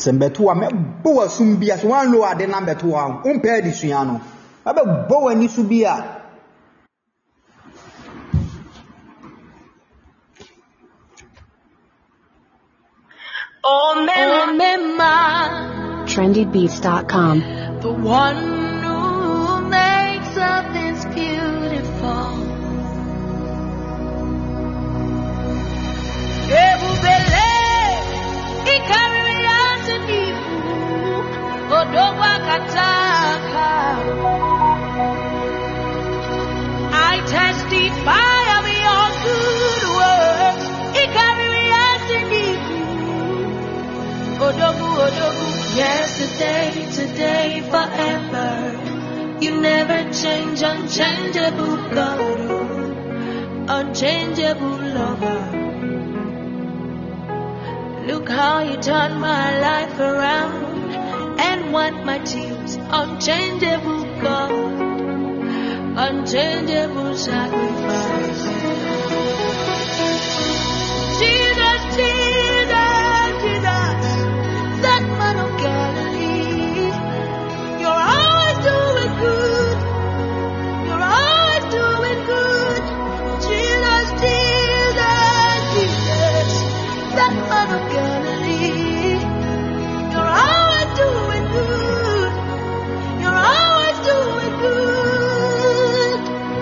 Sembetua me boa sumbia so wan lo ade na betua umpe di sua no abe boa ni subia. Oh, Mema. trendybeats.com. The one who makes all things beautiful. Ebubele, ikariasinifu, odowakataka. I testify of your good works. Ikariasinifu, odogu, odogu. Yesterday, today, forever. You never change, unchangeable God, unchangeable lover. Look how you turn my life around and wipe my tears. Unchangeable God, unchangeable sacrifice. Jesus, Jesus, Jesus, that man of Galilee. You're always doing good. You're always doing good. Jesus, Jesus, Jesus, that man of Galilee. You're always doing good. You're always doing good.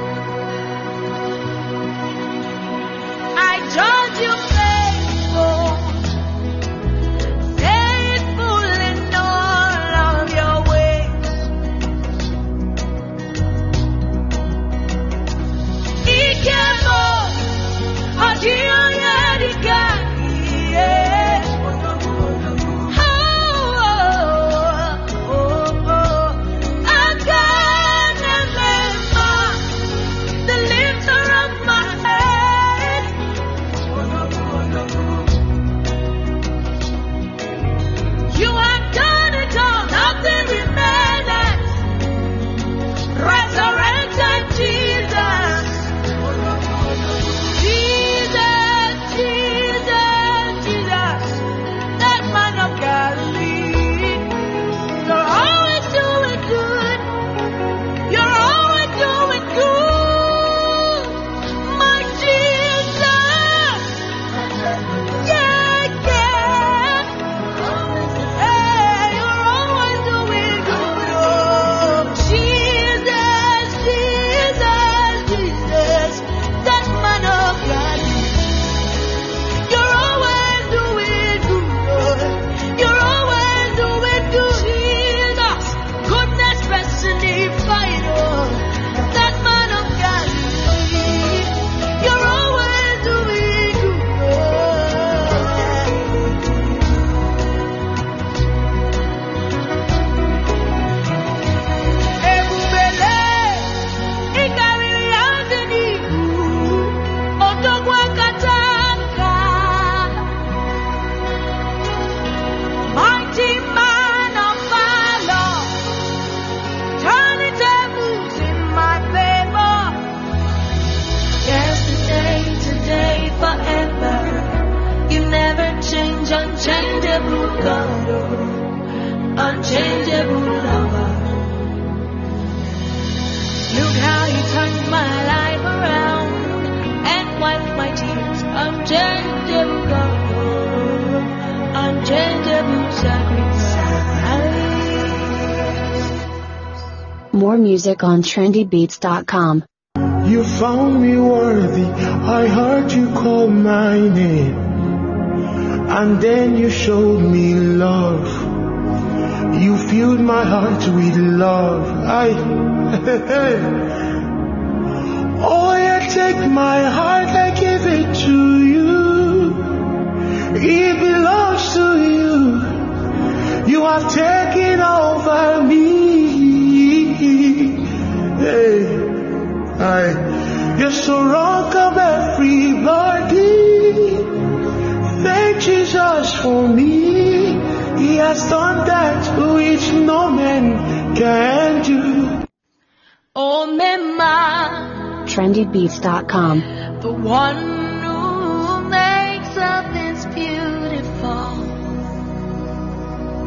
I judge you faithful, faithful in all of your ways. Ikemo, Adio Yadika, yes. I can't remember the lifter of my head. You have done it all, nothing remains. Resurrected Jesus. Jesus, Jesus, Jesus, that man of Galilee. You're always doing good. You're always doing good. My Jesus. Yeah, yeah. Hey, you're always doing good. Oh, Jesus, Jesus, Jesus, that man of God. You're always doing good. You're always doing good. Jesus, goodness personified. Oh, that man of God. You're always doing Ebubele, ikariasinifu, odogwakataka. Mighty man of valor, turning tables in my favor. Yesterday, today, forever. You never change, unchangeable God, unchangeable lover. Look how you turned my life around and wiped my tears. Unchangeable God, unchangeable sacrifice. More music on trendybeats.com. You found me worthy. I heard you call my name. And then you showed me love. You filled my heart with love. Oh, you take my heart, I give it to you. It belongs to you. You have taken over me. You're so wrong of everybody. Thank Jesus for me. He has done that which no man can do. Oh, Mema, trendybeats.com. the one who makes all things beautiful.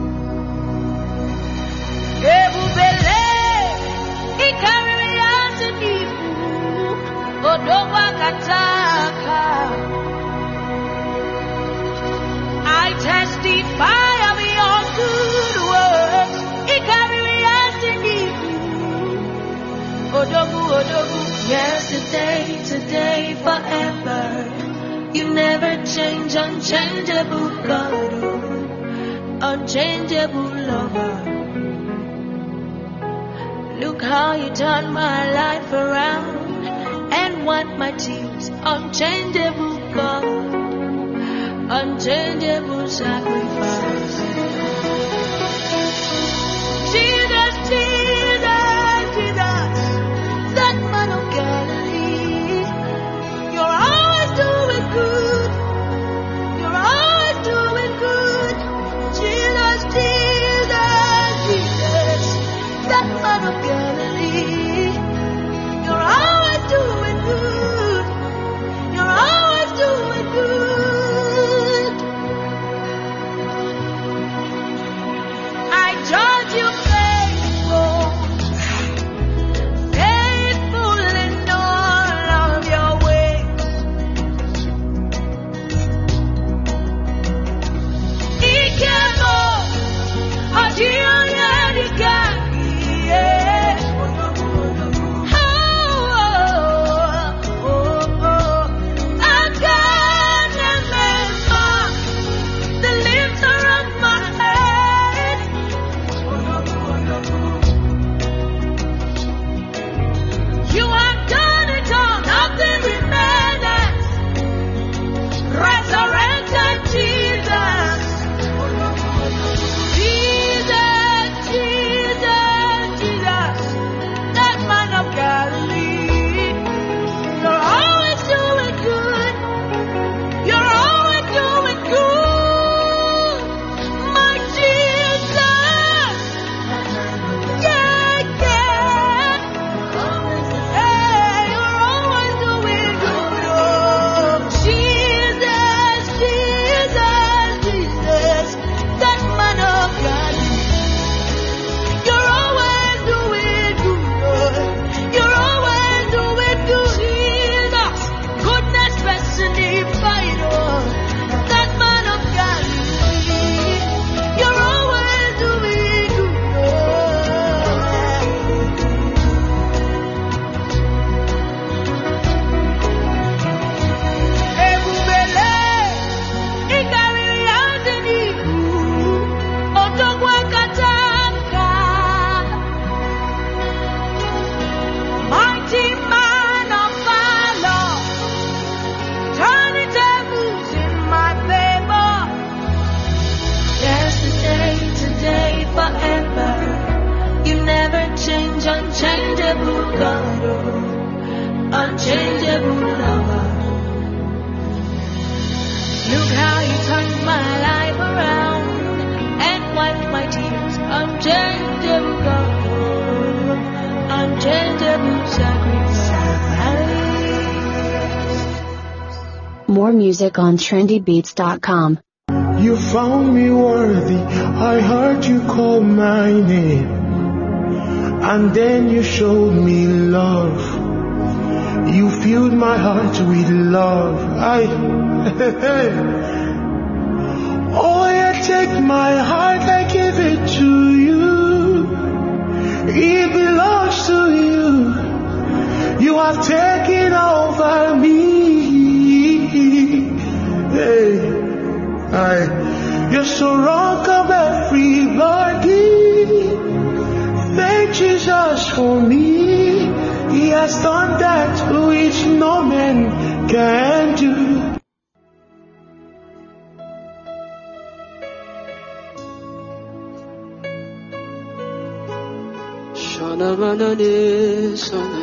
Yesterday, today, forever. You never change, unchangeable God, unchangeable lover. Look how you turned my life around and wipe my tears, unchangeable God, unchangeable sacrifice. Jesus, Jesus, Jesus, that man of Galilee, you're always doing good, you're always doing good. Jesus, Jesus, Jesus, that man of Galilee, you're always doing good, you're always doing good. I judge you faithful, faithful in all of your ways. Ikemo, Ajiyarika, yes. I can't remember the lifter of my head. You have done it all, nothing remains. Resurrected Jesus. Jesus, Jesus, Jesus, that man of Galilee. You're always doing good. You're always doing good. My Jesus. Yeah, yeah. Hey, you're always doing good. Oh, Jesus, Jesus, Jesus, that man of Galilee. You're always doing good. You're always doing good. Jesus, goodness, personified. Oh, that man of Galilee. You're always doing good. Ebubele, ikariri adeniku, otogwa kataka. Mighty man of valor, turning tables in my favor. Yesterday, today, forever. You never change, unchangeable God, unchangeable lover. Look how you turned my life around and wiped my tears, unchangeable God, unchangeable sacrifice. More music on trendybeats.com. You found me worthy. I heard you call my name. And then you showed me love. You filled my heart with love. Oh, you take my heart, I give it to you. It belongs to you. You have taken over me. Hey. You're so wrong of everybody. Thank Jesus for me. He has done that which no man can do. Shana manane sana.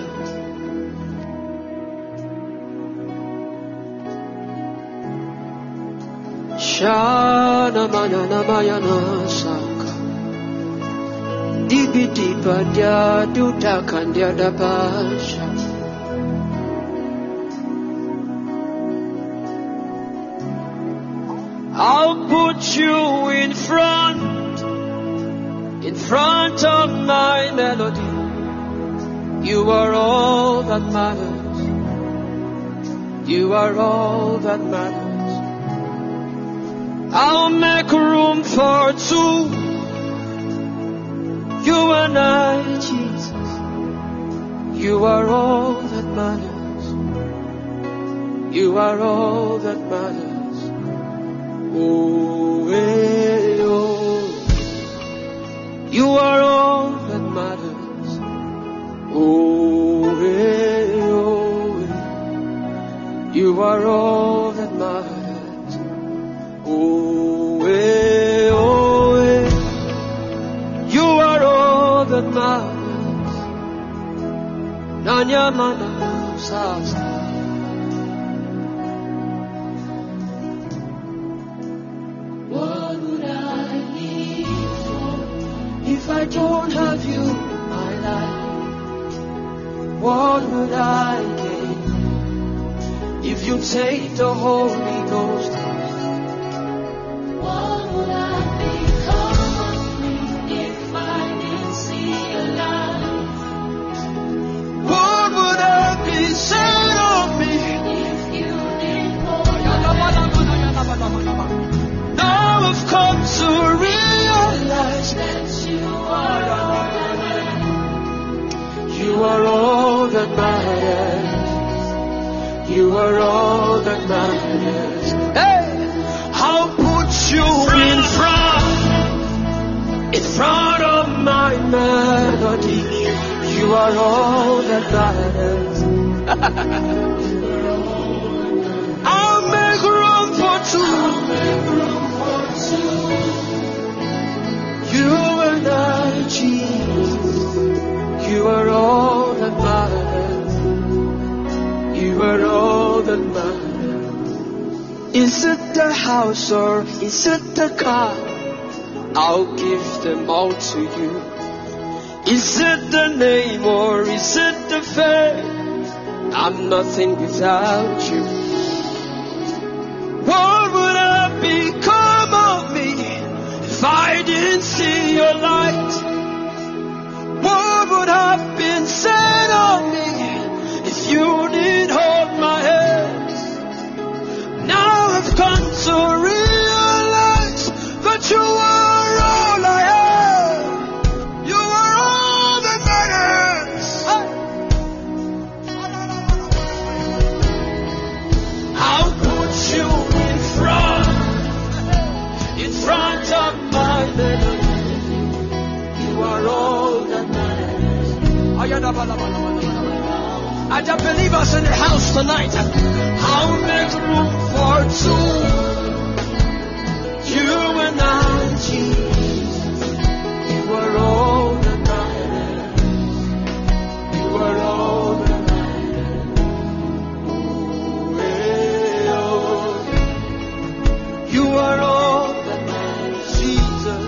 Shana manana mayana saka. Dibi diba dia duda kandia da basha. I'll put you in front of my melody. You are all that matters. You are all that matters. I'll make room for two. You and I, Jesus. You are all that matters. You are all that matters. Oh, hey, oh. You are all that matters. Oh, hey, oh. You are all that matters. Oh, hey, oh. You are all that matters. Nanya mana sasa. What would I live for If I don't have you in my life, what would I gain? If you take the Holy Ghost, What would I become of me if I didn't see your light? what would I be said of me? If you didn't hold my Now I've come to realize that you are all that you are all that matters. You are all that matters. Hey, I'll put you in front of my melody. You are all that matters. I'll make room for two. You and I, Jesus. You are all that matters. You are all that matters. Is it the house or is it the car? I'll give them all to you. Is it the name or is it the fame? I'm nothing without you. What would have become of me if I didn't see your light? What would have been said of me if you didn't hold my hand? Now I've come to realize that you are all I have. You are all that matters. I'll put you in front of my melody. You are all that matters. I just believe us in the house tonight. I'll make room for two. You and I, Jesus. You are all that matters. You are all that matters. Oh, you are all that matters, Jesus.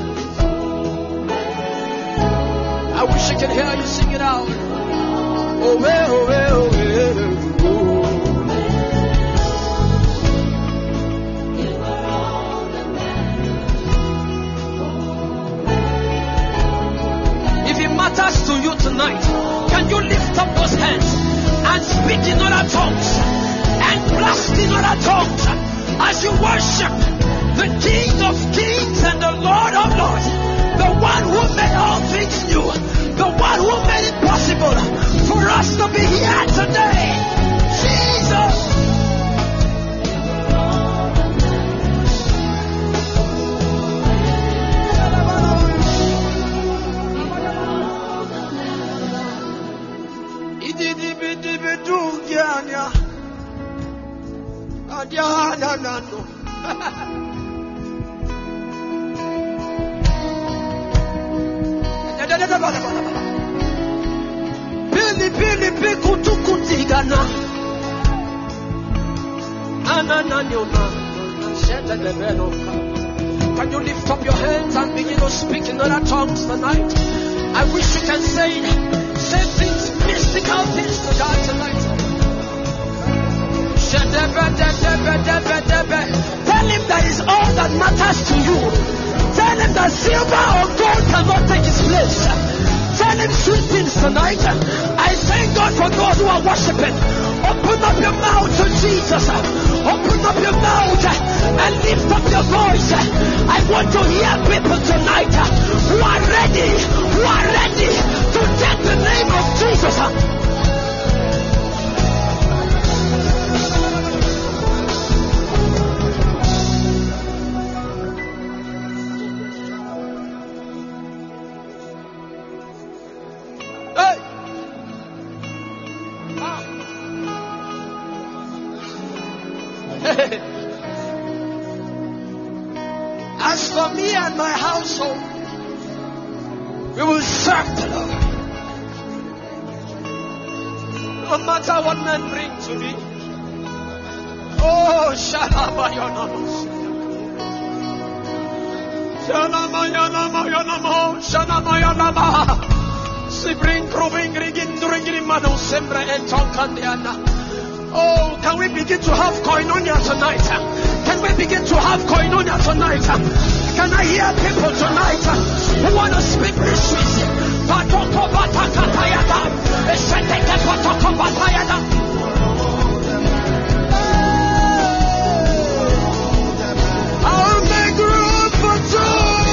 I wish I could hear you sing it out. Oh, well, oh, well, oh, if it matters to you tonight, can you lift up those hands and speak in other tongues and blast in other tongues as you worship the King of Kings and the Lord of Lords, the one who made all things new, the one who made it possible for us to be here today. Jesus. Can you lift up your hands and begin to speak in other tongues tonight? I wish you can say things, mystical things to God tonight. Tell him that is all that matters to you. Tell him that silver or gold cannot take his place. Tell him sweet things tonight. I thank God for those who are worshiping. Open up your mouth to Jesus. Open up your mouth and lift up your voice. I want to hear people tonight who are ready to take the name of Jesus. As for me and my household, we will serve the Lord. No matter what men bring to me. Oh, Shalabayanamos. Shalamayanamo, Shalamayanama. Sibring, Kroving, Rigin, Dringin, Mano, Sembra, and Tonkandiana. Oh, can we begin to have koinonia tonight? Can we begin to have koinonia tonight? Can I hear people tonight who want to speak mysteries? Patoko Batakatayada. Esheteke Patoko Batayada. I'll make room for two.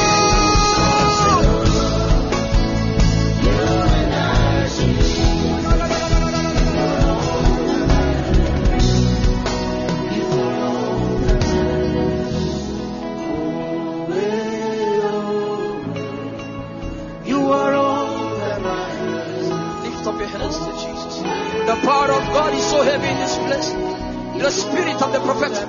The power of God is so heavy in this place. The spirit of the prophetic.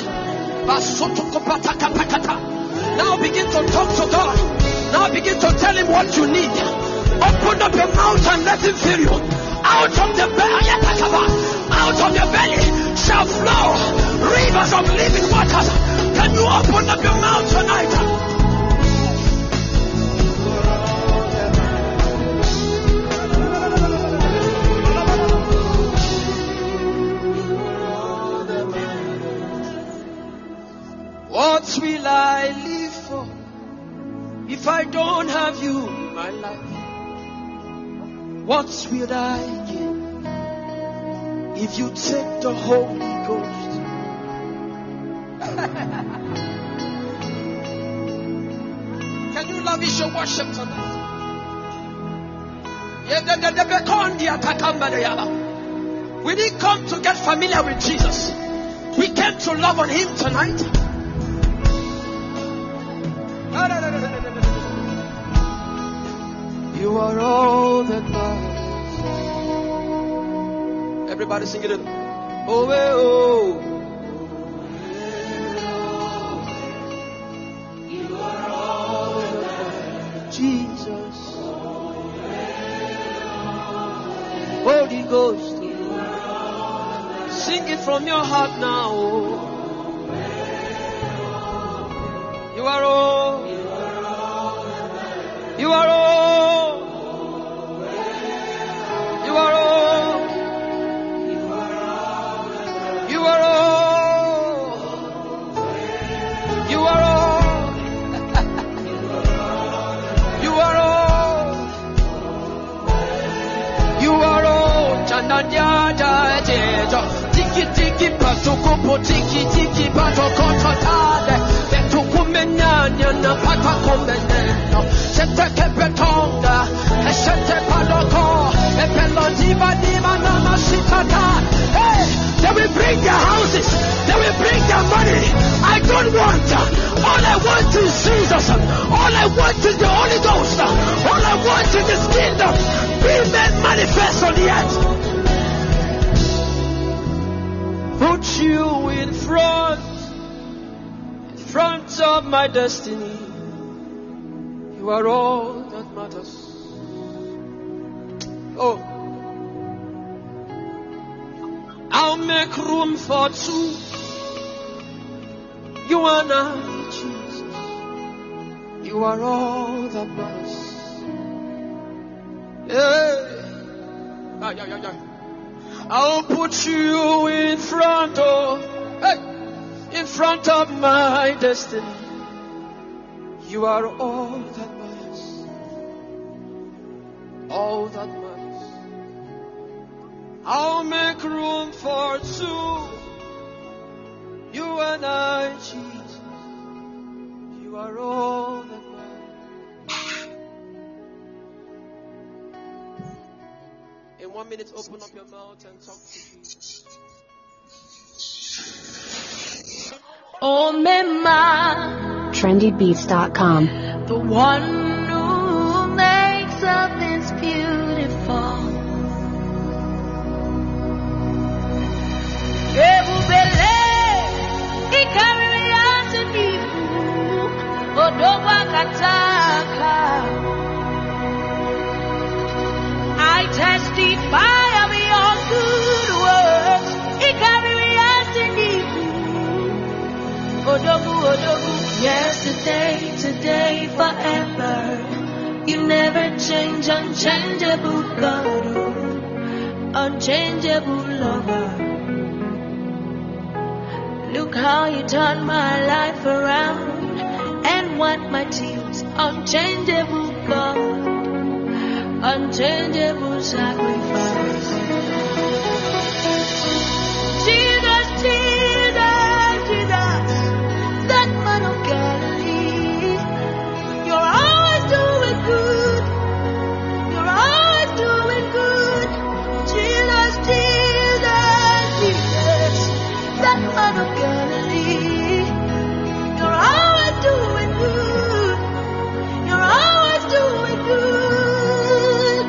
Now begin to talk to God. Now begin to tell him what you need. Open up your mouth and let him fill you. Out of the belly, out of your belly shall flow rivers of living waters. Can you open up your mouth tonight? What will I live for if I don't have you in my life? What will I gain if you take the Holy Ghost? Can you lavish your worship tonight? We didn't come to get familiar with Jesus. We came to love on him tonight. You are all that matters. Everybody sing it. Oh, oh. You are all that matters. Jesus. Holy Ghost. Sing it from your heart now. You are all. You are all. You are all. You are all. You are all. You are all. You are all. Chananya jajejo. Tiki tiki patukupo tiki tiki patokototade. Betukumenyanya na patakomeneno. Sete kepetonga. Sete paloko. Epelodiva diva namasitata. Hey, they will bring their houses. They will bring their money. I don't want. All I want is Jesus. All I want is the Holy Ghost. All I want is His kingdom. Be made manifest on the earth. Put you in front of my destiny. You are all that matters. Oh, I'll make room for two. You and I, Jesus. You are all that matters. Yeah. I'll put you in front of my destiny. You are all that matters. All that matters. I'll make room for two. You and I, Jesus. You are all that matters. In 1 minute, open up your mouth and talk to Jesus. Oh, Mema. trendybeats.com. The one who makes all things beautiful. Ebubele, change, unchangeable God, unchangeable lover. Look how you turned my life around and wipe my tears. Unchangeable God, unchangeable sacrifice. Jesus, Jesus, Jesus, that man of Galilee. You're always doing good. You're always doing good. Jesus, Jesus, Jesus, that man of Galilee. You're always doing good. You're always doing good.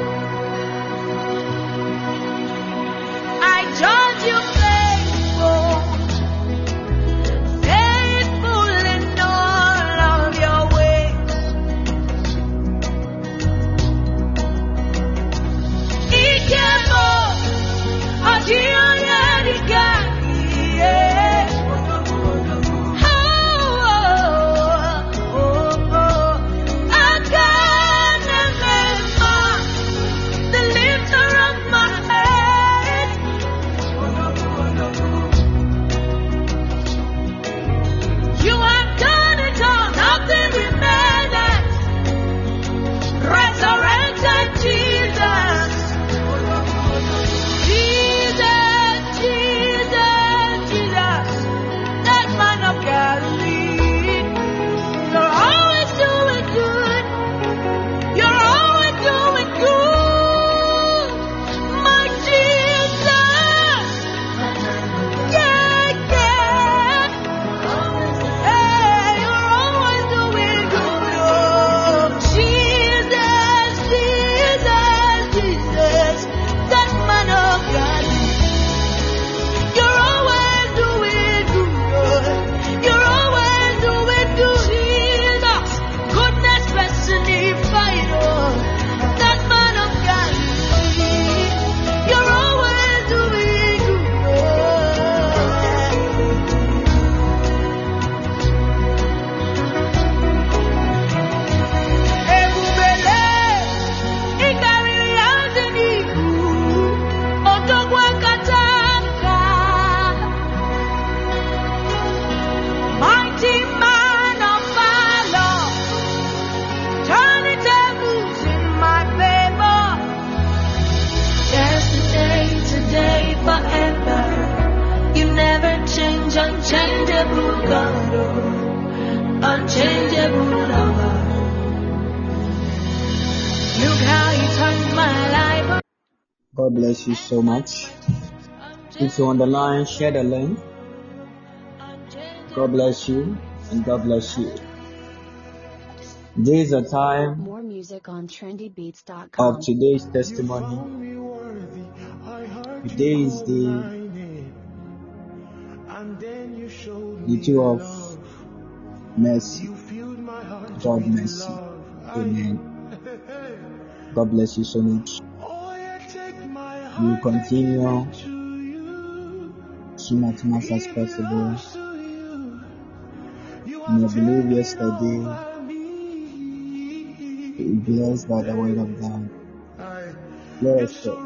I judge you faithful, faithful in all of your ways. Ikemo, Adiyadika, yeah. Oh, oh, oh. I can't remember the lifter of my head. You have done it all, nothing remained. Resurrected Jesus. Jesus, Jesus, Jesus, that man of Galilee. You're always doing good. You're always doing good. My Jesus. Yeah, yeah. Hey, you're always doing good. Oh, Jesus, Jesus, Jesus, that man of God. You're always doing good. You're always doing good. Jesus, goodness personified. Oh, that man of God. You're always doing Ebubele, ikariri aziniku, otogwa kataka. Mighty man of valor, turning tables in my favor. Yesterday, today, forever. You never change, unchangeable God, oh, unchangeable lover. Look how you turned my life around. God bless you so much. If you're on the line, share the link. God bless you and God bless you. This is a time More music on of trendybeats.com. today's testimony. Today is the 2 of mercy. God mercy. Amen. God bless you so much. We will continue soon as much as possible. And I believe yesterday we were blessed by the word of God. Let us pray.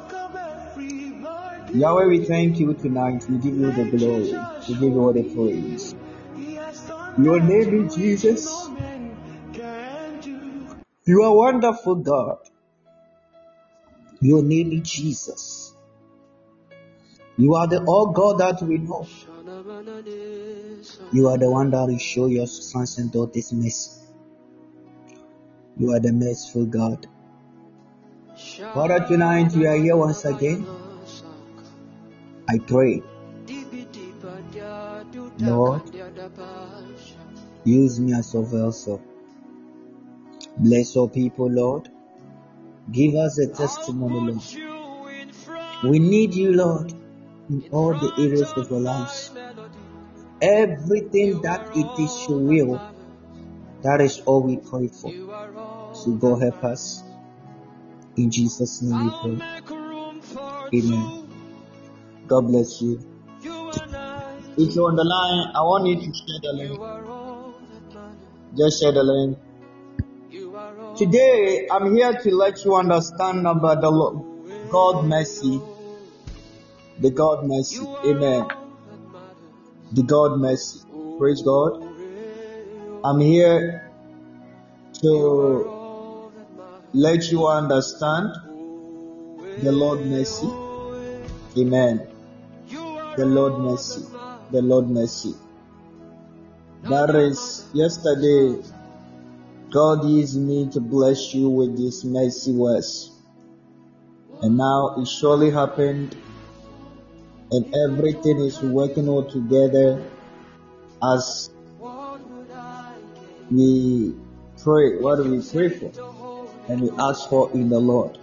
Yahweh, we thank you tonight. We give you the glory. We give you all the praise. Your name is Jesus. You are wonderful God. Your name is Jesus. You are the all God that we know. You are the one that will show your sons and daughters mercy. You are the merciful God. Father, tonight we are here once again. I pray, Lord, use me as a vessel. Bless all people, Lord. Give us a testimony, Lord. We need you, Lord, in all the areas of our lives. Everything that it is your will, that is all we pray for. So God help us. In Jesus' name we pray. Amen. God bless you. If you're on the line, I want you to share the link. Just share the link. Today, I'm here to let you understand about the God mercy. The God mercy. Amen. The God mercy. Praise God. I'm here to let you understand the Lord mercy. Amen. The Lord mercy. The Lord mercy. That is, yesterday, God used me to bless you with this mercy words. And now it surely happened, and everything is working all together as we pray. What do we pray for? And we ask for in the Lord.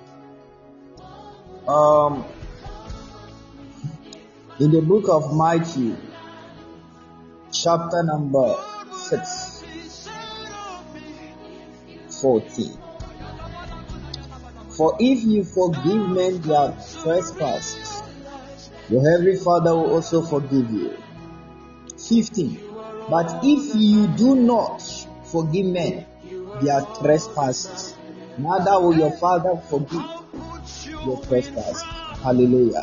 In the book of Matthew, chapter number 6, 14. For if you forgive men their trespasses, your heavenly Father will also forgive you. 15. But if you do not forgive men their trespasses, neither will your Father forgive your trespasses. Hallelujah.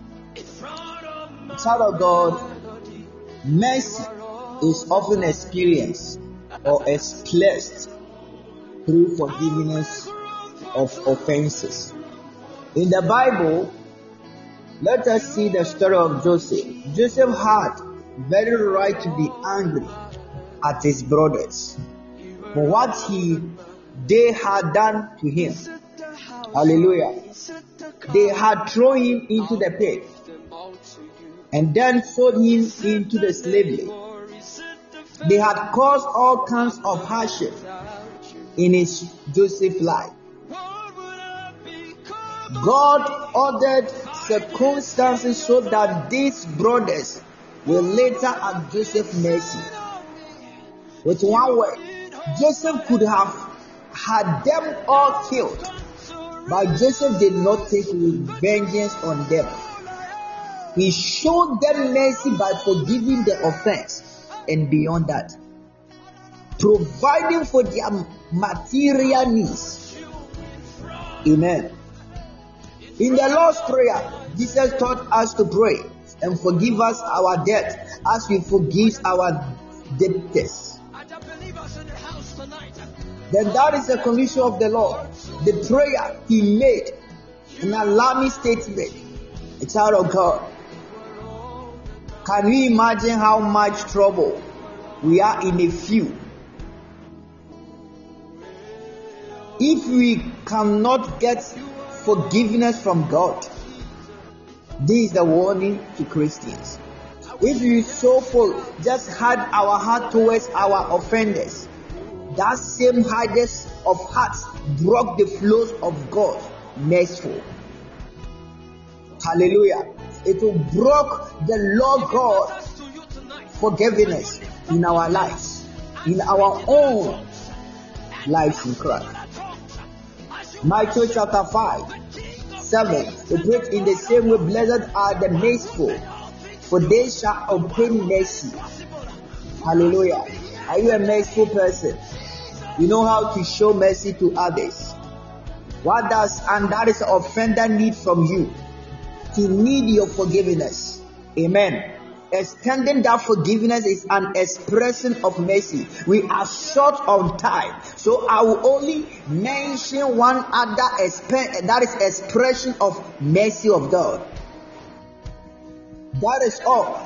Child of God, mercy is often experienced or expressed through forgiveness of offenses. In the Bible, let us see the story of Joseph. Joseph had very right to be angry at his brothers for what they had done to him. Hallelujah. They had thrown him into the pit and then sold him into the slavery. They had caused all kinds of hardship in his Joseph's life. God ordered circumstances so that these brothers will later have Joseph's mercy. With one word, Joseph could have had them all killed, but Joseph did not take vengeance on them. He showed them mercy by forgiving the offense, and beyond that, providing for their material needs. Amen. In the Lord's Prayer, Jesus taught us to pray and forgive us our debt as we forgive our debtors. Then that is the commission of the Lord. The prayer he made, an alarming statement. A child of God. Can we imagine how much trouble we are in a few if we cannot get forgiveness from God? This is the warning to Christians. If we just had our heart towards our offenders, that same hardness of heart broke the flows of God merciful. Hallelujah. It will broke the Lord God forgiveness in our lives, in our own lives in Christ. Matthew chapter 5:7. We pray in the same way, blessed are the merciful, for they shall obtain mercy. Hallelujah. Are you a merciful person? You know how to show mercy to others. And that is the offender need from you. To need your forgiveness. Amen. Extending that forgiveness is an expression of mercy. We are short on time, so I will only mention one other that is expression of mercy of God. That is all.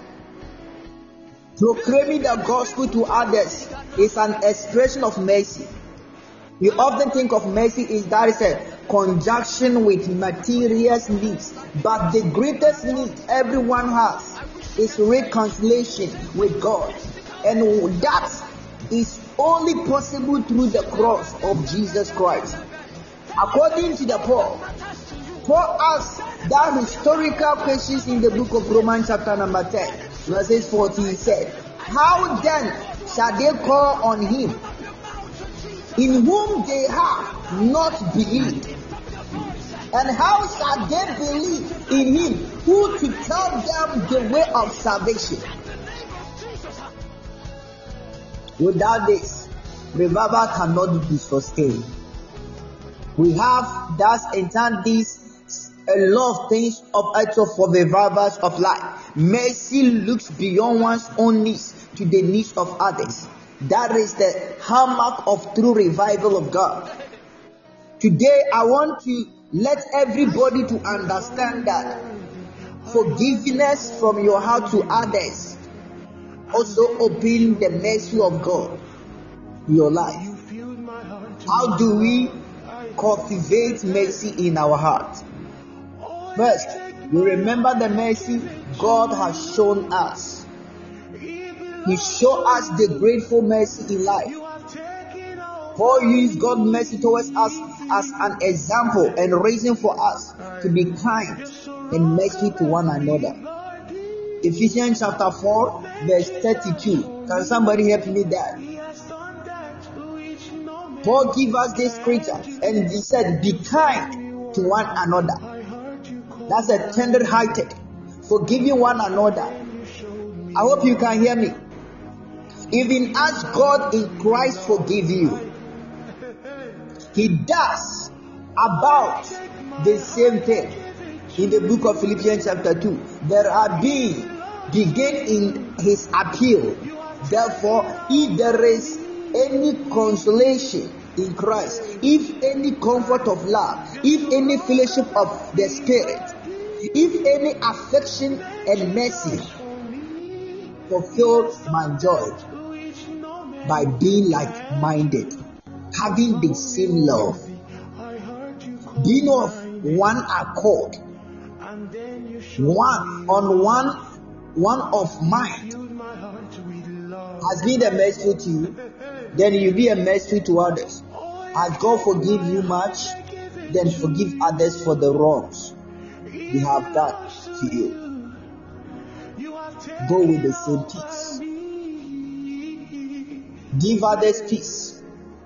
Proclaiming the gospel to others is an expression of mercy. We often think of mercy is that is a conjunction with material needs, but the greatest need everyone has is reconciliation with God, and that is only possible through the cross of Jesus Christ. According to the Paul asks that historical questions in the book of Romans chapter number 10 verses 14. He said, how then shall they call on him in whom they have not believed? And how shall they believe in him who to tell them the way of salvation? Without this, revival cannot be sustained. We have thus entered this a lot of things of also for revivals of life. Mercy looks beyond one's own needs to the needs of others. That is the hallmark of true revival of God. Today I want to let everybody to understand that forgiveness from your heart to others also open the mercy of God in your life. How do we cultivate mercy in our heart? First, we remember the mercy God has shown us. He showed us the grateful mercy in life. Paul used God's mercy towards us as an example and reason for us to be kind and mercy to one another. Ephesians chapter 4 verse 32. Can somebody help me there? Paul gave us this scripture and he said, be kind to one another. That's a tender-hearted, forgiving one another. I hope you can hear me. Even as God in Christ forgive you, He does about the same thing. In the book of Philippians chapter 2, there are begin in His appeal. Therefore, if there is any consolation in Christ, if any comfort of love, if any fellowship of the Spirit, if any affection and mercy, fulfill my joy by being like-minded, having the same love, being of one accord, one of mind. Has been a mercy to you, then you be a mercy to others. As God forgive you much, then forgive others for the wrongs they have done to you. Go with the same peace. Give others peace.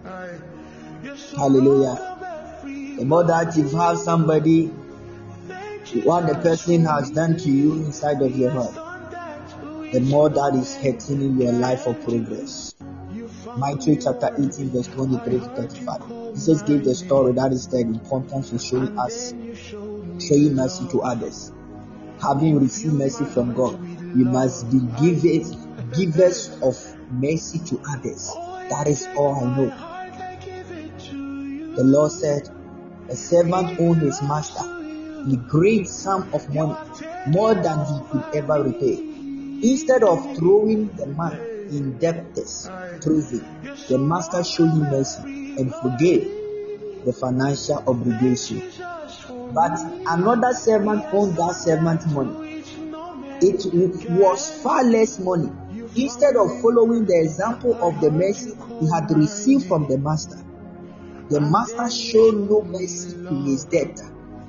Hallelujah. The more that you have somebody, what the person has done to you inside of your heart, the more that is hurting in your life of progress. Matthew chapter 18 verse 23 to 35. Jesus gave the story that is the importance of showing mercy to others. Having received mercy from God, you must be givers of mercy to others. That is all I know. The Lord said, a servant owed his master a great sum of money, more than he could ever repay. Instead of throwing the man in debtors prison, the master showed him mercy and forgave the financial obligation. But another servant owed that servant money. It was far less money. Instead of following the example of the mercy he had received from the master showed no mercy to his debtor.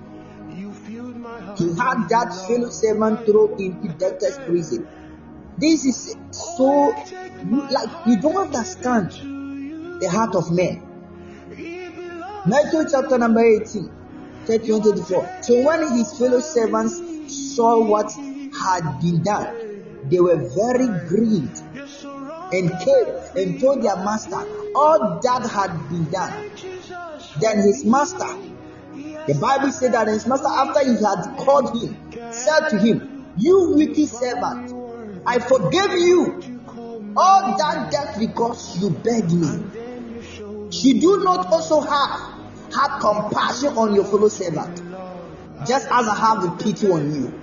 He had that fellow servant thrown into debtor's prison. This is so, like, you don't understand the heart of man. Matthew chapter number 18, 31-34. So when his fellow servants saw what had been done, they were very grieved and came and told their master all that had been done. Then his master, the Bible said that his master, after he had called him, said to him, you wicked servant, I forgave you all that debt because you begged me. Should you not also have compassion on your fellow servant, just as I have the pity on you?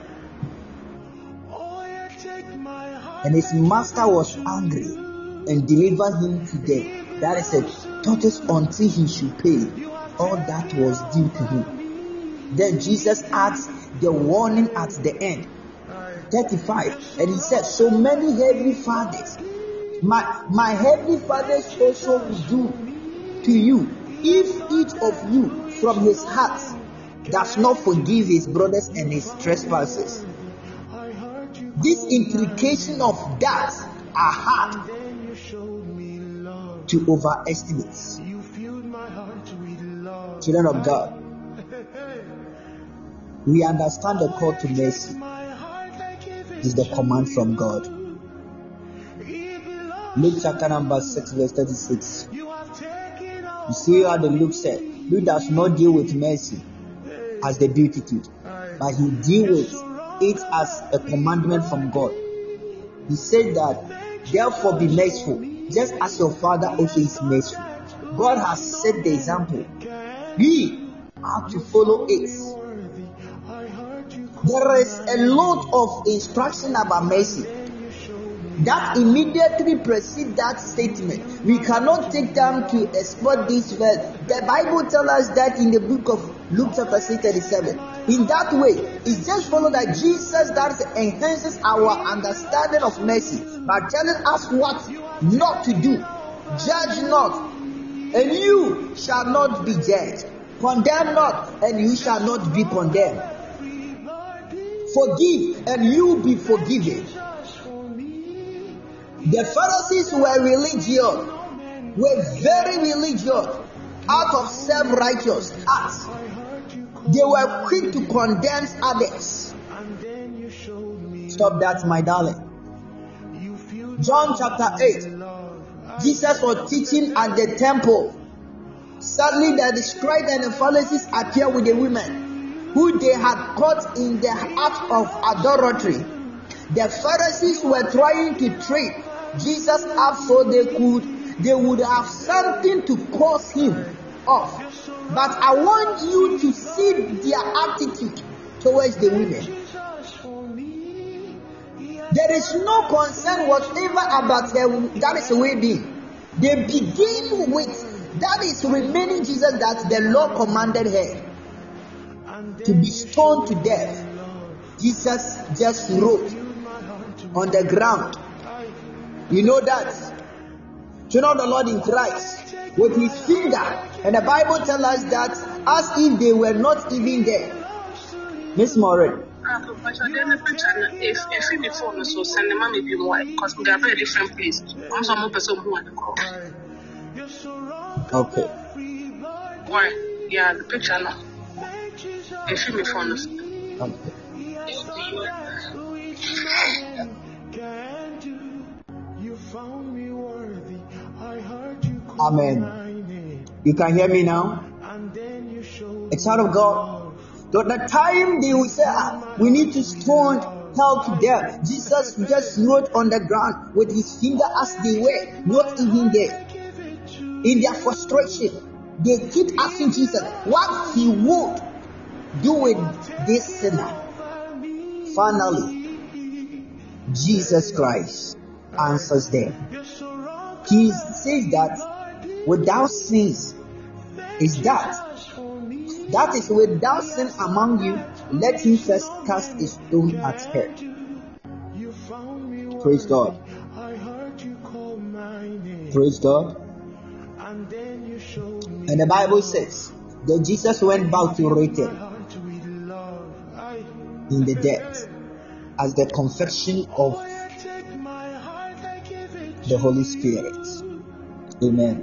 And his master was angry and delivered him to death. That is a tortoise until he should pay all that was due to him. Then Jesus adds the warning at the end, 35, and he said, so many heavenly fathers, my heavenly fathers also will do to you, if each of you from his heart does not forgive his brothers and his trespasses. This implication of that are hard to overestimate. Children of God, we understand the call to mercy is the command from God. Luke chapter number 6 verse 36. You see how the Luke said, Luke does not deal with mercy as the beatitude, but he deals with it as a commandment from God. He said that, therefore be merciful, just as your Father also is merciful. God has set the example. We have to follow it. There is a lot of instruction about mercy that immediately precedes that statement. We cannot take time to explore this verse. The Bible tells us that in the book of Luke chapter 6:37. In that way, it's just follow that Jesus that enhances our understanding of mercy by telling us what not to do. Judge not, and you shall not be judged. Condemn not, and you shall not be condemned. Forgive, and you be forgiven. The Pharisees were religious, were very religious, out of self-righteous acts. They were quick to condemn others. Stop that, my darling. John chapter 8. Jesus was teaching at the temple. Suddenly the scribes and the Pharisees appear with the women who they had caught in the act of adultery. The Pharisees were trying to trick Jesus up so they would have something to cause him off. But I want you to see their attitude towards the women. There is no concern whatever about them. That is the way being. They begin with that is remaining Jesus that the Lord commanded her to be stoned to death. Jesus just wrote on the ground. You know that. To know the Lord in Christ with his finger. And the Bible tells us that as if they were not even there. Miss Morin. Okay. Why? Yeah, the picture now. If you phone us. Okay. Amen. You can hear me now? A child of God. So the time they will say, we need to stone hell to death. Jesus just wrote on the ground with his finger as they were not even there. In their frustration, they keep asking Jesus what he would do with this sinner. Finally, Jesus Christ answers them. He says that without sins is that is without sin among you, let him first cast a stone at her. Praise God. Praise God. And the Bible says that Jesus went back to Rachel in the death as the confession of the Holy Spirit. Amen.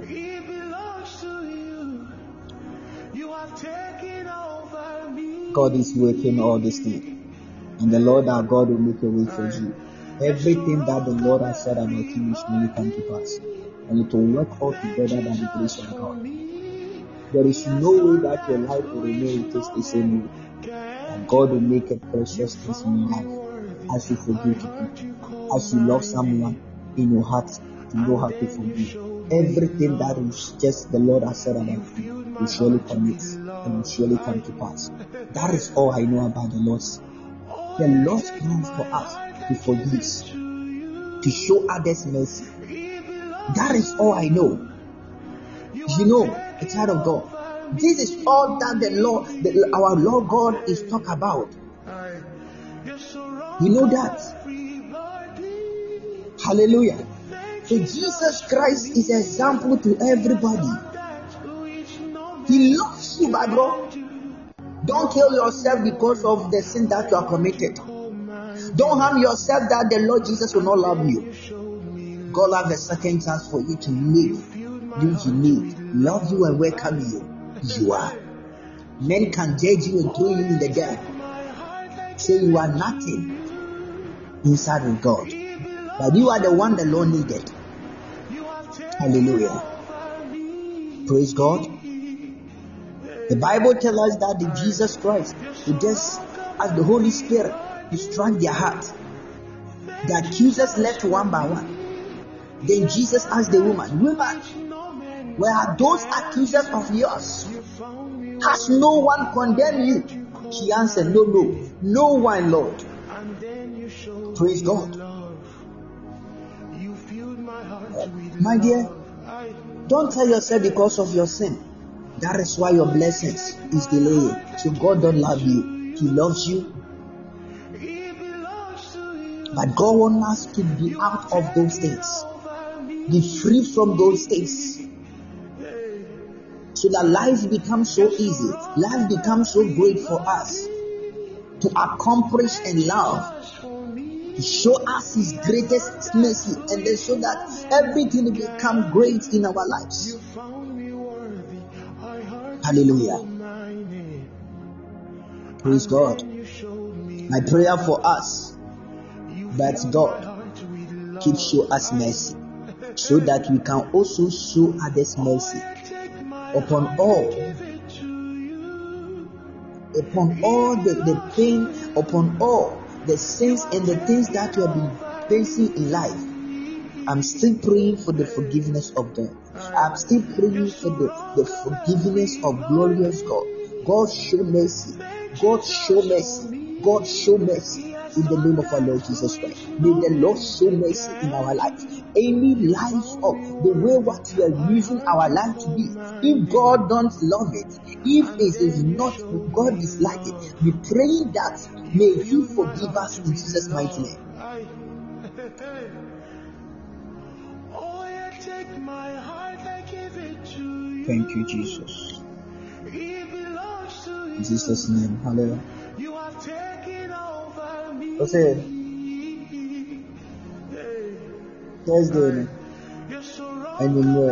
God is working all this thing, and the Lord our God will make a way for you. Everything that the Lord has said about you will surely come to pass, and it will work all together by the grace of God. There is no way that your life will remain just the same way, and God will make a precious thing in your life as you forgive people, as you love someone in your heart to know how to forgive. Everything that is just the Lord has said about you will surely commit and will surely come to pass. That is all I know about the Lord's. The Lord's plan for us to forgive, to show others mercy. That is all I know. You know, a child of God, this is all that the Lord, our Lord God is talking about. You know that. Hallelujah. So Jesus Christ is an example to everybody. He loves you, my bro. Don't kill yourself because of the sin that you have committed. Don't harm yourself that the Lord Jesus will not love you. God will have a second chance for you to live. Do you need? Love you and welcome you. You are. Men can judge you and throw you in the dirt. Say you are nothing inside with God. But you are the one the Lord needed. Hallelujah. Praise God. The Bible tells us that the Jesus Christ, just as the Holy Spirit, He struck their heart. The accusers left one by one. Then Jesus asked the woman, "Woman, where are those accusers of yours? Has no one condemned you?" She answered, No one, Lord." Praise God. My dear, don't tell yourself because of your sin that is why your blessings is delayed. So God don't love you. He loves you. But God wants us to be out of those things. Be free from those things. So that life becomes so easy. Life becomes so great for us to accomplish and love. To show us His greatest mercy, and then so that everything will become great in our lives. Hallelujah. Praise God. My prayer for us that God keep show us mercy, so that we can also show others mercy upon all the pain, upon all the sins and the things that we have been facing in life. I'm still praying for the forgiveness of God. I'm still praying for the forgiveness of glorious God. God show mercy. God show mercy. God show mercy in the name of our Lord Jesus Christ. May the Lord show mercy in our life. Any life of the way what we are using our life to be, if God don't love it, if it is not God dislike it, we pray that may He forgive us in Jesus' mighty name. Thank you, Jesus. In Jesus' name, hallelujah. What's it? Thursday, and you know.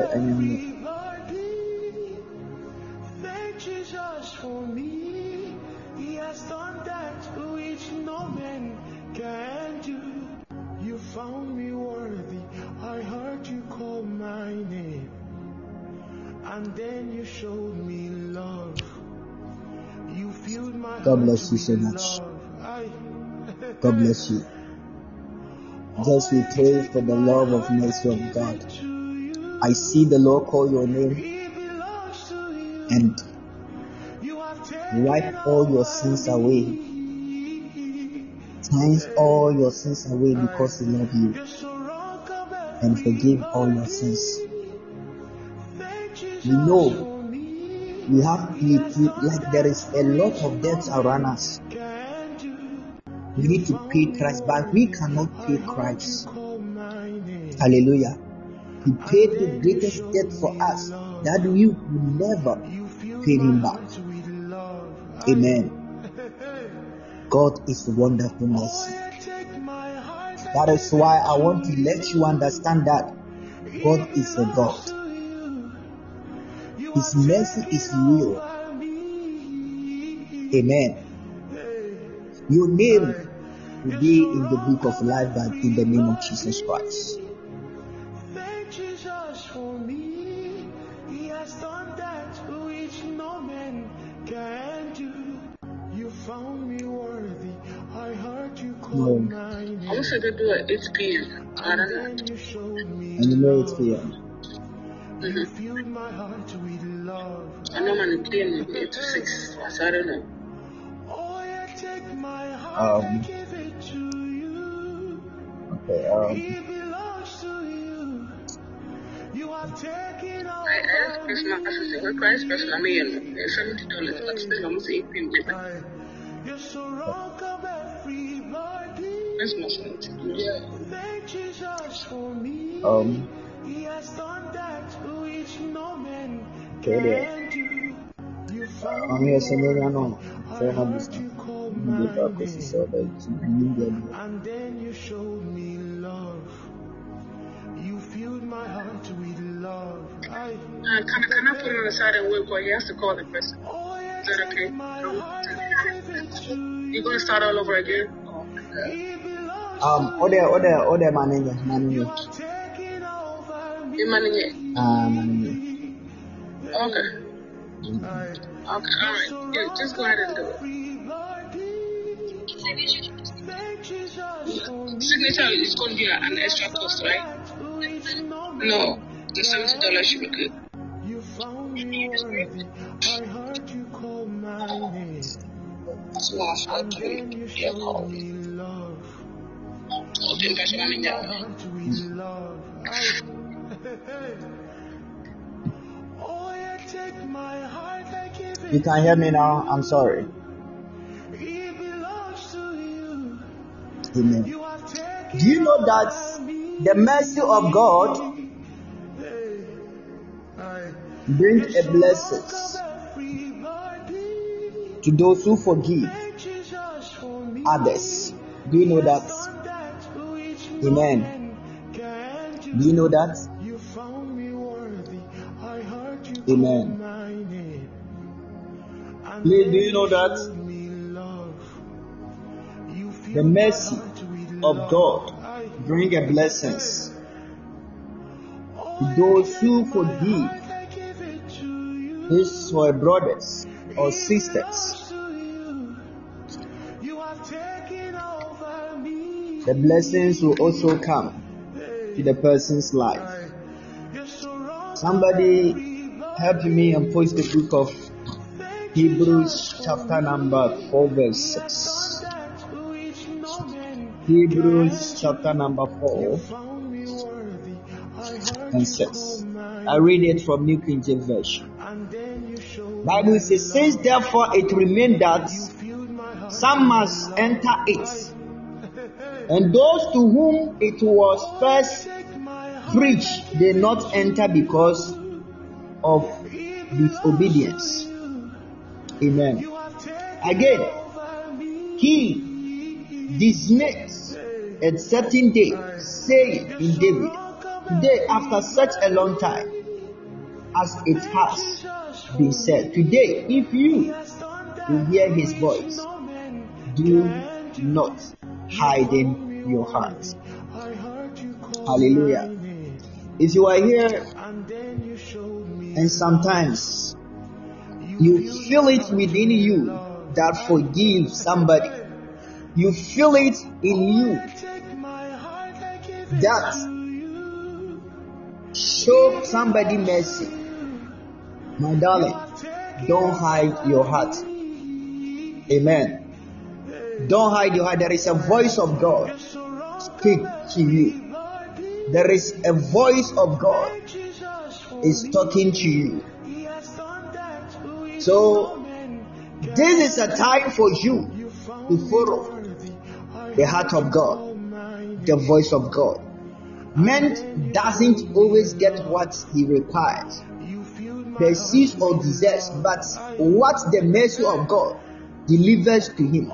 Thank Jesus for me. He has done that which no man can do. You found me worthy. I heard you call my name, and then you showed me love. You filled my God bless you so much. God bless you. Just we pray for the love of mercy of God. I see the Lord call your name and wipe all your sins away. Cleanse all your sins away because He loves you, and forgive all your sins. We know we have like there is a lot of debts around us. We need to pay Christ, but we cannot pay Christ. Hallelujah. He paid the greatest debt for us that we will never pay Him back. Amen. God is wonderful mercy. That is why I want to let you understand that God is a God. His mercy is real. Amen. Your name will be in the book of life, but in the name of Jesus Christ. Thank Jesus for me. He has done that which no man can do. You found me worthy. I heard you call my name. I wish I could do it 8 p.m. I don't know. And you showed me And you know it's love. here. You filled my heart with love. I know I'm playing 8 to 6, so I don't know. Oh, yeah, take my heart and give it to you. Okay, It belongs to you. You have taken all I asked person, I said, what price person I'm in? $70. But still, I'm saying 8 p.m. You're so wrong of everybody. That's my son. Yeah. Thank Jesus for me. He has done that which no man okay, there. can do. You found I'm here saying, I know. I heard you call my name, and then you showed me love. You filled my heart with love. Can I put him on the side and wait for he has to call the person? Oh, yeah, Is that take okay? my heart and give it to You're going to start all over again? It belongs Other manager. You are taking over me. Your money yet? Manager. Okay. Alright. Yeah, just go ahead and do it. Signature is going to be an extra cost, right? No, the $70 should be good. You found me worthy. I heard you call my name. And then you showed me love. You filled my heart with love. Oh, yeah, take my heart, I give it. You can hear me now? I'm sorry. It belongs to you. Amen. You have taken Do you know that the mercy of God brings a blessing to those who forgive others? Do you know that? Amen. Do you know that? Amen. Please, do you know that? The mercy of God brings a blessing to those who forgive his or her brothers or sisters. The blessings will also come to the person's life. Somebody help me and post the book of Hebrews chapter number 4 verse 6. Hebrews chapter number 4 and 6. I read it from New King James Version. Bible says, since therefore it remained that some must enter it, and those to whom it was first preached did not enter because of disobedience. Amen. Again, he dismissed a certain day, saying in David, today after such a long time, as it has been said, today if you will hear his voice, do not harden your hearts. Hallelujah. If you are here and sometimes you feel it within you that forgive somebody, you feel it in you that show somebody mercy, my darling, don't hide your heart. Amen. Don't hide your heart. There is a voice of God speak to you. There is a voice of God is talking to you. So this is a time for you to follow the heart of God, the voice of God. Man doesn't always get what he requires, perceives or deserves, but what the mercy of God delivers to him.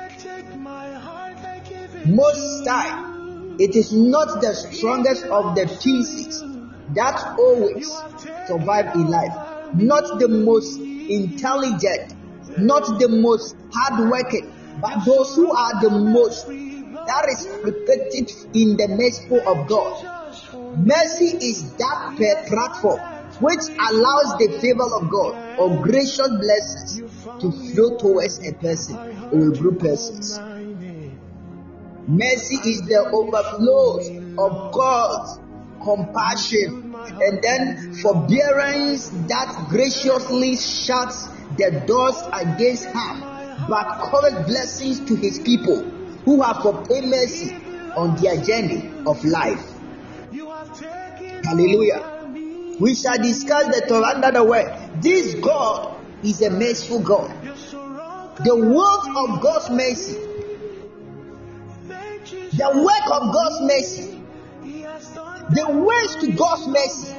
Most time, it is not the strongest of the pieces that always survive in life, not the most intelligent, not the most hardworking, but those who are the most that is reflected in the mercy of God. Mercy is that platform which allows the favor of God or gracious blessings to flow towards a person or a group of persons. Mercy is the overflow of God's compassion and then forbearance that graciously shuts the doors against harm, but covers blessings to his people who have obtained mercy on their journey of life. Hallelujah. We shall discuss the Torah under the word. This God is a merciful God. The word of God's mercy, the work of God's mercy, the ways to God's mercy.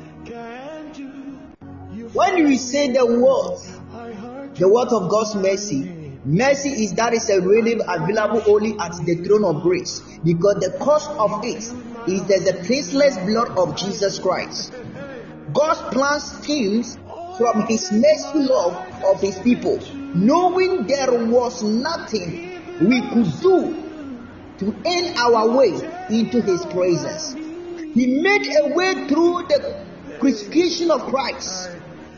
When you say the word of God's mercy, mercy is that is a relief available only at the throne of grace, because the cost of it is the faceless blood of Jesus Christ. God's plan stems from his merciful love of his people, knowing there was nothing we could do to earn our way into his presence. He made a way through the crucifixion of Christ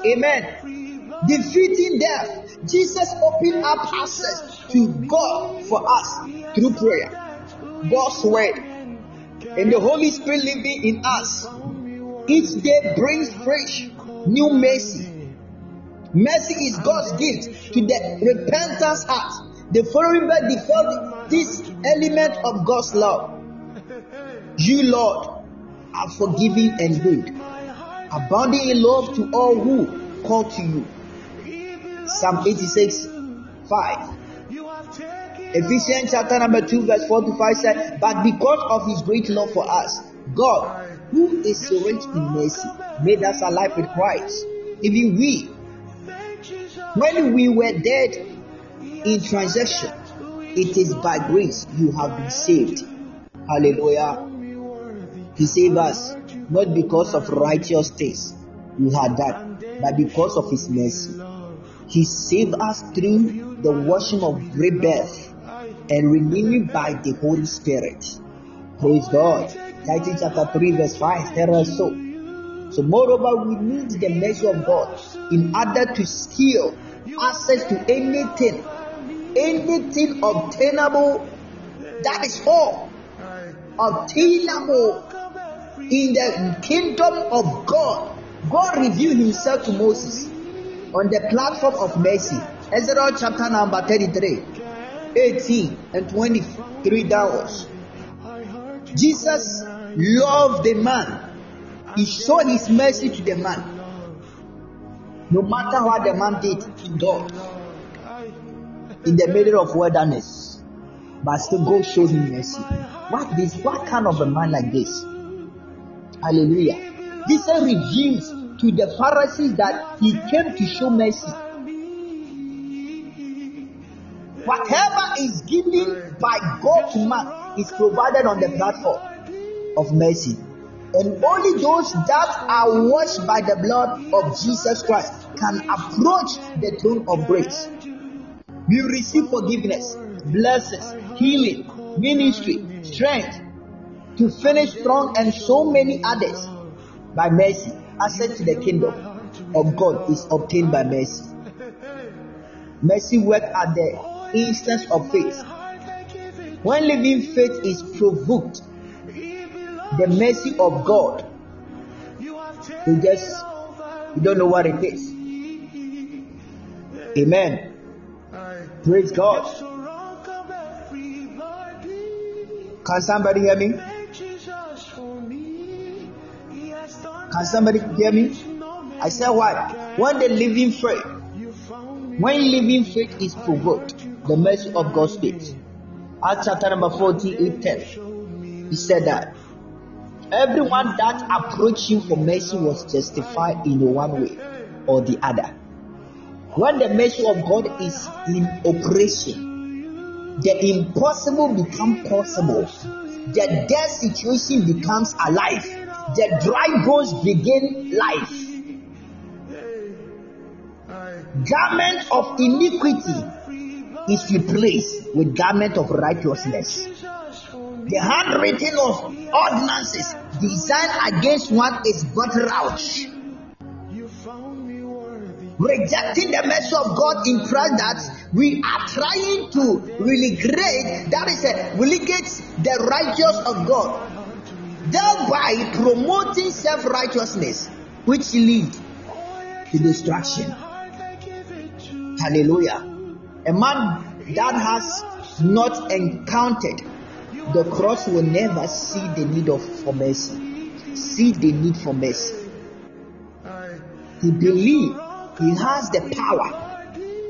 Amen. Defeating death. Jesus opened up access to God for us through prayer, God's word, and the Holy Spirit living in us. Each day brings fresh, new mercy. Mercy is God's gift to the repentance heart. The following verse defines this element of God's love. You, Lord, are forgiving and good, abounding in love to all who call to you. Psalm 86, 5. Ephesians chapter number 2, verse 4 to 5 says, but because of his great love for us, God, who is so rich in mercy, made us alive with Christ. Even we, when we were dead in transaction, it is by grace you have been saved. Hallelujah. He saved us not because of righteous things we had done, but because of his mercy. He saved us through the washing of rebirth and renewing by the Holy Spirit. Praise God. Titus chapter 3 verse 5 tells us so. So moreover, we need the mercy of God in order to steal access to anything obtainable. That is all obtainable in the kingdom of God. God revealed himself to Moses on the platform of mercy. Exodus chapter number 33, 18 and 23 downwards. Jesus loved the man. He showed his mercy to the man. No matter what the man did to God in the middle of wilderness, but still God showed him mercy. What kind of a man like this? Hallelujah. Jesus reveals to the Pharisees that he came to show mercy. Whatever is given by God to man is provided on the platform of mercy. And only those that are washed by the blood of Jesus Christ can approach the throne of grace. We receive forgiveness, blessings, healing, ministry, strength to finish strong, and so many others by mercy. Access to the kingdom of God is obtained by mercy. Mercy works at the instance of faith. When living faith is provoked, the mercy of God, you don't know what it is. Amen. Praise God. Can somebody hear me? Can somebody hear me? I said what? When living faith is provoked, the mercy of God speaks. Acts chapter number 48:10. He said that everyone that approached him for mercy was justified in one way or the other. When the mercy of God is in operation, the impossible becomes possible. The dead situation becomes alive. The dry bones begin life. Garment of iniquity is replaced with garment of righteousness. The handwriting of ordinances designed against one is blotted out. Rejecting the mercy of God implies that we are trying to relegate the righteous of God, thereby promoting self-righteousness, which leads to destruction. Hallelujah. A man that has not encountered the cross will never see the need for mercy. See the need for mercy. He believes he has the power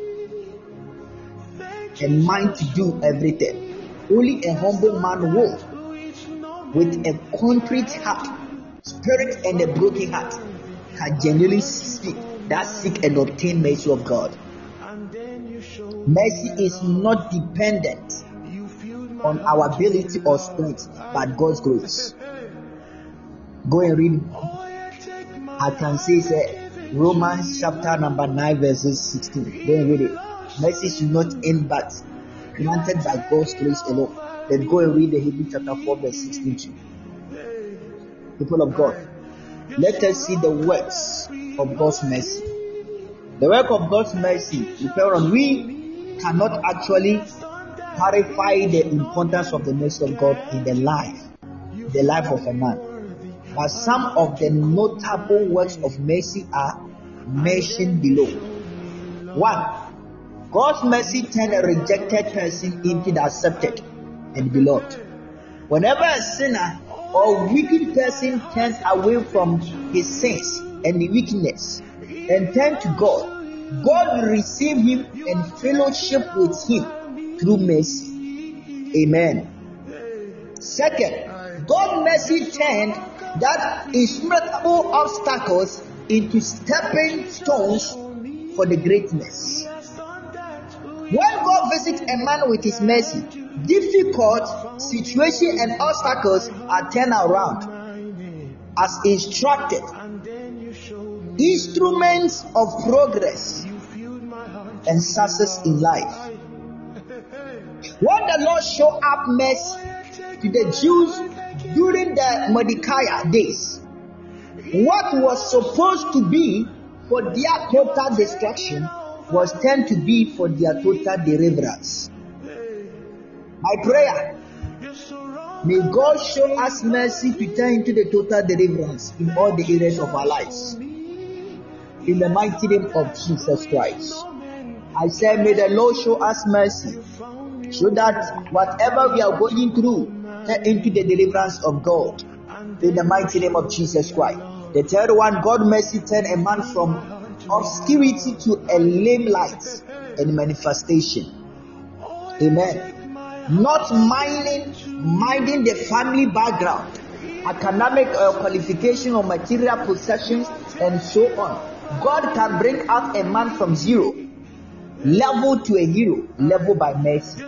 and mind to do everything. Only a humble man will, with a contrite heart, spirit, and a broken heart, can genuinely seek and obtain mercy of God. Mercy is not dependent on our ability or strength, but God's grace. Go and read. I can say Romans chapter number 9 verses 16. Go and read it. Mercy is not in but granted by God's grace alone. Then go and read the Hebrews chapter 4 verse 16 too. People of God, let us see the works of God's mercy. The work of God's mercy, we cannot actually clarify the importance of the mercy of God in the life of a man. But some of the notable works of mercy are mentioned below. 1. God's mercy turned a rejected person into the accepted and beloved. Whenever a sinner or wicked person turns away from his sins and wickedness and turns to God, God will receive him and fellowship with him through mercy. Amen. Second, God's mercy turned that insurmountable obstacles into stepping stones for the greatness. When God visits a man with his mercy, difficult situations and obstacles are turned around as instructed. Instruments of progress and success in life. When the Lord showed up mercy to the Jews during the Mordecai days, what was supposed to be for their total destruction was turned to be for their total deliverance. My prayer, may God show us mercy to turn into the total deliverance in all the areas of our lives. In the mighty name of Jesus Christ. I say, may the Lord show us mercy, so that whatever we are going through, turn into the deliverance of God. In the mighty name of Jesus Christ. The third one, God mercy turned a man from obscurity to a lame light and manifestation. Amen. Not minding the family background, academic qualification or material possessions, and so on. God can bring out a man from zero level to a hero level by mercy.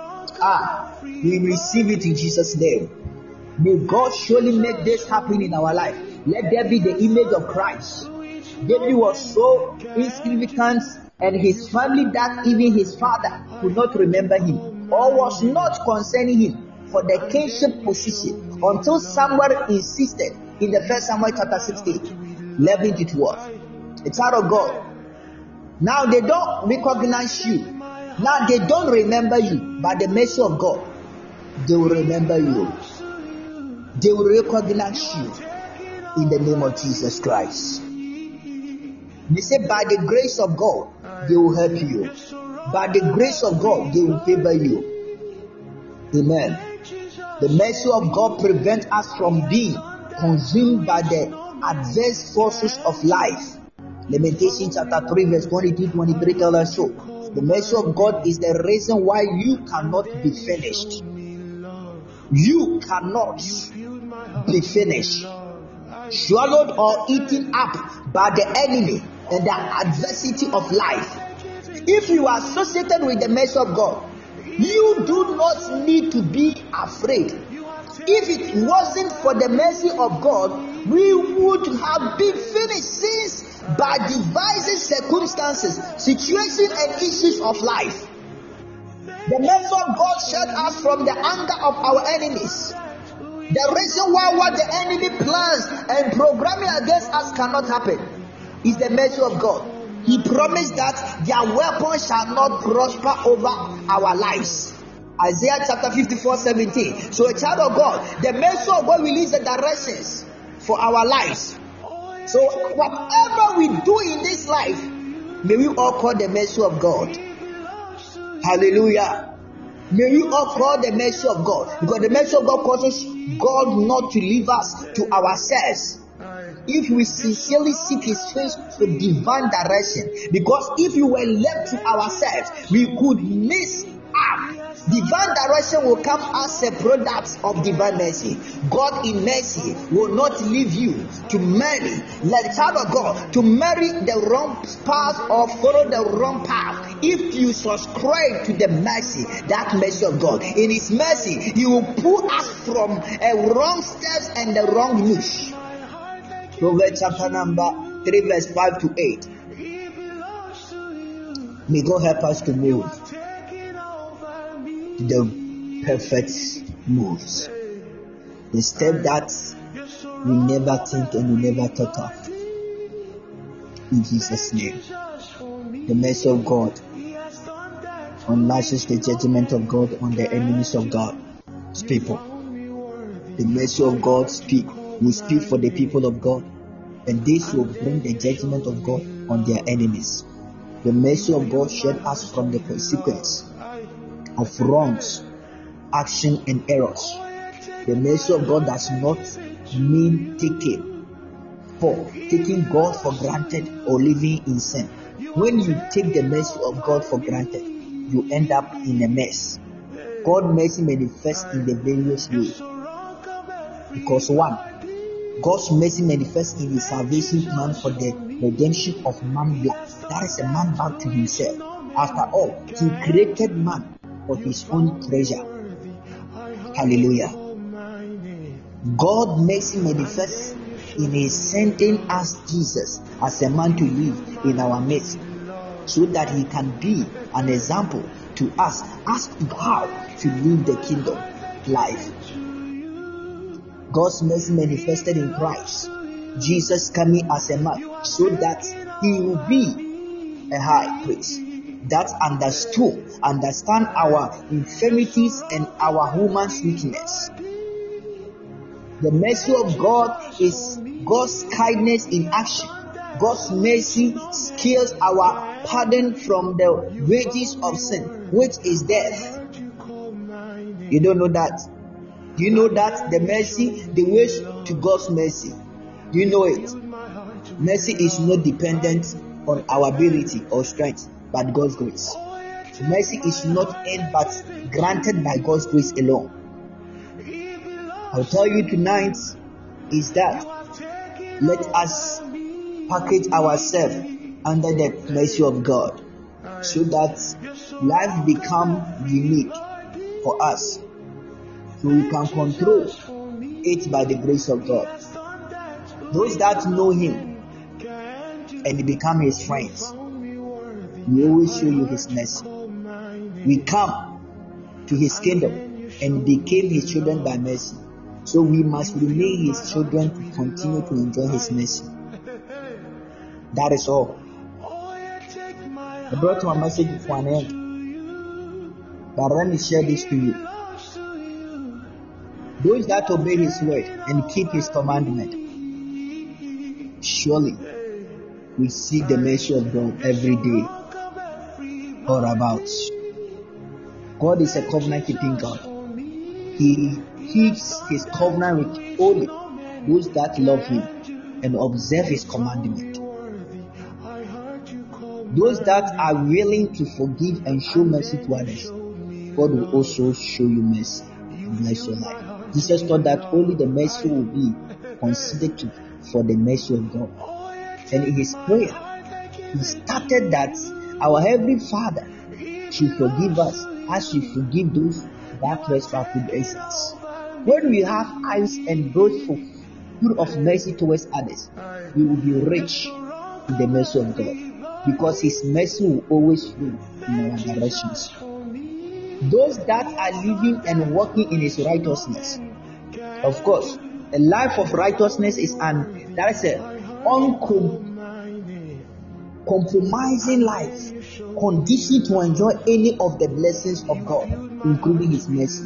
We receive it in Jesus' name. May God surely make this happen in our life. Let there be the image of Christ. David was so insignificant, and his family that even his father could not remember him or was not concerning him for the kingship position until Samuel insisted in the 1 Samuel chapter 16, 11 to 12. A child of God. Now they don't recognize you. Now they don't remember you. By the mercy of God, they will remember you. They will recognize you in the name of Jesus Christ. They say, by the grace of God, they will help you. By the grace of God, they will favor you. Amen. The mercy of God prevents us from being consumed by the adverse forces of life. Lamentation chapter 3 verse 22-23 tells us so. The mercy of God is the reason why you cannot be finished. You cannot be finished, swallowed or eaten up by the enemy and the adversity of life. If you are associated with the mercy of God, you do not need to be afraid. If it wasn't for the mercy of God, we would have been finished since by devising circumstances, situations, and issues of life. The mercy of God shut us from the anger of our enemies. The reason why what the enemy plans and programming against us cannot happen is the mercy of God. He promised that their weapons shall not prosper over our lives. Isaiah chapter 54:17. So a child of God, the mercy of God releases the directions for our lives. So whatever we do in this life, may we all call the mercy of God. Hallelujah. May we all call the mercy of God, because the mercy of God causes God not to leave us to ourselves. If we sincerely seek His face for divine direction, because if we were left to ourselves, we could miss out. Divine direction will come as a product of divine mercy. God in mercy will not leave you to marry, like the child of God, to marry the wrong path or follow the wrong path. If you subscribe to the mercy, that mercy of God, in His mercy, He will pull us from a wrong steps and the wrong niche. Proverbs chapter number 3 verse 5 to 8. May God help us to move the perfect moves, the step that we never think and we never thought of. In Jesus' name, The mercy of God unleashes the judgment of God on the enemies of God's people. The mercy of God will speak for the people of God, and this will bring the judgment of God on their enemies. The mercy of God shield us from the consequence of wrongs, action, and errors. The mercy of God does not mean taking God for granted or living in sin. When you take the mercy of God for granted, you end up in a mess. God's mercy manifests in the various ways. Because one, God's mercy manifests in His salvation plan for the redemption of man's life. That is a man back to himself. After all, He created man for His own pleasure. Hallelujah. God's mercy manifests in His sending us Jesus as a man to live in our midst, so that He can be an example to us as to how to live the kingdom life. God's mercy manifested in Christ, Jesus coming as a man, so that He will be a high priest that understand our infirmities and our human weakness. The mercy of God is God's kindness in action. God's mercy scales our pardon from the wages of sin, which is death. You don't know that? Do you know that the ways to God's mercy? Do you know it? Mercy is not dependent on our ability or strength, but God's grace. Mercy is not earned but granted by God's grace alone. I'll tell you tonight is that let us package ourselves under the mercy of God, so that life become unique for us, so we can control it by the grace of God. Those that know Him and become His friends, we always show you His mercy. We come to His kingdom and became His children by mercy, so we must remain His children to continue to enjoy His mercy. That is all. I brought my message for an end, but let me share this to you. Those that obey His word and keep His commandment, surely we see the mercy of God every day or about. God is a covenant-keeping God. He keeps His covenant with only those that love Him and observe His commandment. Those that are willing to forgive and show mercy to others, God will also show you mercy and bless your life. Jesus thought that only the mercy will be considered for the mercy of God. And in His prayer, He started that our Heavenly Father should forgive us as we forgive those that trespass against us. When we have eyes and those full of mercy towards others, we will be rich in the mercy of God, because His mercy will always flow in our directions. Those that are living and walking in His righteousness, of course, a life of righteousness is an uncompromising life, conditioned to enjoy any of the blessings of God, including His mercy.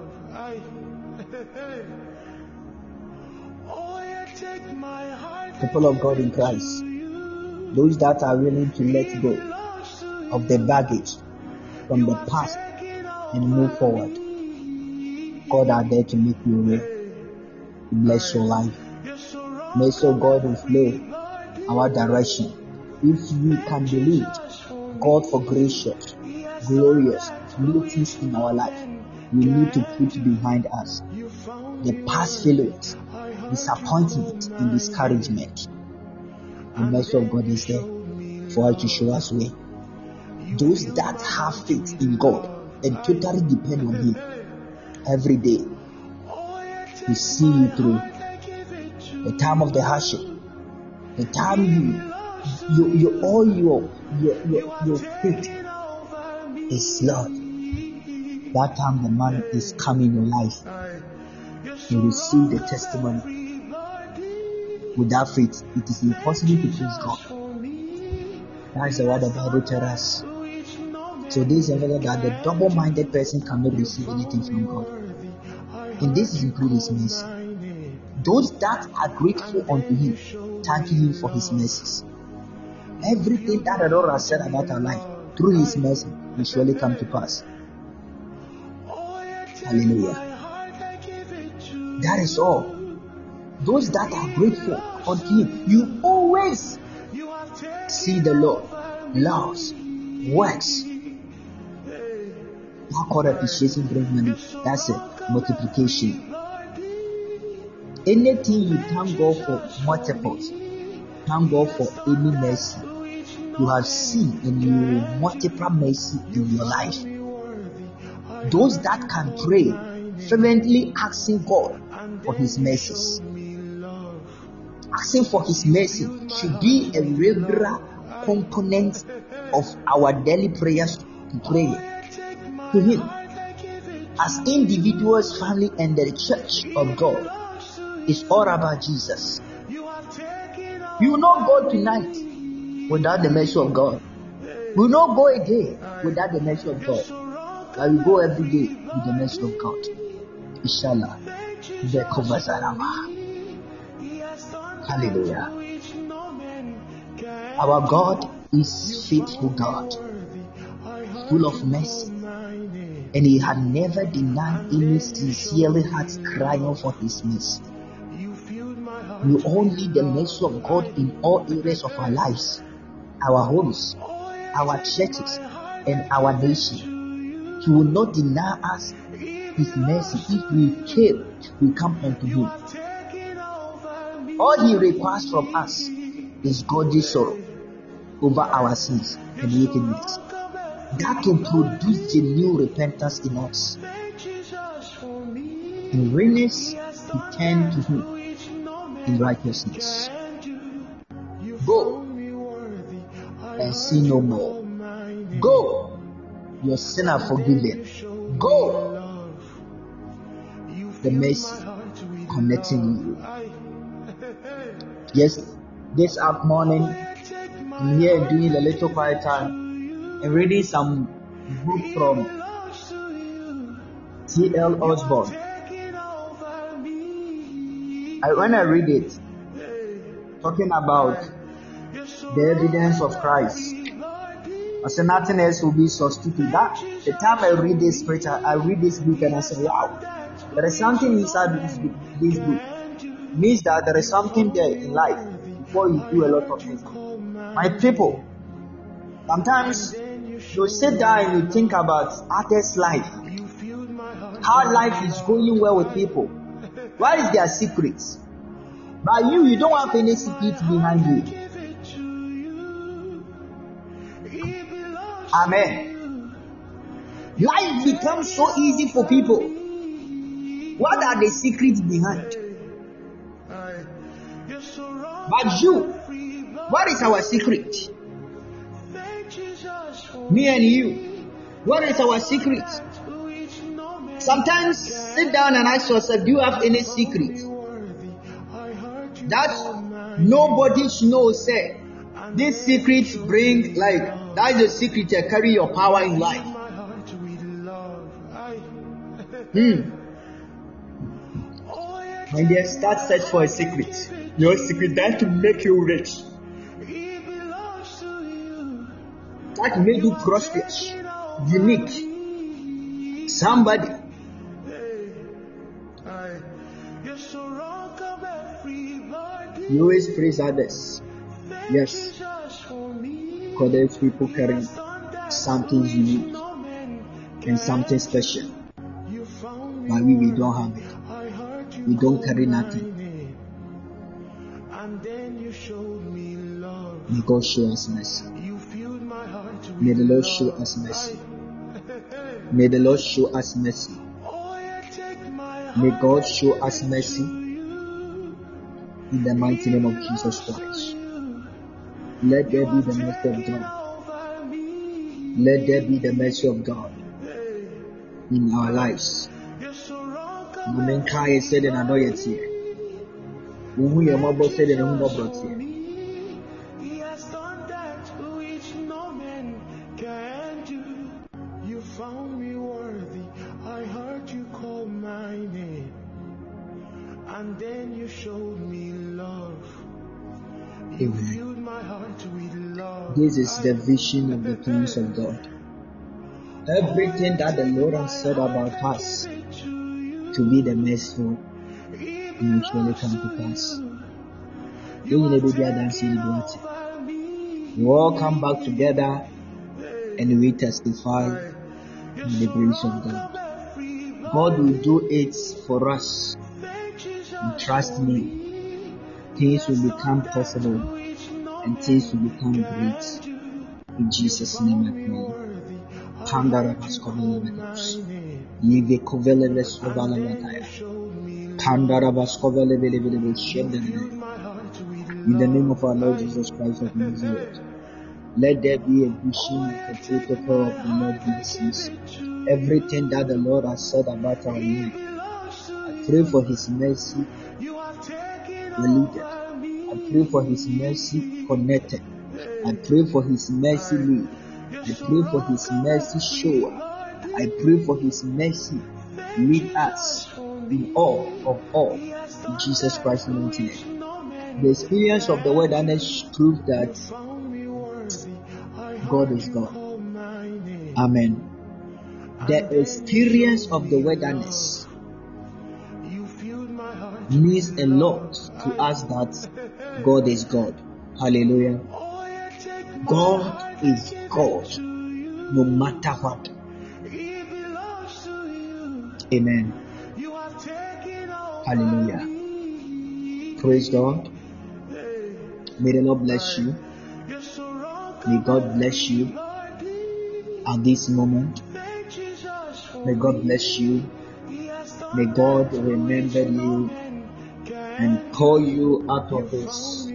People of God in Christ, those that are willing to let go of the baggage from the past and move forward, God are there to make you real, to bless your life. Mercy of God will flow our direction. If we can believe God for gracious, glorious, new things in our life, we need to put behind us the past failures, disappointment, and discouragement. The mercy of God is there for us to show us way. Those that have faith in God and totally depend on Him every day, He see you through the time of the hardship, the time your faith is Lord. That time the man is coming in your life, you will see the testimony. Without faith, it is impossible to please God. That's the word the Bible tells us. So this is evidence that the double-minded person cannot receive anything from God. And this is including His mercy. Those that are grateful unto Him, thanking Him for His mercies. Everything that the Lord has said about our life, through His mercy, will surely come to pass. Hallelujah. That is all. Those that are grateful unto Him, you always see the Lord loves, works. Not called appreciation, bring money. That's it. Multiplication. Anything you thank God for multiples. Thank God for any mercy you have seen, and you will multiply mercy in your life. Those that can pray fervently, asking God for His mercies. Asking for His mercy should be a regular component of our daily prayers to pray to Him. As individuals, family, and the church of God, it's all about Jesus. You will not go tonight without the mercy of God. You will not go again without the mercy of God. But we go every day with the mercy of God. Inshallah. Hallelujah. Our God is faithful God, full of mercy, and He had never denied any sincerely heart crying for His mercy. We all need the mercy of God in all areas of our lives, our homes, our churches, and our nation. He will not deny us His mercy if we come unto Him. All He requires from us is godly sorrow over our sins and wickedness. That can produce genuine repentance in us. In readiness, we turn to Him in righteousness. Go and sin no more. Go, your sin are forgiven. Go, the mercy connecting you. Yes, this morning I'm here doing a little quiet time and reading some book from T.L. Osborne. When I read it, talking about the evidence of Christ, I said nothing else will be substituted. That the time I read this scripture, I read this book and I say, wow, there is something inside this book. It means that there is something there in life before you do a lot of things. My people, sometimes you sit down and you think about others' life, how life is going well with people. What is their secrets? But you don't have any secrets behind you. Amen. Life becomes so easy for people. What are the secrets behind? But you, what is our secret? Me and you, what is our secret? Sometimes sit down and ask yourself, do you have any secret that nobody knows? Say, this secret bring that is the secret to carry your power in life. When they start search for a secret, your secret that to make you rich, that make you prosperous, unique, somebody. You always praise others. Yes. Because those people carry something unique and something special. But we don't have it. We don't carry nothing. May God show us mercy. May the Lord show us mercy. May the Lord show us mercy. May God show us mercy in the mighty name of Jesus Christ. Let there be the mercy of God. Let there be the mercy of God in our lives. Women Kai said and annoy it here. Who your mother said and who not brought here. then you showed me love. Amen. This is the vision of the plans of God. Everything that the Lord has said about us to be the merciful will surely come to pass. We all come back together and we testify in the grace of God. God will do it for us. And trust me, things will become possible and things will become great. In Jesus' name I pray. In the name of our Lord Jesus Christ of Nazareth, let there be a vision of the protocol of the Lord blessings. Everything that the Lord has said about our life, I pray for His mercy deleted. I pray for His mercy connected. I pray for His mercy lead. I pray for His mercy shower. I pray for His mercy lead us in all of all. In Jesus Christ's name. The experience of the wilderness proves that God is God. Amen. The experience of the wilderness means a lot to us that God is God. Hallelujah. God is God no matter what. Amen. Hallelujah. Praise God. May the Lord bless you. May God bless you at this moment. May God bless you. May God remember you and call you out of the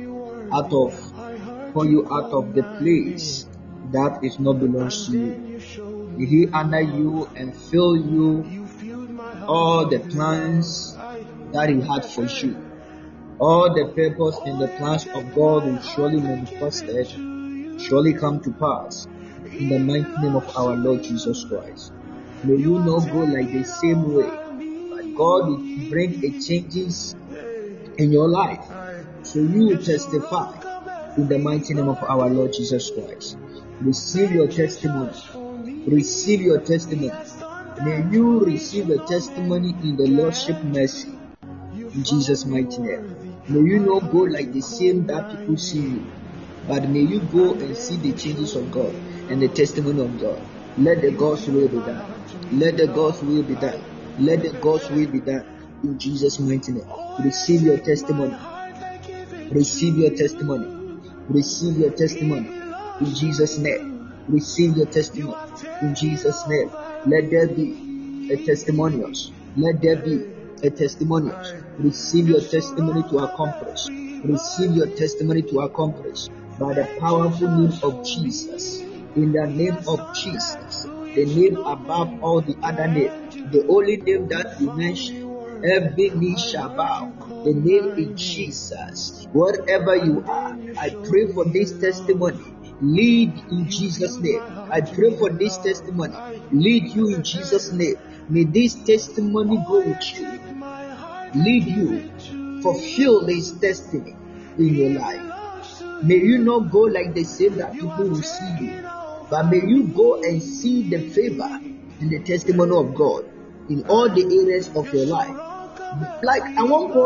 place that is not belongs to you. May He honor you and fill you all the plans that He had for you. All the purpose and the plans of God will surely manifested, surely come to pass in the mighty name of our Lord Jesus Christ. May you not go like the same way, but God will bring a changes in your life, so you will testify in the mighty name of our Lord Jesus Christ. Receive your testimony. Receive your testimony. May you receive a testimony in the Lordship mercy in Jesus' mighty name. May you not go like the same that people see you, but may you go and see the changes of God and the testimony of God. Let the God's will be done. Let the God's will be done. Let the God's will be done in Jesus' mighty name. Receive your testimony. Receive your testimony. Receive your testimony in Jesus' name. Receive your testimony in Jesus' name. Let there be a testimonials. Let there be a testimonials. Receive your testimony to accomplish. Receive your testimony to accomplish by the powerful name of Jesus. In the name of Jesus, the name above all the other names, the only name that you mention, every knee shall bow. The name is Jesus. Wherever you are, I pray for this testimony. Lead in Jesus' name. I pray for this testimony. Lead you in Jesus' name. May this testimony go with you. Lead you. Fulfill this destiny in your life. May you not go like the same that people will see you, but may you go and see the favor and the testimony of God in all the areas of your life. Like I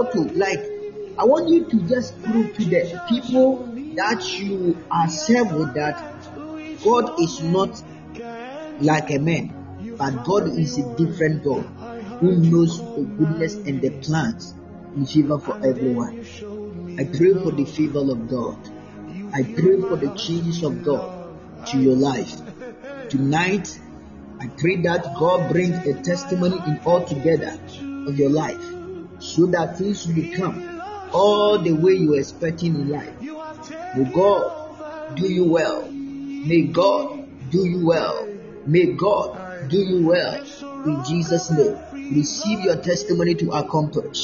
want you to just prove to the people that you are served with that God is not like a man, but God is a different God who knows the goodness and the plans in favor for everyone. I pray for the favor of God. I pray for the changes of God to your life. Tonight, I pray that God brings a testimony in all together of your life, so that things will become all the way you are expecting in life. May God do you well. May God do you well. May God do you well. In Jesus' name, receive your testimony to accomplish.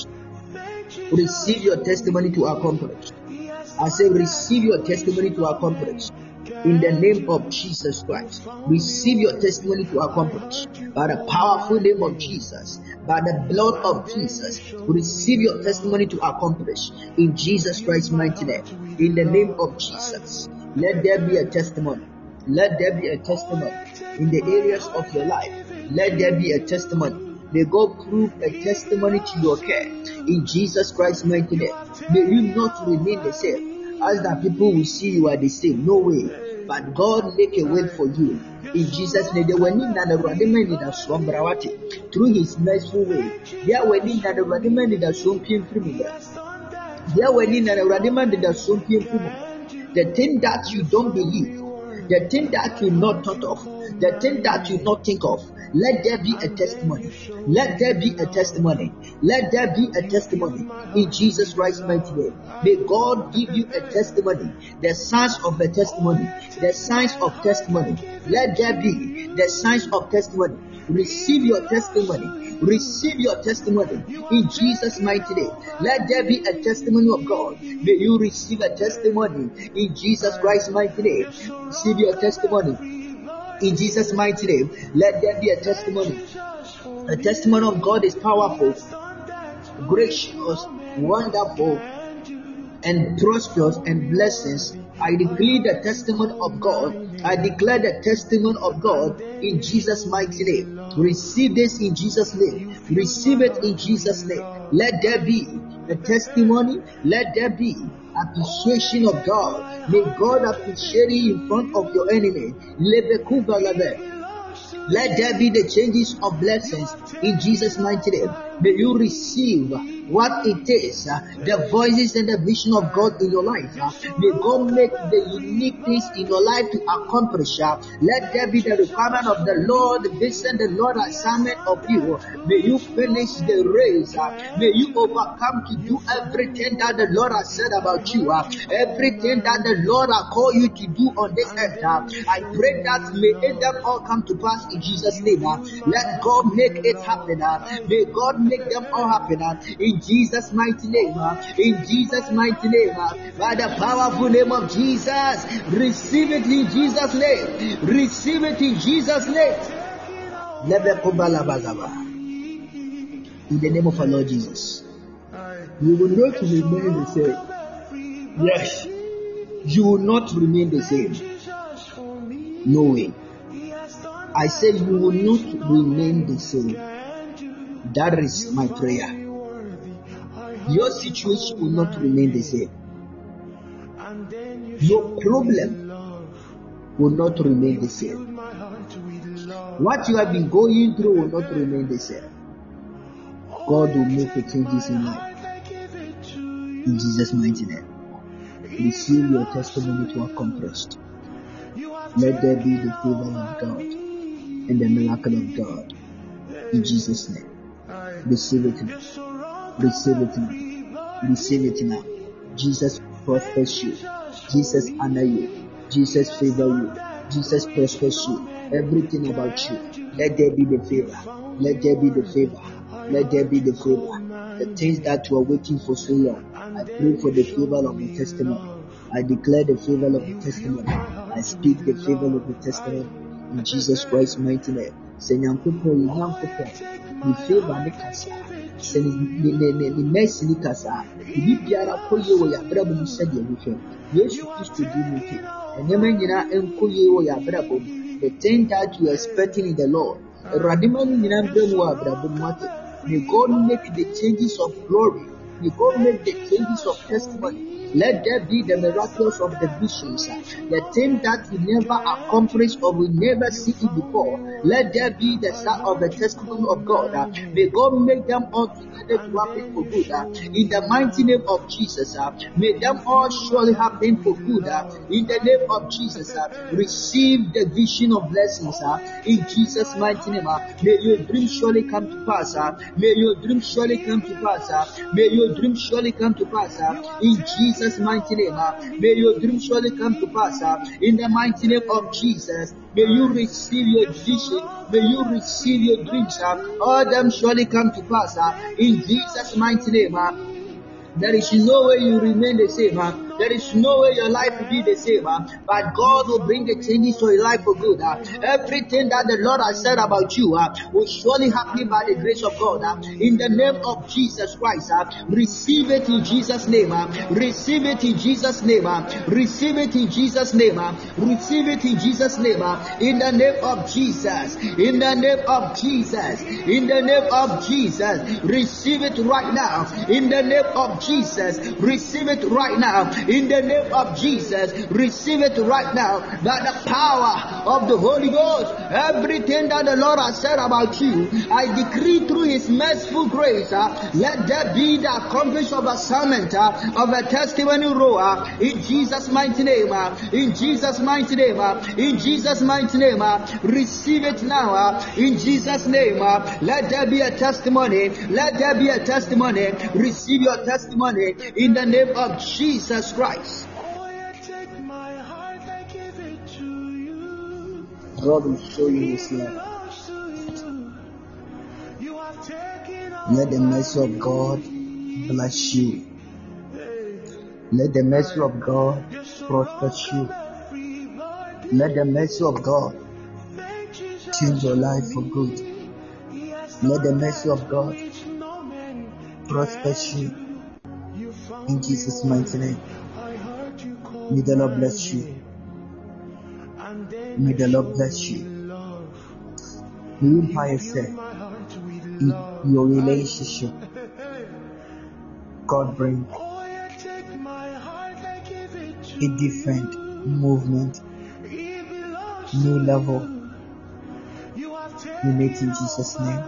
Receive your testimony to accomplish. I say receive your testimony to accomplish. in the name of Jesus Christ. Receive your testimony to accomplish by the powerful name of Jesus, by the blood of Jesus. Receive your testimony to accomplish in Jesus Christ's mighty name. In the name of Jesus, let there be a testimony. Let there be a testimony in the areas of your life. Let there be a testimony. May God prove a testimony to your care in Jesus Christ's mighty name. May you not remain the same, as that people will see you are the same. No way. But God make a way for you in Jesus' name. Through His merciful way. The thing that you don't believe, the thing that you not thought of, the thing that you not think of, let there be a testimony. Let there be a testimony. Let there be a testimony in Jesus Christ's mighty name. May God give you a testimony, the signs of the testimony, the signs of testimony. Let there be the signs of testimony. Receive your testimony. Receive your testimony in Jesus' mighty name. Let there be a testimony of God. May you receive a testimony in Jesus Christ's mighty name. Receive your testimony in Jesus' mighty name. Let there be a testimony. A testimony of God is powerful, gracious, wonderful, and prosperous and blessings. I declare the testimony of God. I declare the testimony of God in Jesus' mighty name. Receive this in Jesus' name. Receive it in Jesus' name. Let there be a testimony. Let there be appreciation of God. May God appreciate you in front of your enemy. Let there be the changes of blessings in Jesus' mighty name. May you receive what it is, the voices and the vision of God in your life. May God make the unique things in your life to accomplish. Let there be the requirement of the Lord, the vision, the Lord assignment of you. May you finish the race. May you overcome to do everything that the Lord has said about you. Everything that the Lord has called you to do on this earth. I pray that may them all come to pass in Jesus' name. Let God make it happen. May God make them all happen in Jesus' mighty name. In Jesus' mighty name. By the powerful name of Jesus. Receive it in Jesus' name. Receive it in Jesus' name. In the name of our Lord Jesus. You will not remain the same. Yes. You will not remain the same. No way. I said you will not remain the same. That is my prayer. Your situation will not remain the same. Your problem will not remain the same. What you have been going through will not remain the same. God will make the changes in life. In Jesus' mighty name. Receive your testimony to accomplish. Let there be the favor of God and the miracle of God. In Jesus' name. Receive it now. Receive it now. Receive it now. Jesus prospers you. Jesus honor you. Jesus favor you. Jesus prospers you. Everything about you. Let there be the favor. Let there be the favor. Let there be the favor. The things that you are waiting for so long. I pray for the favor of the testimony. I declare the favor of the testimony. I speak the favor of the testimony in Jesus Christ's mighty name. Say nyankopo nyankopo. Ni favor ni kasa. Say ni mercy ni kasa. Ibi biara koye wo ya brabo mu sede ehwe. Yesu Kristo di mu ke. Enyema nyina enkoye wo ya brabo. The thing that you are expecting in the Lord. Radimani nyina brabo wa brabo mu ate. May God make the changes of glory. May God make the changes of testimony. Let there be the miracles of the visions, the thing that we never accomplished or we never see it before. Let there be the start of the testimony of God. May God make them all together to happen for good. In the mighty name of Jesus, may them all surely happen for good. In the name of Jesus, receive the vision of blessings. In Jesus' mighty name, may your dream surely come to pass. May your dream surely come to pass. May your dream surely come to pass. In Jesus' mighty name, may your dream surely come to pass. In the mighty name of Jesus, may you receive your vision. May you receive your dreams. All them surely come to pass. In Jesus' mighty name, there is no way you remain the same. There is no way your life will be the same, but God will bring the changes to your life for good. Everything that the Lord has said about you will surely happen by the grace of God. In the name of Jesus Christ, receive it in Jesus' name. Receive it in Jesus' name. Receive it in Jesus' name. Receive it in Jesus' name. In the name of Jesus. In the name of Jesus. In the name of Jesus. Receive it right now. In the name of Jesus. Receive it right now. In the name of Jesus. Receive it right now. By the power of the Holy Ghost. Everything that the Lord has said about you, I decree through His merciful grace, let there be the accomplishment of assignment of a testimony row in Jesus' mighty name. In Jesus' mighty name. In Jesus' mighty name. Receive it now. In Jesus' name. Let there be a testimony. Let there be a testimony. Receive your testimony in the name of Jesus Christ. God will show you His love. Let the mercy of God bless you. Let the mercy of God prosper you. Let the mercy of God change your life for good. Let the mercy of God prosper you. In Jesus' mighty name. May the Lord bless you. May the Lord bless you. May you find yourself in your relationship. God bring a different movement, new level. You make in Jesus' name.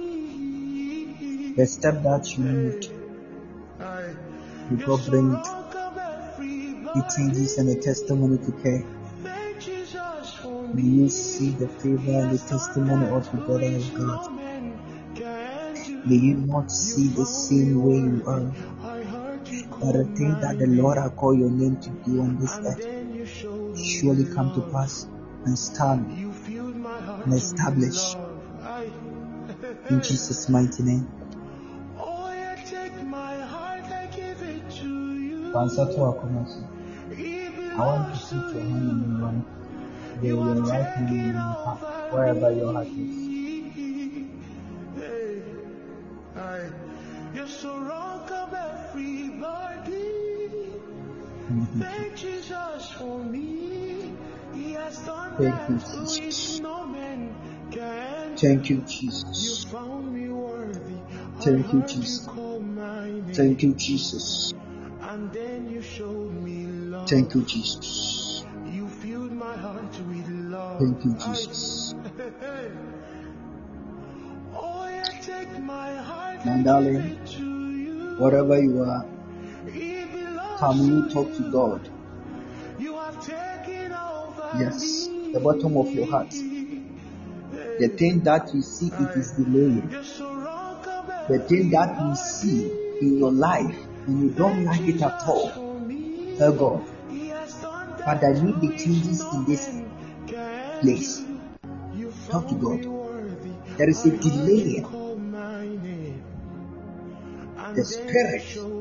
The step that you need, may God bring the changes and the testimony to care. May you see the favor and the testimony altogether of God. May you not see the same way you are, but the thing that the Lord has called your name to do on this earth surely come to pass and stand and establish in Jesus' mighty name. I want to put your hand in your right, your right hand in your heart, wherever your heart is. Thank you, Jesus. Thank you, Jesus. Thank you, Jesus. Thank you, Jesus. Thank you, Jesus. Thank you, Jesus. My darling, wherever you are, can you talk to God? Yes, the bottom of your heart. The thing that you see, it is delaying. The thing that you see in your life and you don't like it at all, tell God, but I need the changes in this place. Talk to God. There is a delay. The Spirit.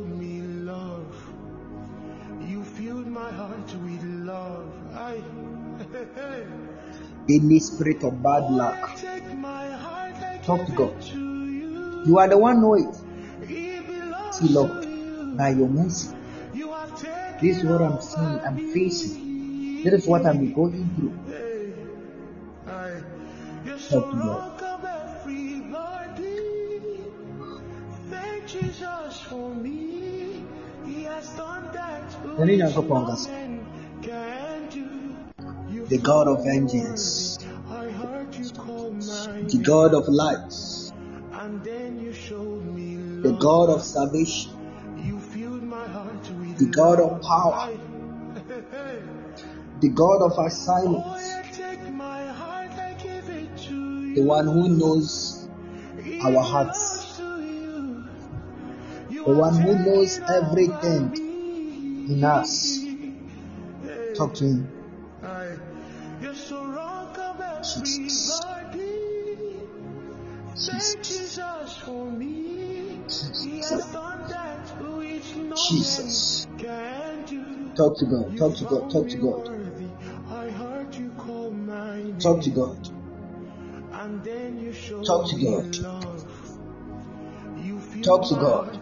Any spirit of bad luck, talk to God. You are the one know it. See, Lord, by your mercy, this is what I'm seeing, I'm facing. This is what I'm going through. Talk to God. The God of vengeance, the God of light, the God of salvation, the God of power, the God of our silence, the one who knows our hearts, the one who knows everything in us. Talk to Him. Jesus. Jesus. Jesus. Talk to God. Talk to God. Talk to God. Talk to God. Talk to God. Talk to God.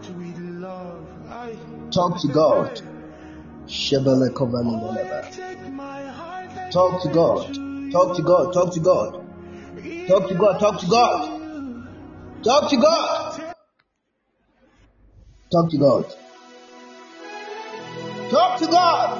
Talk to God. Shebele kovale veleba. Talk to God. Talk to God. Talk to God. Talk to God. Talk to God. Talk to God. Talk to God. Talk to God.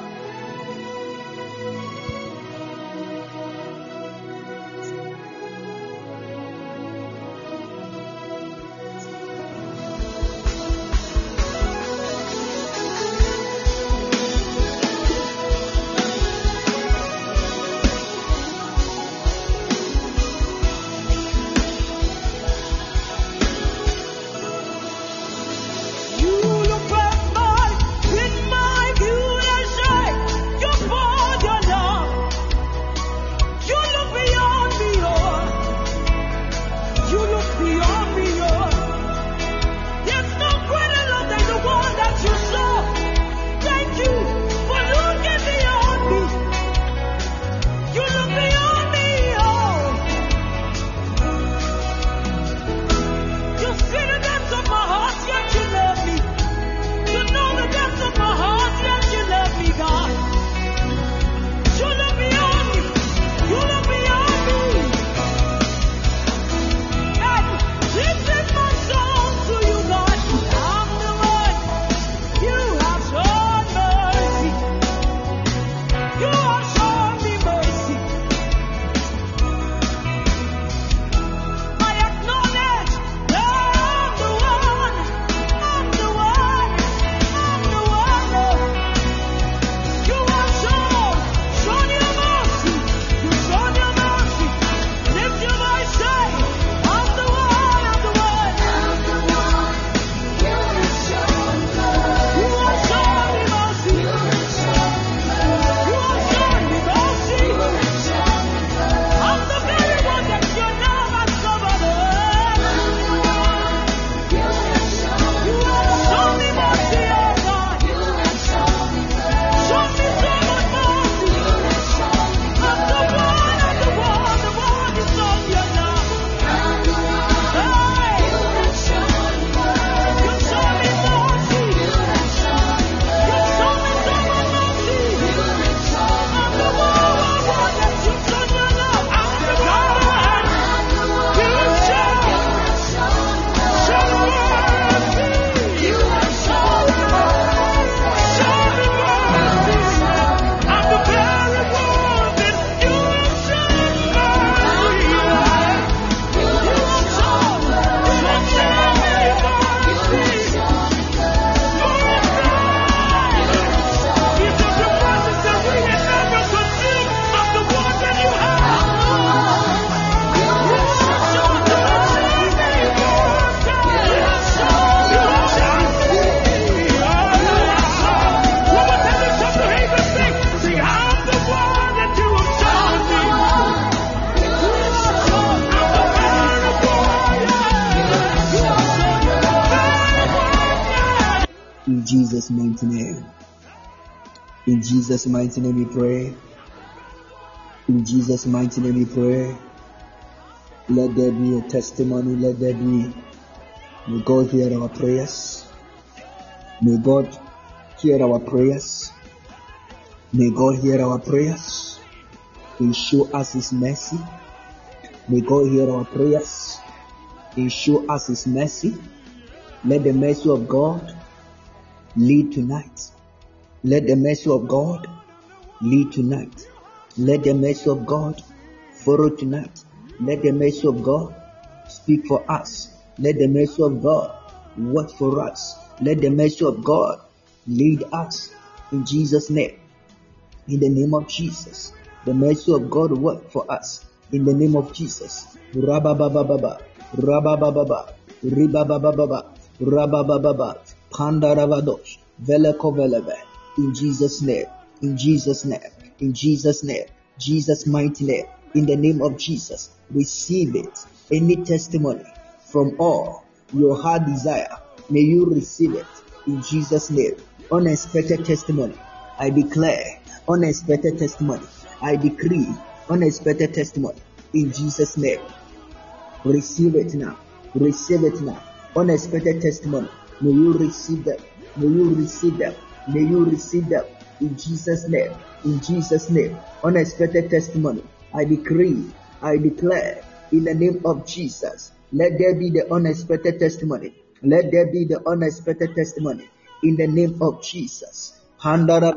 In Jesus' mighty name. In Jesus' mighty name we pray. In Jesus' mighty name we pray. Let there be a testimony. Let there be. May God hear our prayers. May God hear our prayers. May God hear our prayers. And show us His mercy. May God hear our prayers and show us His mercy. Let the mercy of God lead tonight. Let the mercy of God lead tonight. Let the mercy of God follow tonight. Let the mercy of God speak for us. Let the mercy of God work for us. Let the mercy of God lead us in Jesus' name. In the name of Jesus. The mercy of God work for us in the name of Jesus. Rababababa, Rabababa, Ribabababa, Rabababa, Pandaravadosh, Velekoveleve. In Jesus' name. In Jesus' name. In Jesus' name. Jesus' mighty name. In the name of Jesus. Receive it. Any testimony from all your heart desire, may you receive it in Jesus' name. Unexpected testimony, I declare unexpected testimony. I decree unexpected testimony in Jesus' name. Receive it now. Receive it now. Unexpected testimony. May you receive them. May you receive them. May you receive them in Jesus' name. In Jesus' name. Unexpected testimony. I decree, I declare in the name of Jesus. Let there be the unexpected testimony. Let there be the unexpected testimony in the name of Jesus. Let there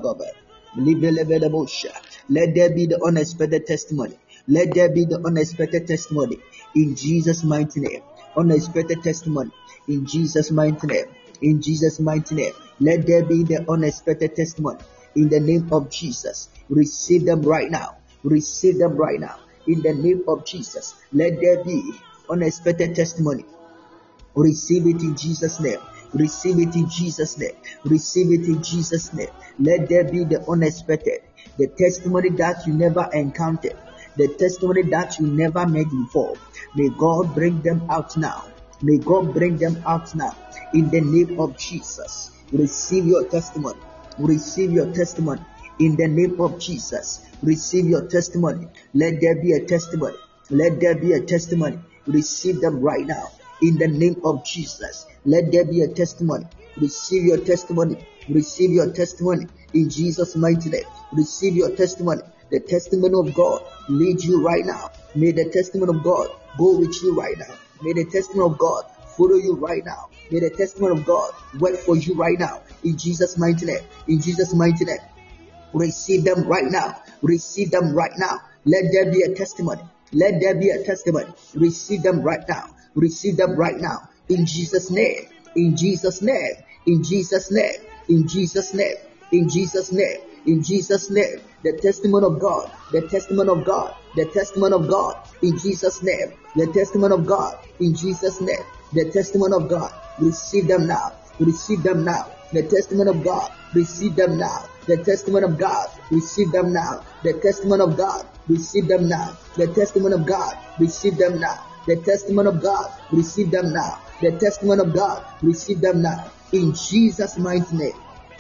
be the unexpected testimony. Let there be the unexpected testimony in Jesus' mighty name. Unexpected testimony in Jesus' mighty name. In Jesus' mighty name. Let there be the unexpected testimony in the name of Jesus. Receive them right now. Receive them right now in the name of Jesus. Let there be unexpected testimony. Receive it in Jesus' name. Receive it in Jesus' name. Receive it in Jesus' name. Let there be the unexpected, the testimony that you never encountered, the testimony that you never met before. May God bring them out now. May God bring them out now in the name of Jesus. Receive your testimony. Receive your testimony in the name of Jesus. Receive your testimony. Let there be a testimony. Let there be a testimony. Receive them right now in the name of Jesus. Let there be a testimony. Receive your testimony. Receive your testimony in Jesus' mighty name. Receive your testimony. The testimony of God lead you right now. May the testimony of God go with you right now. May the testimony of God follow you right now. May the testimony of God work for you right now. In Jesus' mighty name. In Jesus' mighty name. Receive them right now. Receive them right now. Let there be a testimony. Let there be a testimony. Receive them right now. Receive them right now. In Jesus' name. In Jesus' name. In Jesus' name. In Jesus' name. In Jesus' name. In Jesus' name. The testimony of God. The testimony of God. The testimony of God. In Jesus' name. The testimony of God. In Jesus' name. The testimony of God. Receive them now. Receive them now. The testimony of God. Receive them now. The testimony of God. Receive them now. The testimony of God. Receive them now. The testimony of God. Receive them now. The testimony of God. Receive them now. The testimony of God. Receive them now. In Jesus' mighty name.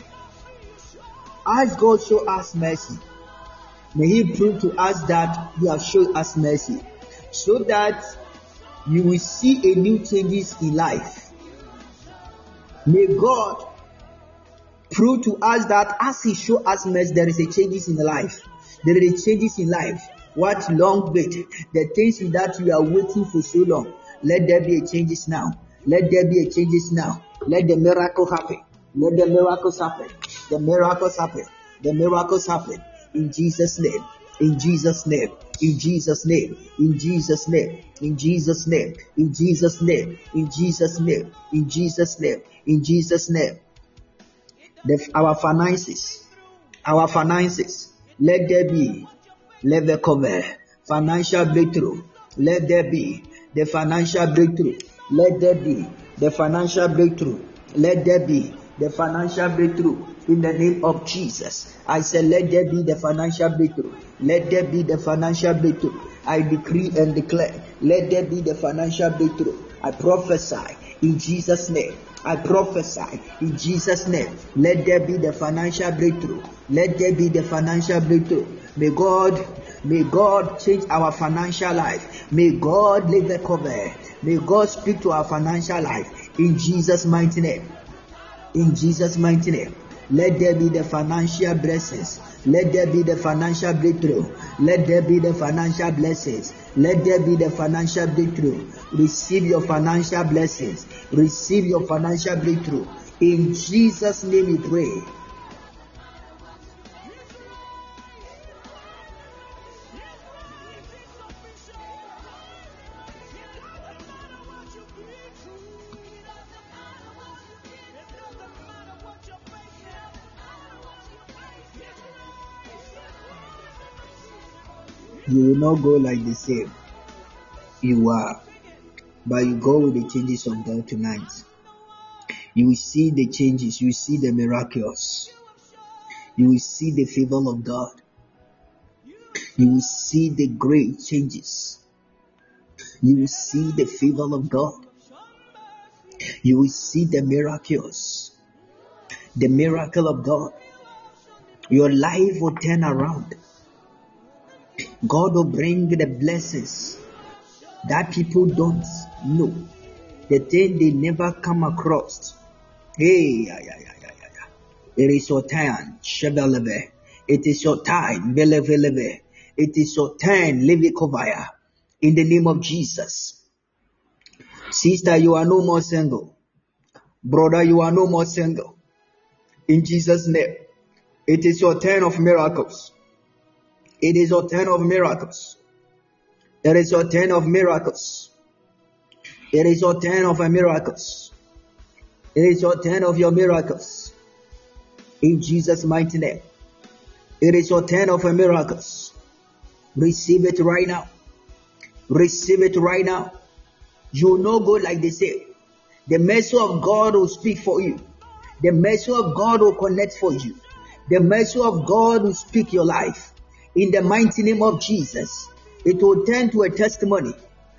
As God show us mercy, may He prove to us that He has shown us mercy, so that you will see a new changes in life. May God prove to us that as He show us mercy, there is a changes in life. There is a changes in life. What long wait? The things that you are waiting for so long. Let there be a changes now. Let there be a changes now. Let the miracle happen. Let the miracles happen. The miracles happen. The miracles happen. In Jesus' name. In Jesus' name. In Jesus' name. In Jesus' name. In Jesus' name. In Jesus' name. In Jesus' name. In Jesus' name. In Jesus' name. Our finances. Let there be. Let there come financial breakthrough. Let there be the financial breakthrough. Let there be the financial breakthrough. Let there be the financial breakthrough in the name of Jesus. I said, let there be the financial breakthrough. Let there be the financial breakthrough. I decree and declare, let there be the financial breakthrough. I prophesy in Jesus' name. I prophesy in Jesus' name. Let there be the financial breakthrough. Let there be the financial breakthrough. May God change our financial life. May God leave the cover. May God speak to our financial life in Jesus' mighty name. In Jesus' mighty name. Let there be the financial blessings. Let there be the financial breakthrough. Let there be the financial blessings. Let there be the financial breakthrough. Receive your financial blessings. Receive your financial breakthrough. In Jesus' name we pray. You will not go like the same you are, but you go with the changes of God tonight. You will see the changes. You will see the miracles. You will see the favor of God. You will see the great changes. You will see the favor of God. You will see the miracles. The miracle of God. Your life will turn around. God will bring the blessings that people don't know, the thing they never come across. Hey, it is your time, Shebelebe. It is your time, Belebelebe. It is your turn, Levikovaya. In the name of Jesus. Sister, you are no more single. Brother, you are no more single. In Jesus' name. It is your turn of miracles. It is your turn of miracles. It is your turn of miracles. It is your turn of miracles. It is your turn of your miracles. In Jesus' mighty name. It is your turn of miracles. Receive it right now. Receive it right now. You will not go like they say. The mercy of God will speak for you. The mercy of God will connect for you. The mercy of God will speak your life. In the mighty name of Jesus, it will turn to a testimony.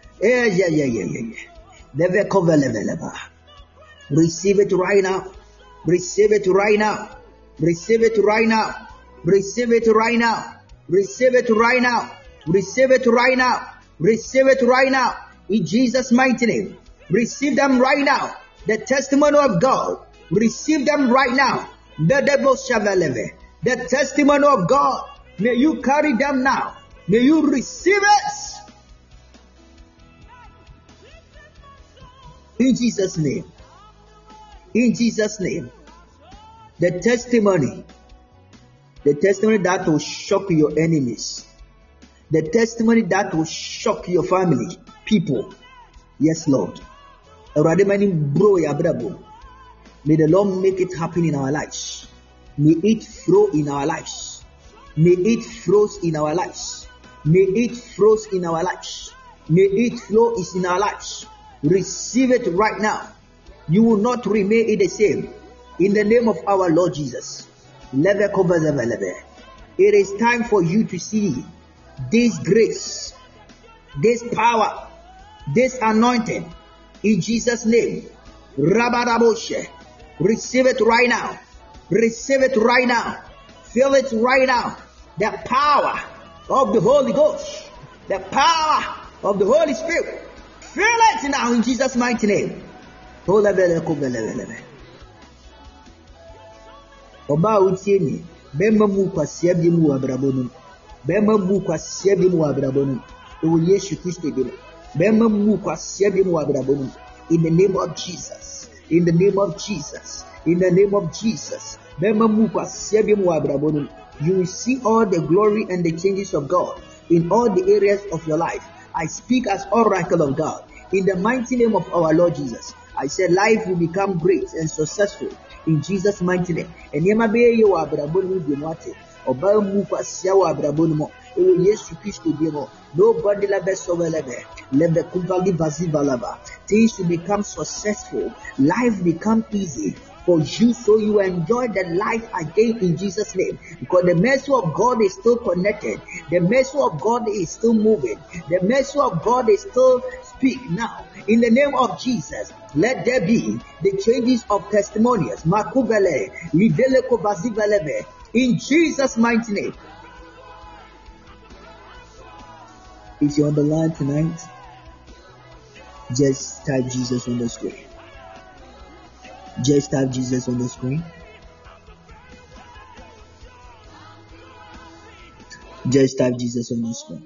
Receive it right now. Receive it right now. Receive it right now. Receive it right now. Receive it right now. Receive it right now. Receive it right now. In Jesus' mighty name. Receive them right now. The testimony of God. Receive them right now. The testimony of God. May you carry them now. May you receive it. In Jesus' name. In Jesus' name. The testimony that will shock your enemies. The testimony that will shock your family, people. Yes, Lord. May the Lord make it happen in our lives. May it flow in our lives. May it flow in our lives. May it flow in our lives. May it flow in our lives. Receive it right now. You will not remain the same. In the name of our Lord Jesus. It is time for you to see this grace, this power, this anointing in Jesus' name. Rabadaboshe. Receive it right now. Receive it right now. Feel it right now. The power of the Holy Ghost. The power of the Holy Spirit. Feel it now in Jesus' mighty name. Oba utieni bema mu kwasia bi mu abrabo no bema mu kwasia bi mu abrabo no o Yesu Kristo bi bema mu kwasia bi mu abrabo no in the name of Jesus, in the name of Jesus, in the name of Jesus. Bema mu kwasia bi mu abrabo no. You will see all the glory and the changes of God in all the areas of your life. I speak as oracle of God in the mighty name of our Lord Jesus. I said life will become great and successful in Jesus' mighty name. And yema be ye wa abrabo no bi mo ate. Oba mu kwasia wa abrabo no mo. E wo Yesu Kristo bi mo. Nobody la be so welebe. Lebe kuvali bazivalaba. Things will become successful. Life become easy for you, so you enjoy the life again in Jesus' name. Because the mercy of God is still connected. The mercy of God is still moving. The mercy of God is still speak now. In the name of Jesus, let there be the changes of testimonials. Makubele, livele kovazivelebe. In Jesus' mighty name. If you're on the line tonight, just type Jesus on the screen. Just type Jesus on the screen. Just type Jesus on the screen.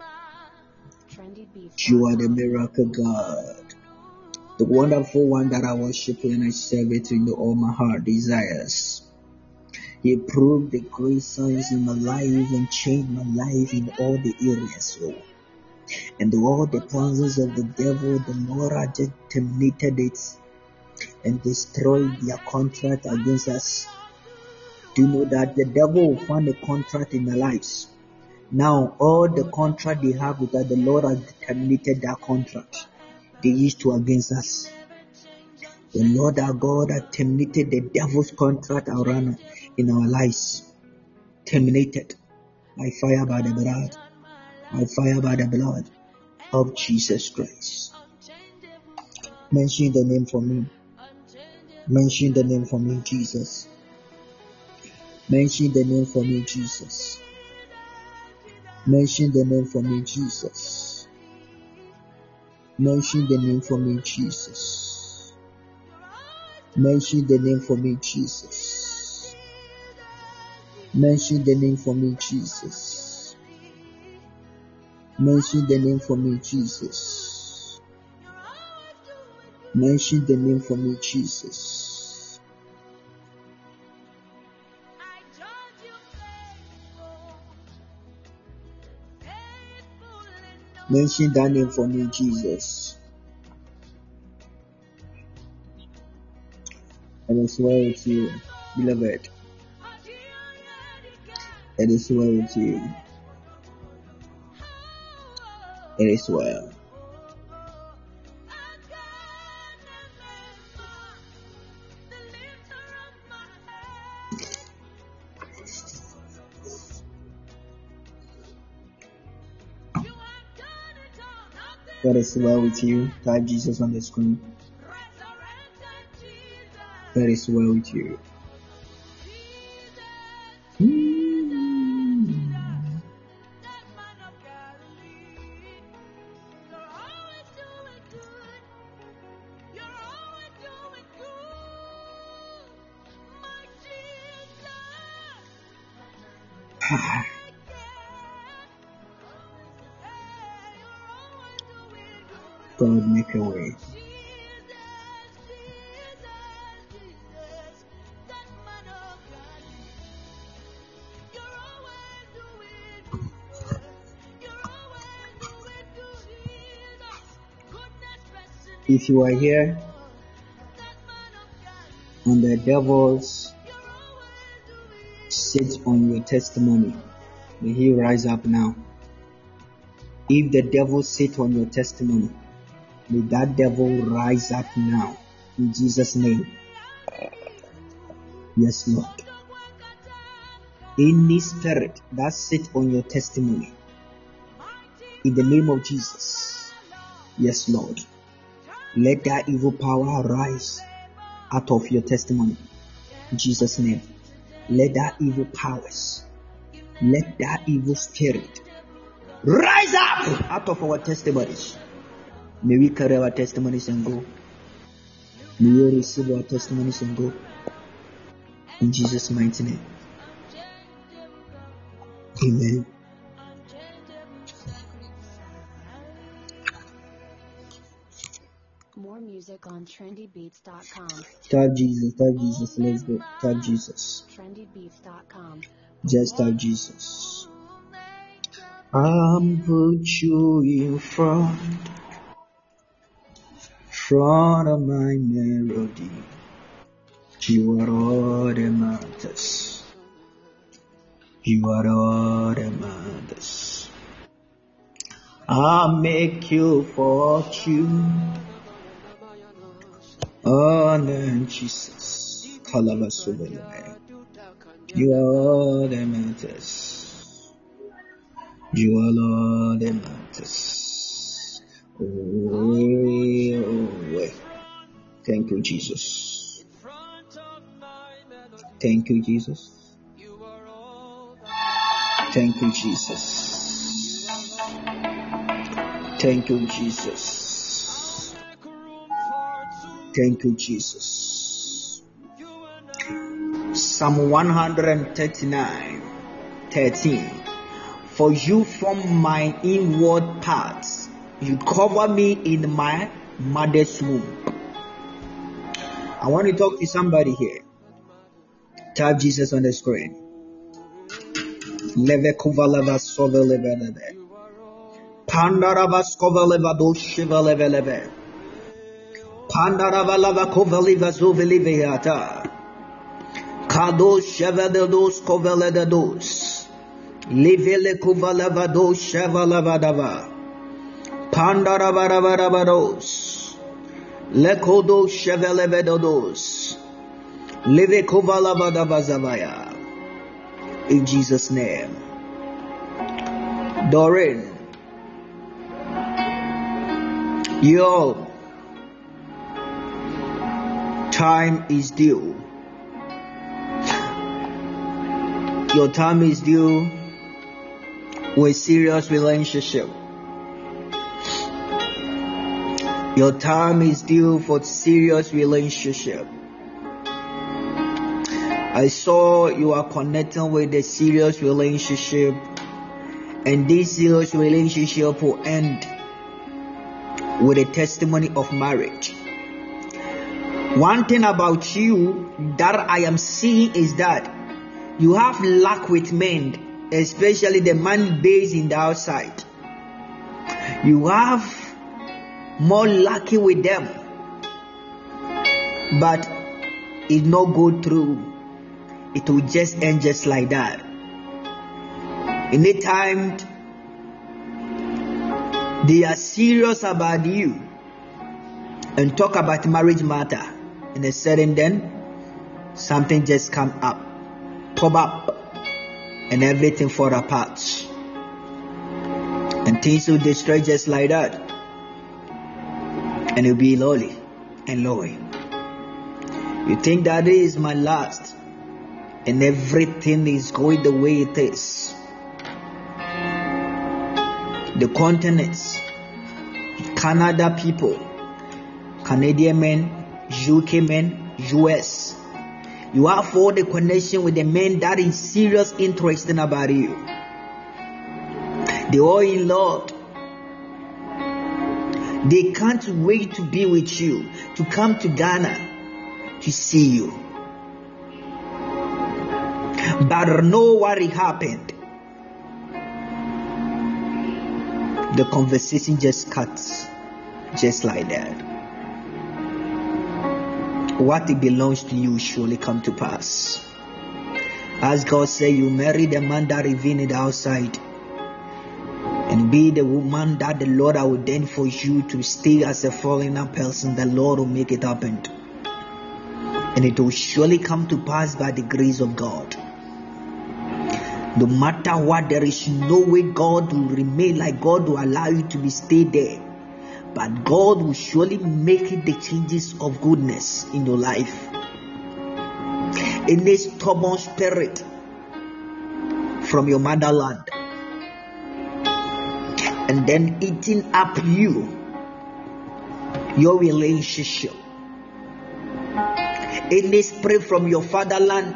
You are the miracle God, the wonderful one that I worship and I serve it in all my heart desires. He proved the great signs in my life and changed my life in all the areas. And all the plans of the devil, the Lord had just terminated it and destroyed their contract against us. Do you know that the devil will find a contract in their lives? Now, all the contract they have with us, the Lord has terminated that contract they used to against us. The Lord our God has terminated the devil's contract around in our lives. Terminated by fire, by the blood. By fire, by the blood of Jesus Christ. Mention the name for me. Mention the name for me, Jesus. Mention the name for me, Jesus. Mention the name for me, Jesus. Mention the name for me, Jesus. Mention the name for me, Jesus. Mention the name for me, Jesus. Mention the name for me, Jesus. Mention the name for me, Jesus. Mention that name for me, Jesus. It is well with you, beloved. It is well with you. It is well. It is well with you. Type Jesus on the screen. It is well with you. God, make a way. If you are here and the devils sit on your testimony, may he rise up now. If the devil sit on your testimony, may that devil rise up now. In Jesus' name. Yes, Lord. Any spirit that sit on your testimony, in the name of Jesus. Yes, Lord. Let that evil power rise out of your testimony. In Jesus' name. Let that evil powers, let that evil spirit rise up out of our testimonies. May we carry our testimonies and go. May we receive our testimonies and go. In Jesus' mighty name. Amen. More music on trendybeats.com. Type Jesus, let's go. Type Jesus. trendybeats.com. Just type Jesus. I'm put you in front of my melody. You are all that matters. You are all that matters. I'll make you fortune. Oh, no, Jesus. You are all that matters. You are all that matters. Oh, thank you, Jesus. Thank you, Jesus. Thank you, Jesus. Thank you, Jesus. Thank you, Jesus. Psalm 139:13. For you form my inward parts. You cover me in my mother's womb. I want to talk to somebody here. Type Jesus on the screen. Leve kuvaleva soveleve. Pandarava skoveleva do shiveleve. Pandarava lava koveliva zoveliveata. Kado shevedos koveledos. Livele kuvaleva do shevalavadava. Pandaravarados. Lekodo shevelevedos. Live kuvalavadavazavaya. In Jesus' name. Doreen. Yo. Time is due. Your time is due with serious relationship. Your time is due for serious relationship. I saw you are connecting with a serious relationship, and this serious relationship will end with a testimony of marriage. One thing about you that I am seeing is that you have luck with men, especially the man based in the outside. You have more lucky with them, but it not go through. It will just end just like that. Anytime they are serious about you and talk about marriage matter, and a sudden then something just come up, pop up, and everything fall apart, and things will destroy just like that, and you'll be lonely and lonely. You think that is my last, and everything is going the way it is. The continents, Canada people, Canadian men, UK men, US. You have all the connection with the men that is serious interested about you. They all in love. They can't wait to be with you, to come to Ghana to see you. But know what happened. The conversation just cuts just like that. What it belongs to you surely come to pass. As God said, you marry the man that is in the outside, and be the woman that the Lord has ordained for you to stay as a foreigner person. The Lord will make it happen, and it will surely come to pass by the grace of God. No matter what, there is no way God will remain like God will allow you to be stay there. But God will surely make it the changes of goodness in your life. In this stubborn spirit from your motherland, and then eating up your relationship. In this spirit from your fatherland,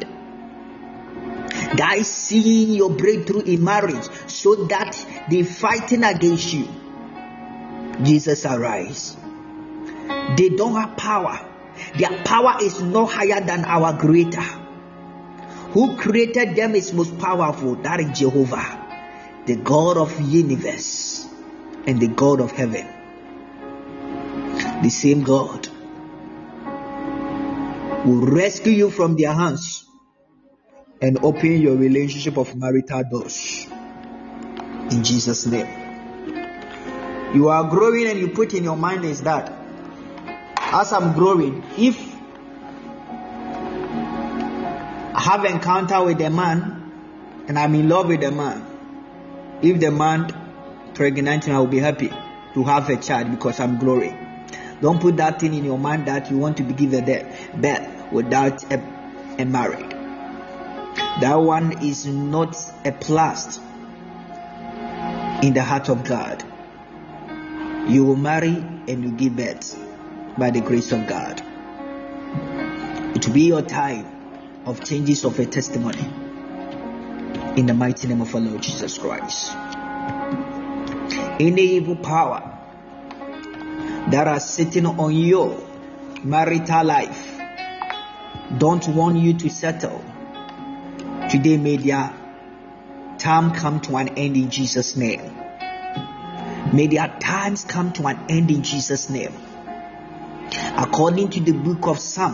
guys seeing your breakthrough in marriage, so that they fighting against you. Jesus arise. They don't have power. Their power is not higher than our Creator. Who created them is most powerful. That is Jehovah, the God of the universe and the God of heaven. The same God will rescue you from their hands and open your relationship of marital doors. In Jesus' name. You are growing, and you put in your mind is that as I'm growing, if I have encounter with a man and I'm in love with a man, if the man pregnant, I will be happy to have a child because I'm growing. Don't put that thing in your mind that you want to be given birth without a marriage. That one is not a plus in the heart of God. You will marry and you give birth by the grace of God. It will be your time of changes of a testimony in the mighty name of our Lord Jesus Christ. Any evil power that are sitting on your marital life don't want you to settle, today may their time come to an end in Jesus' name. May their times come to an end in Jesus' name. According to the book of Psalm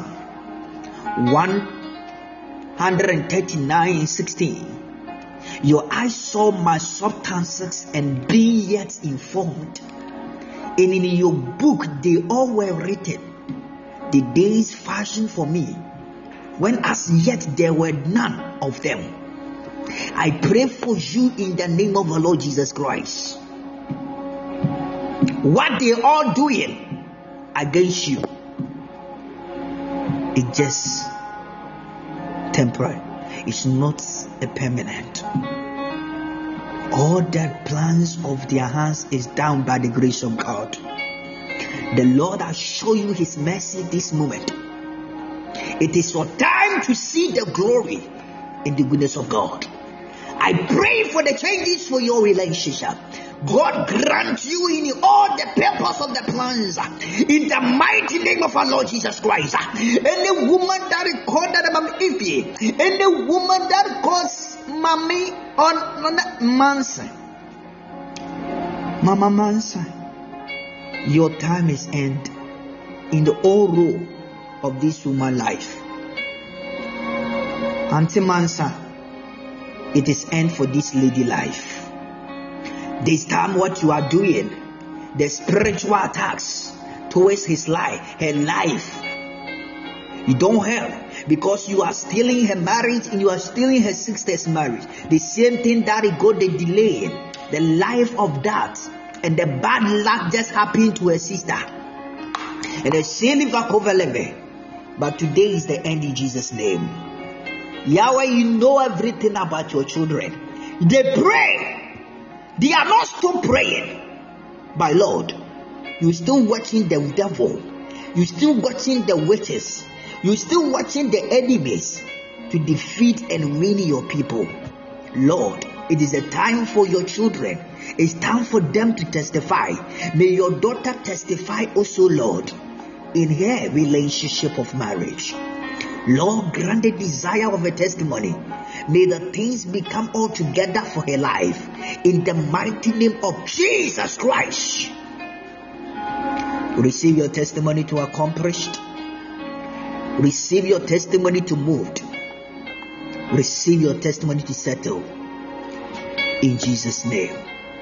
139:16, your eyes saw my substances and be yet informed. And in your book they all were written, the days fashioned for me, when as yet there were none of them. I pray for you in the name of the Lord Jesus Christ. What they all doing against you, it's just temporary. It's not a permanent. All the plans of their hands is down by the grace of God. The Lord has shown you his mercy this moment. It is your time to see the glory in the goodness of God. I pray for the changes for your relationship. God grant you in all the purpose of the plans in the mighty name of our Lord Jesus Christ. Any woman that is called that Mama Ify, any woman that calls Mommy on Manson, Mama Manson, your time is end in the whole role of this woman's life. Auntie Mansa, it is end for this lady life. This time what you are doing, the spiritual attacks towards his life, her life, you don't help because you are stealing her marriage and you are stealing her sister's marriage. The same thing that it got the delay, the life of that, and the bad luck just happened to her sister. And the same but today is the end in Jesus' name. Yahweh, you know everything about your children. They pray. They are not still praying. But Lord, you're still watching the devil. You're still watching the witches. You're still watching the enemies to defeat and win your people. Lord, it is a time for your children. It's time for them to testify. May your daughter testify also, Lord, in her relationship of marriage. Lord, grant the desire of a testimony. May the things become all together for her life. In the mighty name of Jesus Christ. Receive your testimony to accomplished. Receive your testimony to moved. Receive your testimony to settle. In Jesus' name.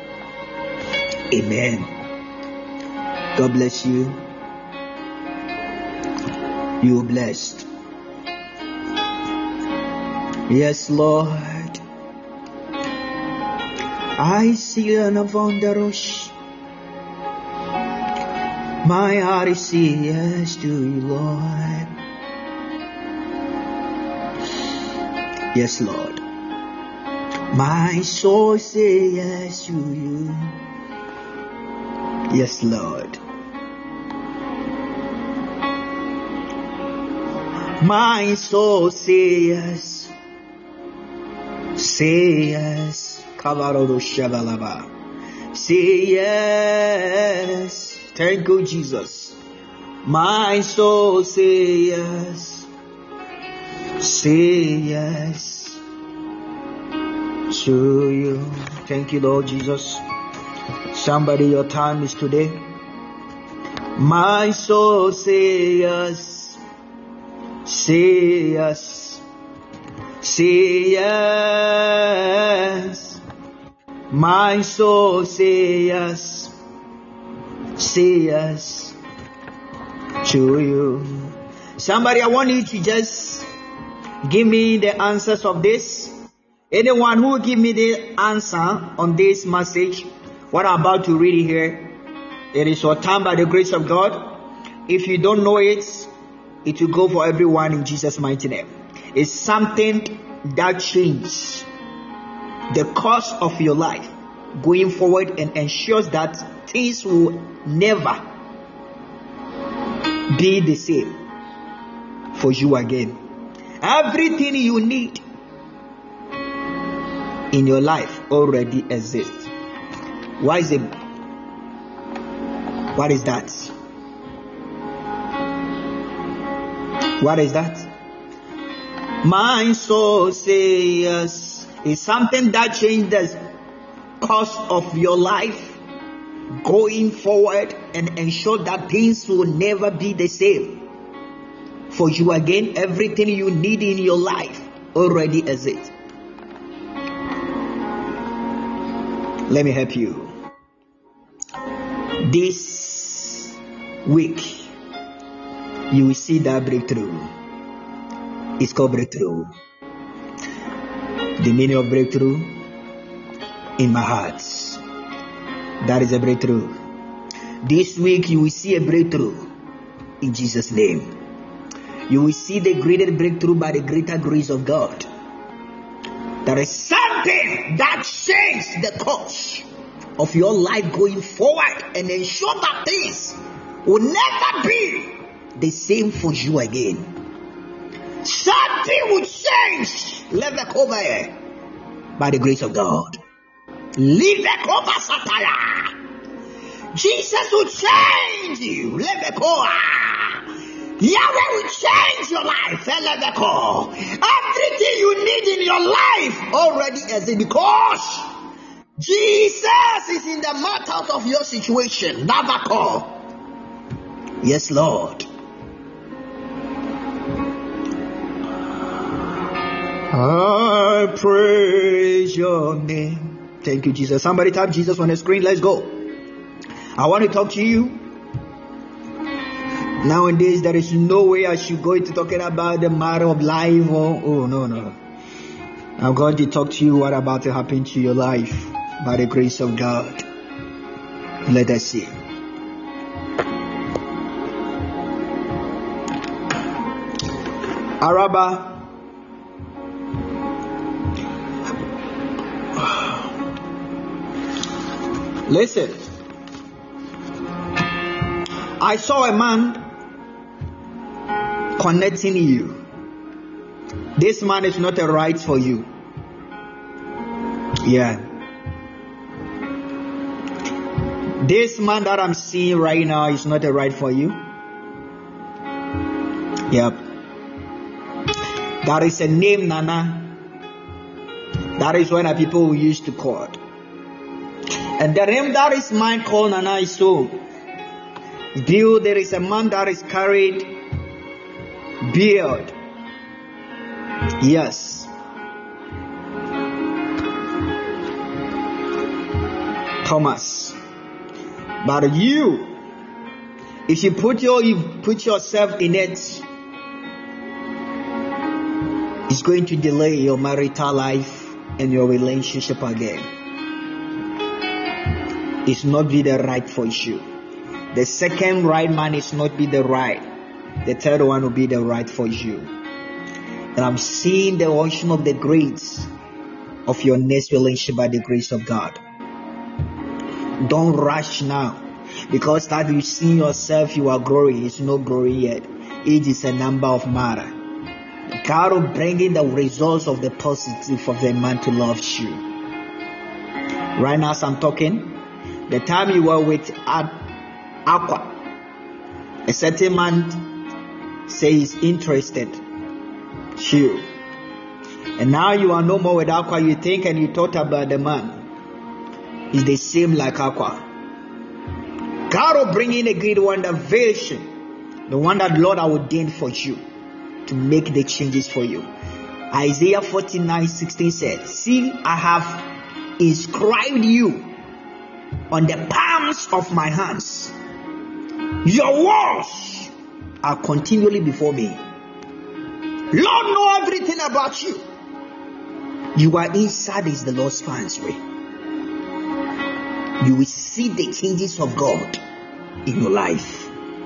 Amen. God bless you. You are blessed. Yes, Lord. I see an avondarosh. My heart is saying yes to you, Lord. Yes, Lord. My soul says yes to you. Yes, Lord. My soul says yes. Say yes. Say yes. Thank you, Jesus. My soul say yes. Say yes to you. Thank you, Lord Jesus. Somebody, your time is today. My soul say yes. Say yes. Say yes. My soul say yes. Say yes to you. Somebody, I want you to just give me the answers of this. Anyone who will give me the answer on this message, what I'm about to read here, it is your time by the grace of God. If you don't know it, it will go for everyone in Jesus' mighty name. It's something that changes the course of your life going forward and ensures that things will never be the same for you again. Everything you need in your life already exists. Why is it? What is that? What is that? My soul says yes. It's something that changes the course of your life going forward and ensure that things will never be the same for you again. Everything you need in your life already exists. Let me help you. This week you will see that breakthrough. It's called breakthrough. The meaning of breakthrough in my heart. That is a breakthrough. This week you will see a breakthrough in Jesus' name. You will see the greater breakthrough by the greater grace of God. There is something that changes the course of your life going forward and ensure that things will never be the same for you again. Something will change. Let the cover by the grace of God. Leave the cover, Satire. Jesus will change you. Let the cover. Yahweh will change your life. Let the cover. Everything you need in your life already exists because Jesus is in the matter of your situation. Never call. Yes, Lord. I praise your name. Thank you, Jesus. Somebody type Jesus on the screen. Let's go. I want to talk to you. Nowadays, there is no way I should go into talking about the matter of life. No. I'm going to talk to you what about to happen to your life by the grace of God. Let us see. Araba. Listen. I saw a man connecting you. This man is not a right for you. Yeah. This man that I'm seeing right now is not a right for you. Yep. That is a name, Nana. That is when people used to call. And the name that is mine called Nana is so. There is a man that is carried beard. Yes. Thomas. But you, if you put yourself in it, it's going to delay your marital life and your relationship again. It's not be the right for you. The second right man is not be the right. The third one will be the right for you. And I'm seeing the ocean of the grace of your next relationship by the grace of God. Don't rush now. Because that you see yourself, you are growing. It's not growing yet. Age is a number of matter. God will bring in the results of the positive of the man to love you. Right now as I'm talking, the time you were with Aqua, a certain man says interested you, and now you are no more with Aqua. You think and you thought about the man is the same like Aqua. God will bring in a great wonder vision, the one that Lord ordained for you to make the changes for you. Isaiah 49:16 said, "See, I have inscribed you on the palms of my hands. Your words are continually before me." Lord know everything about you. You are inside is the Lord's pathway. You will see the changes of God in your life.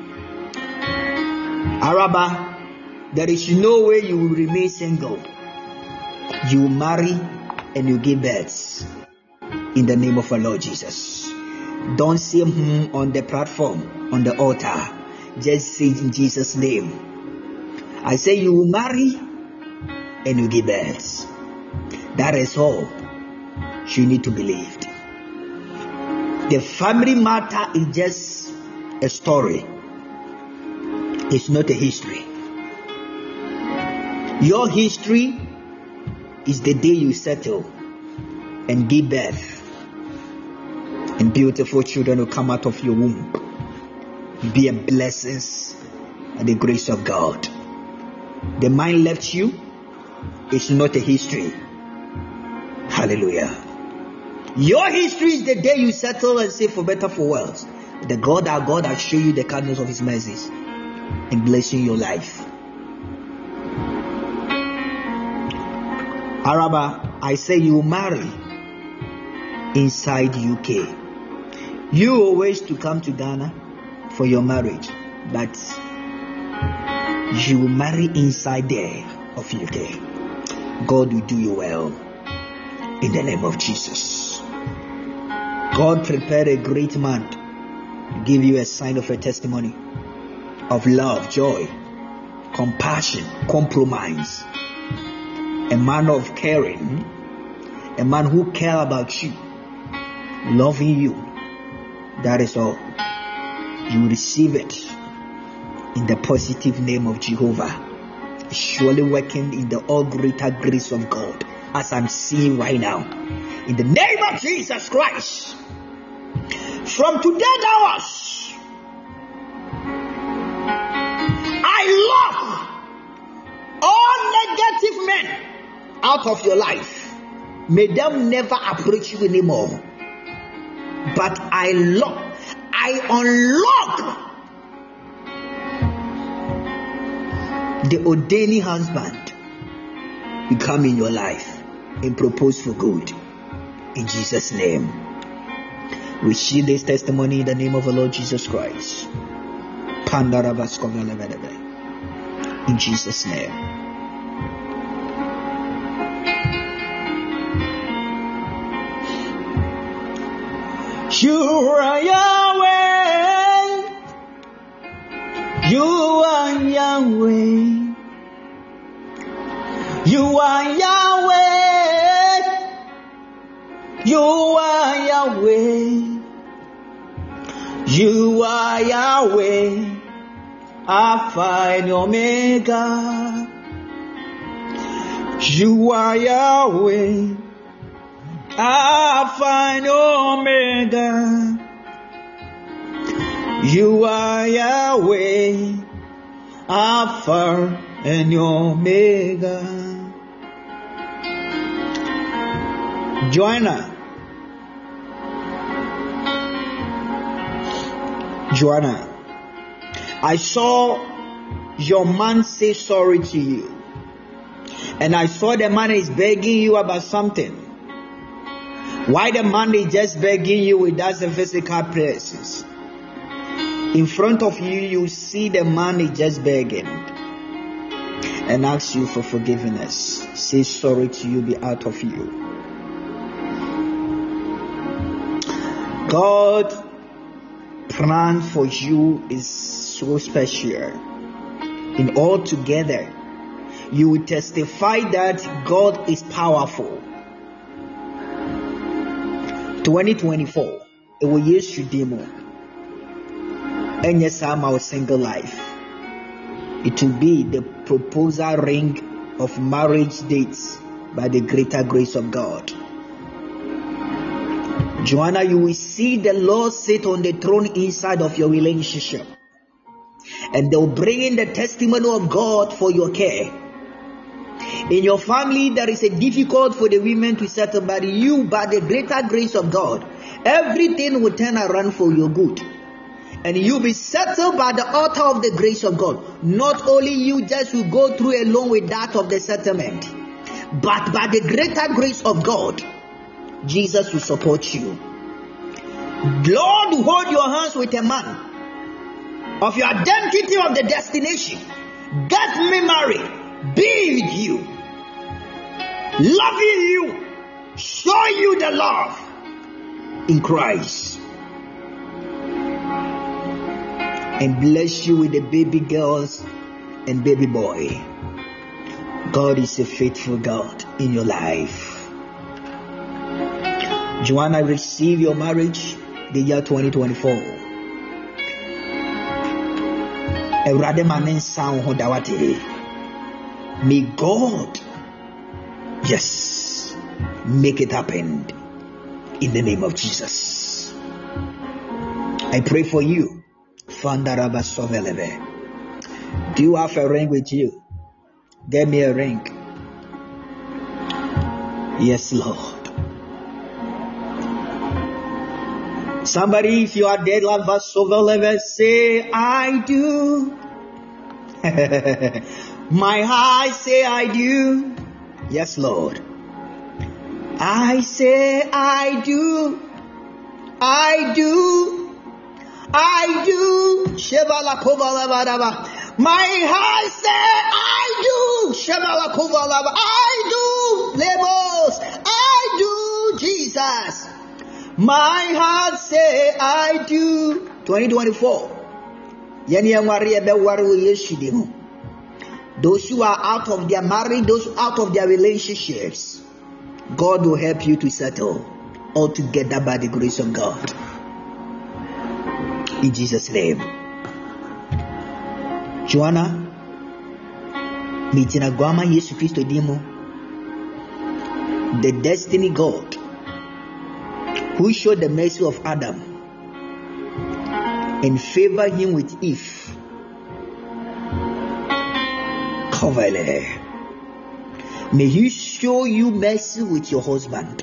Araba, there is no way you will remain single. You will marry and you give birth in the name of our Lord Jesus. Don't say on the platform, on the altar. Just say in Jesus' name. I say you will marry and you give birth. That is all you need to believe. The family matter is just a story. It's not a history. Your history is the day you settle and give birth, and beautiful children will come out of your womb. Be a blessing and the grace of God. The mind left you. It's not a history. Hallelujah. Your history is the day you settle and say for better, for worse. The God, our God, will show you the kindness of His mercies and blessing your life. Araba, I say you marry inside UK. You always to come to Ghana for your marriage, but you will marry inside there of UK. God will do you well in the name of Jesus. God prepared a great man to give you a sign of a testimony of love, joy, compassion, compromise. A man of caring, a man who cares about you, loving you. That is all. You receive it in the positive name of Jehovah. Surely working in the all greater grace of God, as I'm seeing right now. In the name of Jesus Christ. From today downwards, I lock all negative men out of your life. May them never approach you anymore. But I unlock the ordaining husband will come in your life and propose for good. In Jesus' name. Receive this testimony in the name of the Lord Jesus Christ. In Jesus' name. You are Yahweh. You are Yahweh. You are Yahweh. You are Yahweh. You are Yahweh. Alpha and Omega. You are Yahweh. Alpha and Omega. You are Yahweh, Alpha and Omega. Joanna, I saw your man say sorry to you, and I saw the man is begging you about something. Why the man is just begging you without the physical places? In front of you, you see the man is just begging and asks you for forgiveness. Say sorry to you, be out of you. God's plan for you is so special. In all together, you will testify that God is powerful. 2024, it will use you demo. And yes, I'm our single life. It will be the proposal ring of marriage dates by the greater grace of God. Joanna, you will see the Lord sit on the throne inside of your relationship, and they'll bring in the testimony of God for your care. In your family, there is a difficult for the women to settle, but you, by the greater grace of God, everything will turn around for your good. And you'll be settled by the altar of the grace of God. Not only you just will go through alone with that of the settlement, but by the greater grace of God, Jesus will support you. Lord will hold your hands with a man of your identity of the destination. Get me married, be with you, loving you, show you the love in Christ, and bless you with the baby girls and baby boy. God is a faithful God in your life. Joanna, receive your marriage the year 2024. May God, yes, make it happen in the name of Jesus. I pray for you. Do you have a ring with you? Get me a ring. Yes, Lord. Somebody, if you are dead, say, I do. My heart say, I do. Yes, Lord. I say, I do. I do. I do. My heart say, I do. I do. Labels. I do. My heart say I do. 2024. Those who are out of their marriage, those out of their relationships, God will help you to settle all together by the grace of God. In Jesus' name. Joanna, Mitina Guama Yesu Christo Dimo, the destiny God who showed the mercy of Adam and favored him with Eve. Coverle. May he show you mercy with your husband.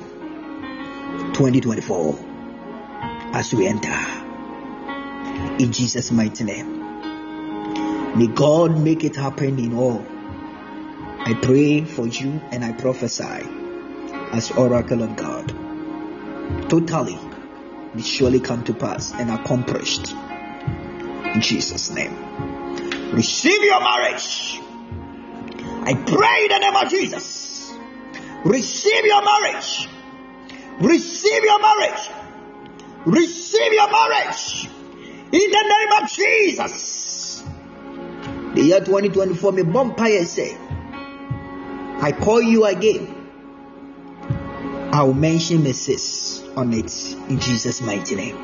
2024 as we enter. In Jesus' mighty name. May God make it happen in all. I pray for you and I prophesy as oracle of God. Totally, it surely come to pass and accomplished. In Jesus' name. Receive your marriage. I pray in the name of Jesus. Receive your marriage. Receive your marriage. Receive your marriage. In the name of Jesus. The year 2024, me bumpire say, I call you again. I will mention Mrs. on it in Jesus' mighty name.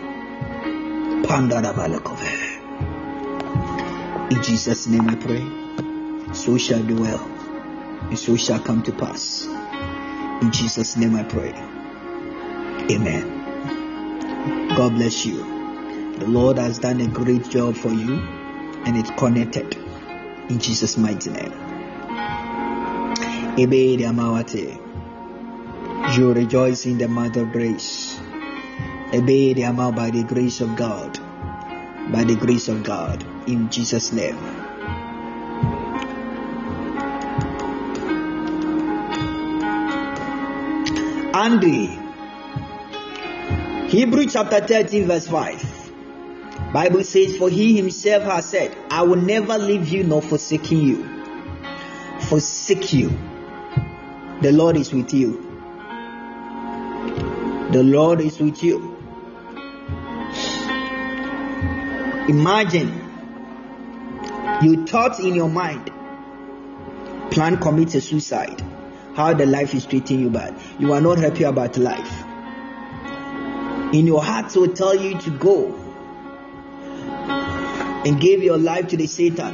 In Jesus' name I pray. So shall be well, and so shall come to pass. In Jesus' name I pray. Amen. God bless you. The Lord has done a great job for you, and it's connected. In Jesus' mighty name. You rejoice in the month of grace. By the grace of God. By the grace of God. In Jesus' name. Andy, Hebrews chapter 13 verse 5. Bible says, for he himself has said, I will never leave you nor forsake you. Forsake you. The Lord is with you. The Lord is with you. Imagine you thought in your mind, plan commit a suicide. How the life is treating you bad. You are not happy about life. In your heart will tell you to go and give your life to the Satan.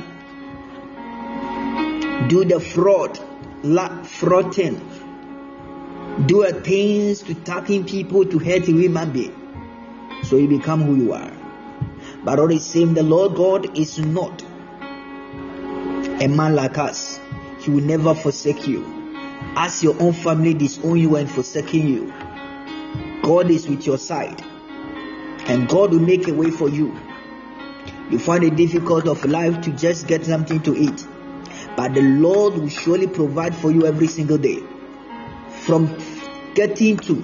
Do the fraud thing. Do things to tapping people to hurt a human being. So you become who you are. But all the same, the Lord God is not a man like us. He will never forsake you. As your own family disown you and forsaking you, God is with your side. And God will make a way for you. You find it difficult of life to just get something to eat. But the Lord will surely provide for you every single day. From getting to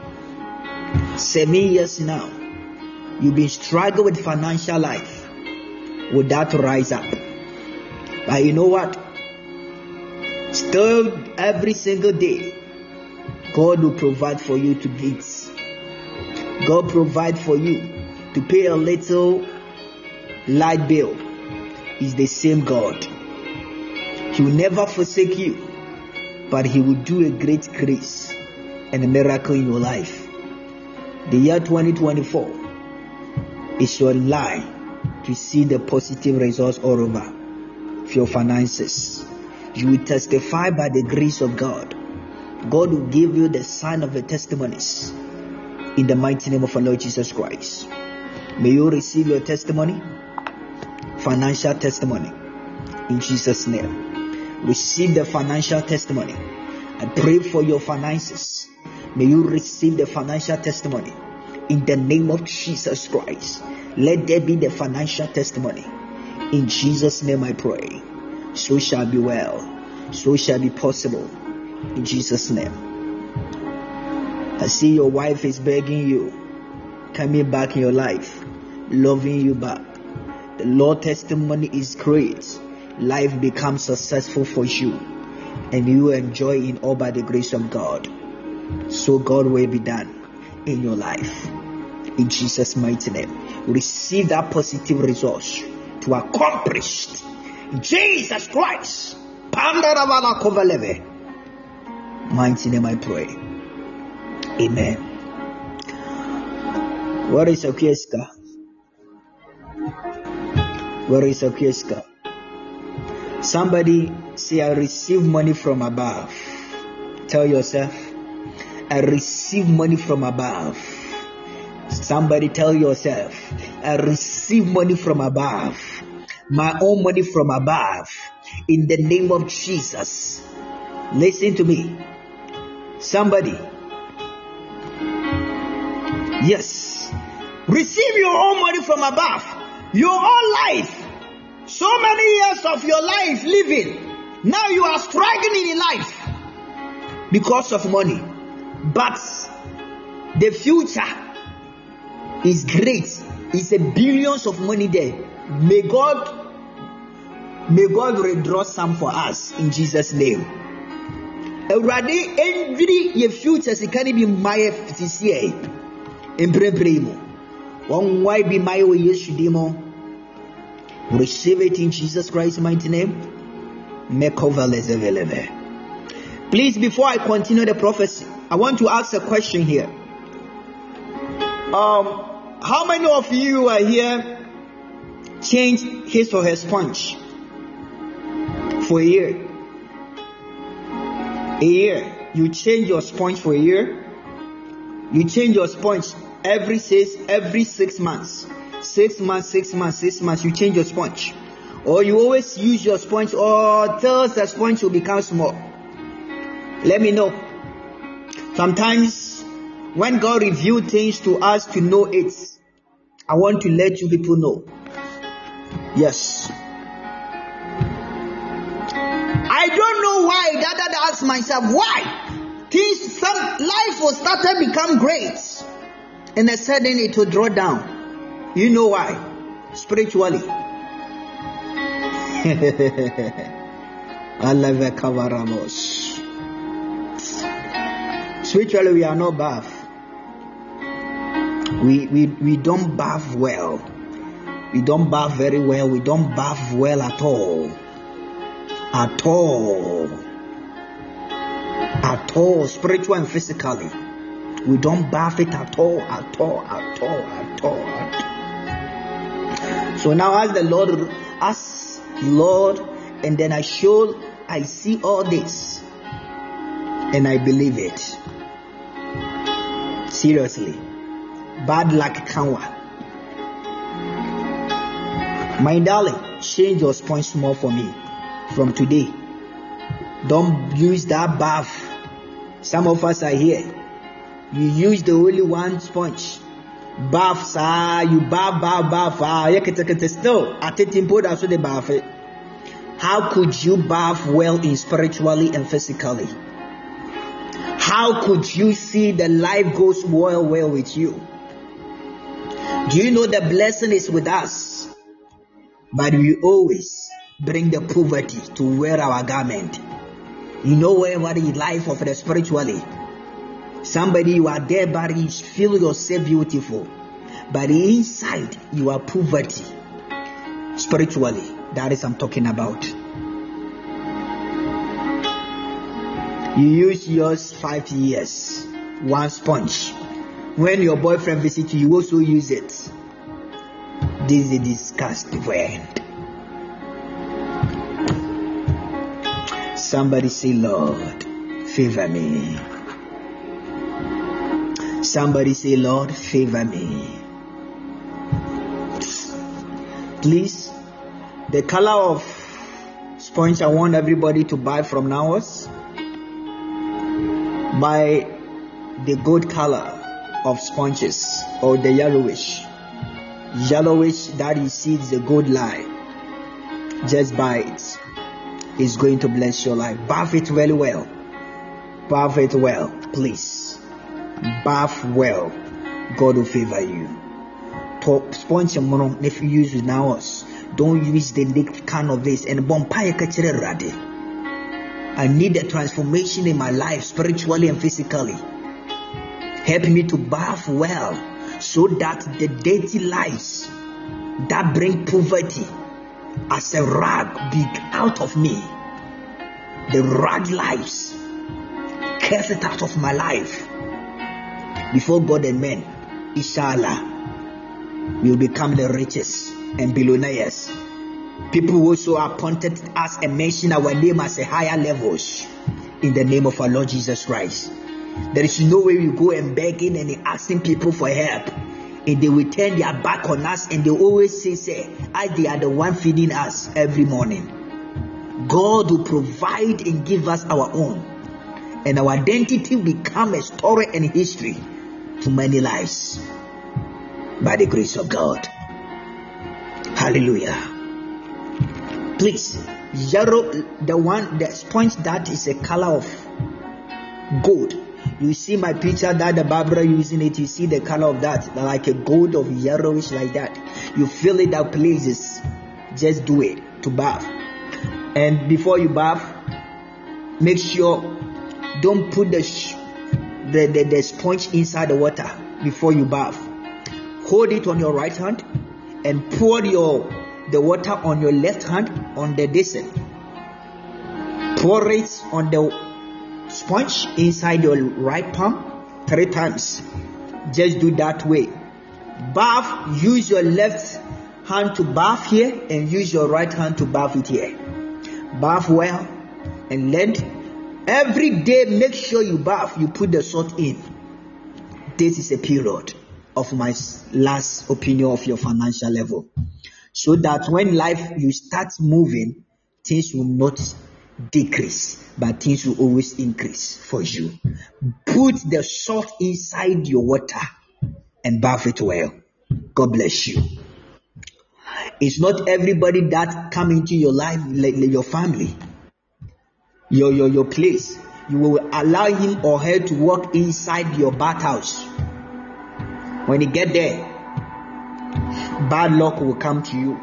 7 years now, you've been struggling with financial life. Will that rise up? But you know what? Still, every single day, God will provide for you to eat. God provide for you to pay a little light bill. Is the same God. He will never forsake you, but He will do a great grace and a miracle in your life. The year 2024 is your life to see the positive results all over of your finances. You will testify by the grace of God. God will give you the sign of the testimonies in the mighty name of our Lord Jesus Christ. May you receive your testimony, financial testimony, in Jesus' name. Receive the financial testimony. I pray for your finances. May you receive the financial testimony in the name of Jesus Christ. Let there be the financial testimony. In Jesus' name I pray. So shall be well. So shall be possible. In Jesus' name. I see your wife is begging you, coming back in your life, loving you back. The Lord testimony is great. Life becomes successful for you, and you enjoy in all by the grace of God. So God will be done in your life. In Jesus' mighty name, receive that positive resource to accomplish. Jesus Christ. Mighty name I pray. Amen. Where is Okieska? Where is Okieska? Somebody say, I receive money from above. Tell yourself, I receive money from above. Somebody tell yourself, I receive money from above. My own money from above. In the name of Jesus. Listen to me. Somebody. Yes. Receive your own money from above. Your own life. So many years of your life living. Now you are struggling in life because of money. But the future is great. It's a billions of money there. May God withdraw some for us in Jesus' name. Already every your future can be my this year. In primo. One why be my way yeshudimo. Receive it in Jesus Christ's mighty name. Please, before I continue the prophecy, I want to ask a question here. How many of you are here changed his or her sponge for a year? A year. You change your sponge for a year. You change your sponge every 6 months. 6 months. You change your sponge. Or you always use your sponge or till the sponge will become small. Let me know. Sometimes when God reveals things to us to know it, I want to let you people know. Yes. I don't know why. That I ask myself why life will start to become great, and then suddenly it will draw down. You know why? Spiritually. Spiritually, we are not bath. We don't bath well. We don't bath very well. We don't bath well at all. At all, spiritual and physically. We don't bath it at all. So now as the Lord, and then I see all this, and I believe it. Seriously. Bad luck kanwa. My darling, change your sponge small for me from today. Don't use that bath. Some of us are here. You use the only one sponge. Bath, you bath. Still, how could you bath well in spiritually and physically? How could you see the life goes well with you? Do you know the blessing is with us? But we always bring the poverty to wear our garment. You know what is life of the spiritually. Somebody, you are there, but you feel yourself beautiful. But inside, you are poverty. Spiritually, that is I'm talking about. You use yours 5 years, one sponge. When your boyfriend visits you, you also use it. This is a disgusting friend. Somebody say, Lord, favor me. Somebody say, Lord, favor me. Please, the color of sponge I want everybody to buy from now on, buy the gold color of sponges or the yellowish that you see is the gold line. Just buy it. It's going to bless your life. Bath it very well. Bath it well, please. Bath well. God will favor you. Top sponge if you use it now, don't use the liquid kind of this and bompire kachere rade. I need a transformation in my life, spiritually and physically. Help me to bath well, so that the dirty lives that bring poverty as a rag be out of me. The rag lives, curse it out of my life. Before God and men, inshallah, we will become the richest and billionaires. People who also appointed us and mention our name as a higher levels in the name of our Lord Jesus Christ. There is no way we go and begging and asking people for help, and they will turn their back on us, and they always say, they are the one feeding us every morning. God will provide and give us our own, and our identity will become a story and history to many lives by the grace of God. Hallelujah. Please, yellow, the sponge that is a color of gold. You see my picture that the Barbara using it. You see the color of that, like a gold of yellowish like that. You feel it at places. Just do it to bath. And before you bath, make sure don't put the sponge inside the water before you bath. Hold it on your right hand and pour the water on your left hand on the basin. Pour it on the sponge inside your right palm 3 times. Just do that way. Bath, use your left hand to bath here and use your right hand to bath it here. Bath well and length. Every day make sure you bath, you put the salt in. This is a period of my last opinion of your financial level. So that when life you start moving, things will not decrease, but things will always increase for you. Put the salt inside your water and bath it well. God bless you. It's not everybody that come into your life, like your family, your place. You will allow him or her to walk inside your bathhouse. When you get there, bad luck will come to you.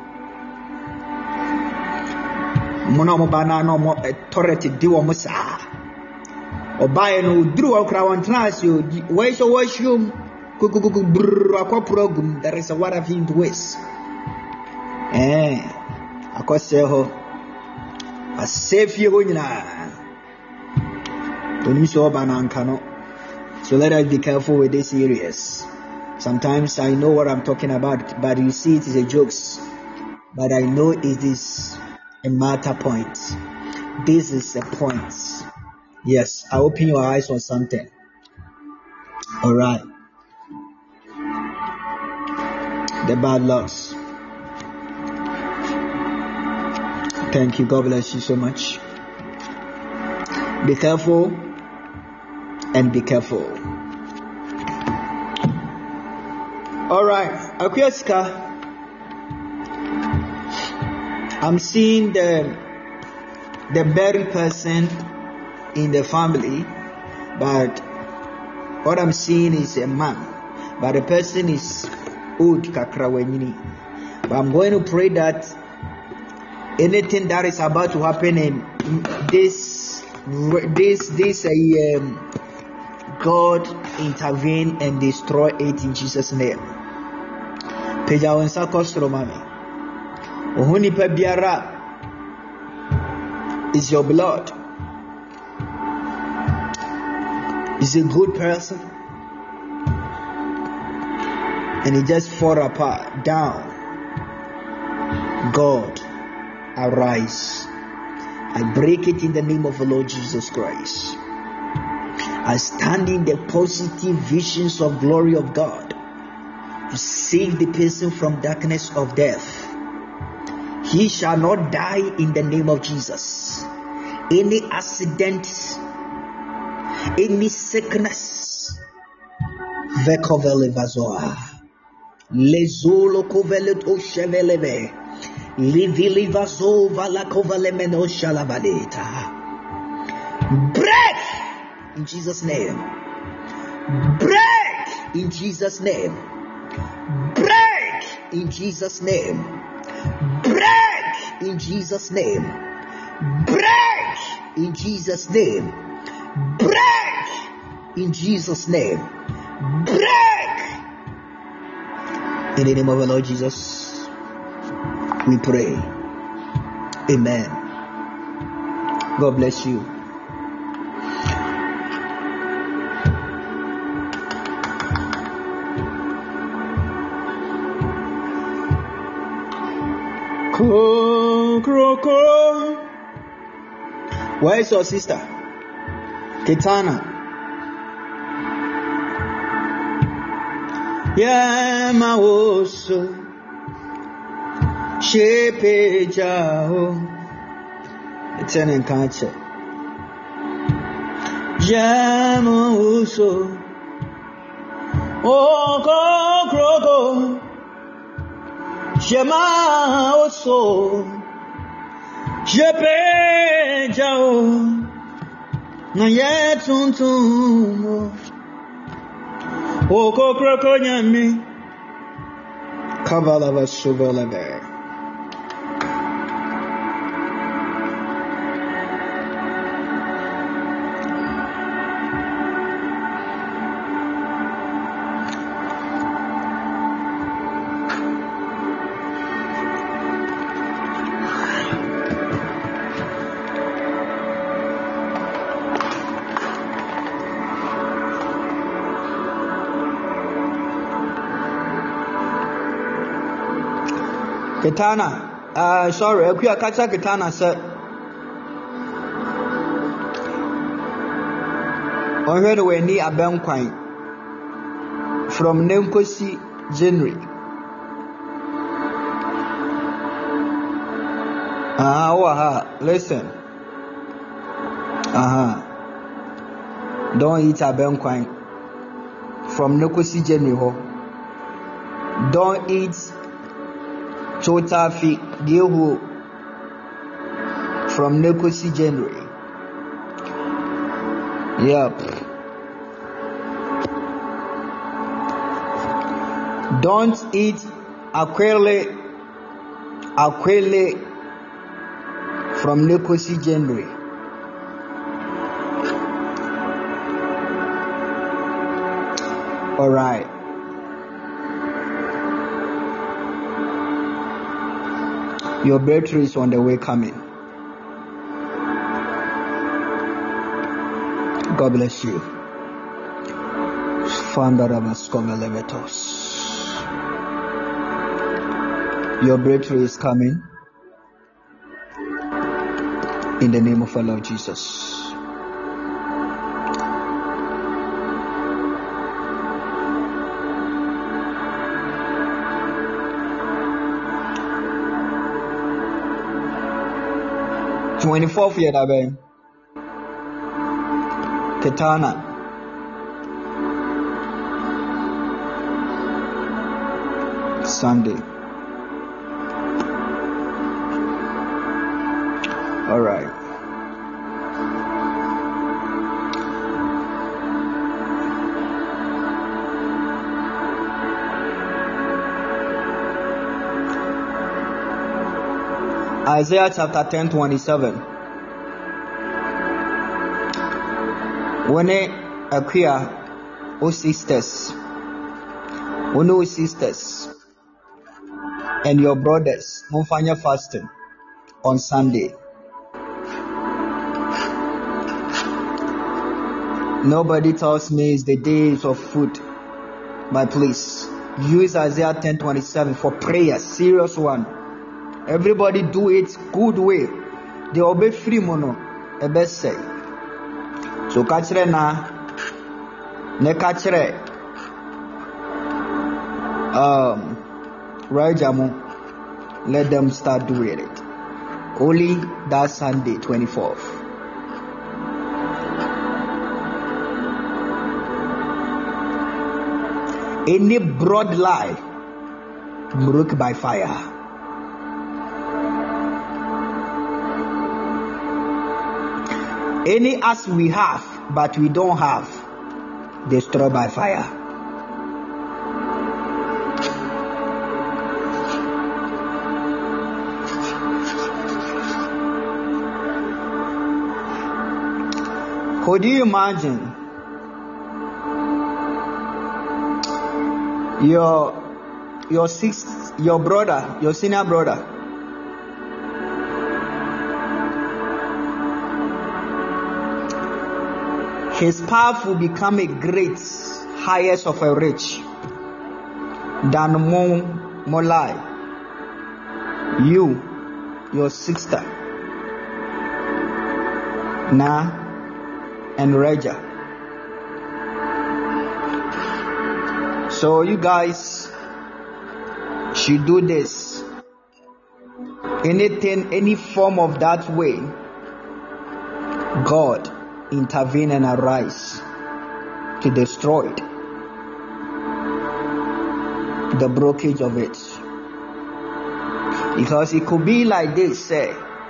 Authority do almost or buy no drew a crown trans you. Where's your washroom? There is a water field west. I could say, a safe you when you saw Banankano. So let us be careful with these areas. Sometimes I know what I'm talking about, but you see it is a joke. But I know it is a matter point. This is a point. Yes, I open your eyes on something. All right. The bad lucks. Thank you. God bless you so much. Be careful and be careful. All right, Akweska. I'm seeing the buried person in the family, but what I'm seeing is a man, but the person is old Kakrawenini. But I'm going to pray that anything that is about to happen in this God intervene and destroy it in Jesus' name. Pejawansa Kostromami. Ohuni Pebiara is your blood. Is a good person. And he just fall apart, down. God, arise. I break it in the name of the Lord Jesus Christ. I stand in the positive visions of glory of God to save the person from darkness of death. He shall not die in the name of Jesus. Any accident, any sickness, Vekovele Vazoa, Lezolo Kovelet Osheveleve, Livili Vazova La Kovalemeno Shalavaleta. Break in Jesus' name. Break in Jesus' name. Break in Jesus' name. Break in Jesus' name. Break in Jesus' name. Break in Jesus' name. break in the name of the Lord Jesus. We pray. Amen. God bless you. Where is your sister? Kitana. Yeah, my oso. Shepe jao. It's an encounter. Yeah, my oso. Oh, go. Shema oso. Shepe jao. Na ye tuntum. Oko kroko nyami. Kavala vasuvalave. Kitana, sorry, Akuya Kacha Kitana said, on her way near Abenquine from Nemkosi January. Listen. Don't eat Abenquine from Nemkosi January. Don't eat Chotafi Gilhu from Nekosi January. Yep. Don't eat Aquele from Nekosi January. All right. Your breakthrough is on the way coming. God bless you. Your breakthrough is coming in the name of our Lord Jesus. Twenty-fourth year dabe Kitana Sunday. All right. Isaiah chapter 10:27. When Akuya, O sisters, and your brothers, Mufanya fasting on Sunday. Nobody tells me it's the days of food, but please use Isaiah 10:27 for prayer, serious one. Everybody do it good way. They obey free mono. A best say. So kachre na ne kachre Rajamu, let them start doing it. Only that Sunday 24th. Any broad lie broke by fire. Any as we have, but we don't have, destroyed by fire. Could you imagine your brother, your senior brother, his path will become a great, highest of a rich than Molai. You, your sister, Na and Reja. So you guys should do this. Anything, any form of that way, God intervene and arise to destroy it, the blockage of it. Because it could be like this, say,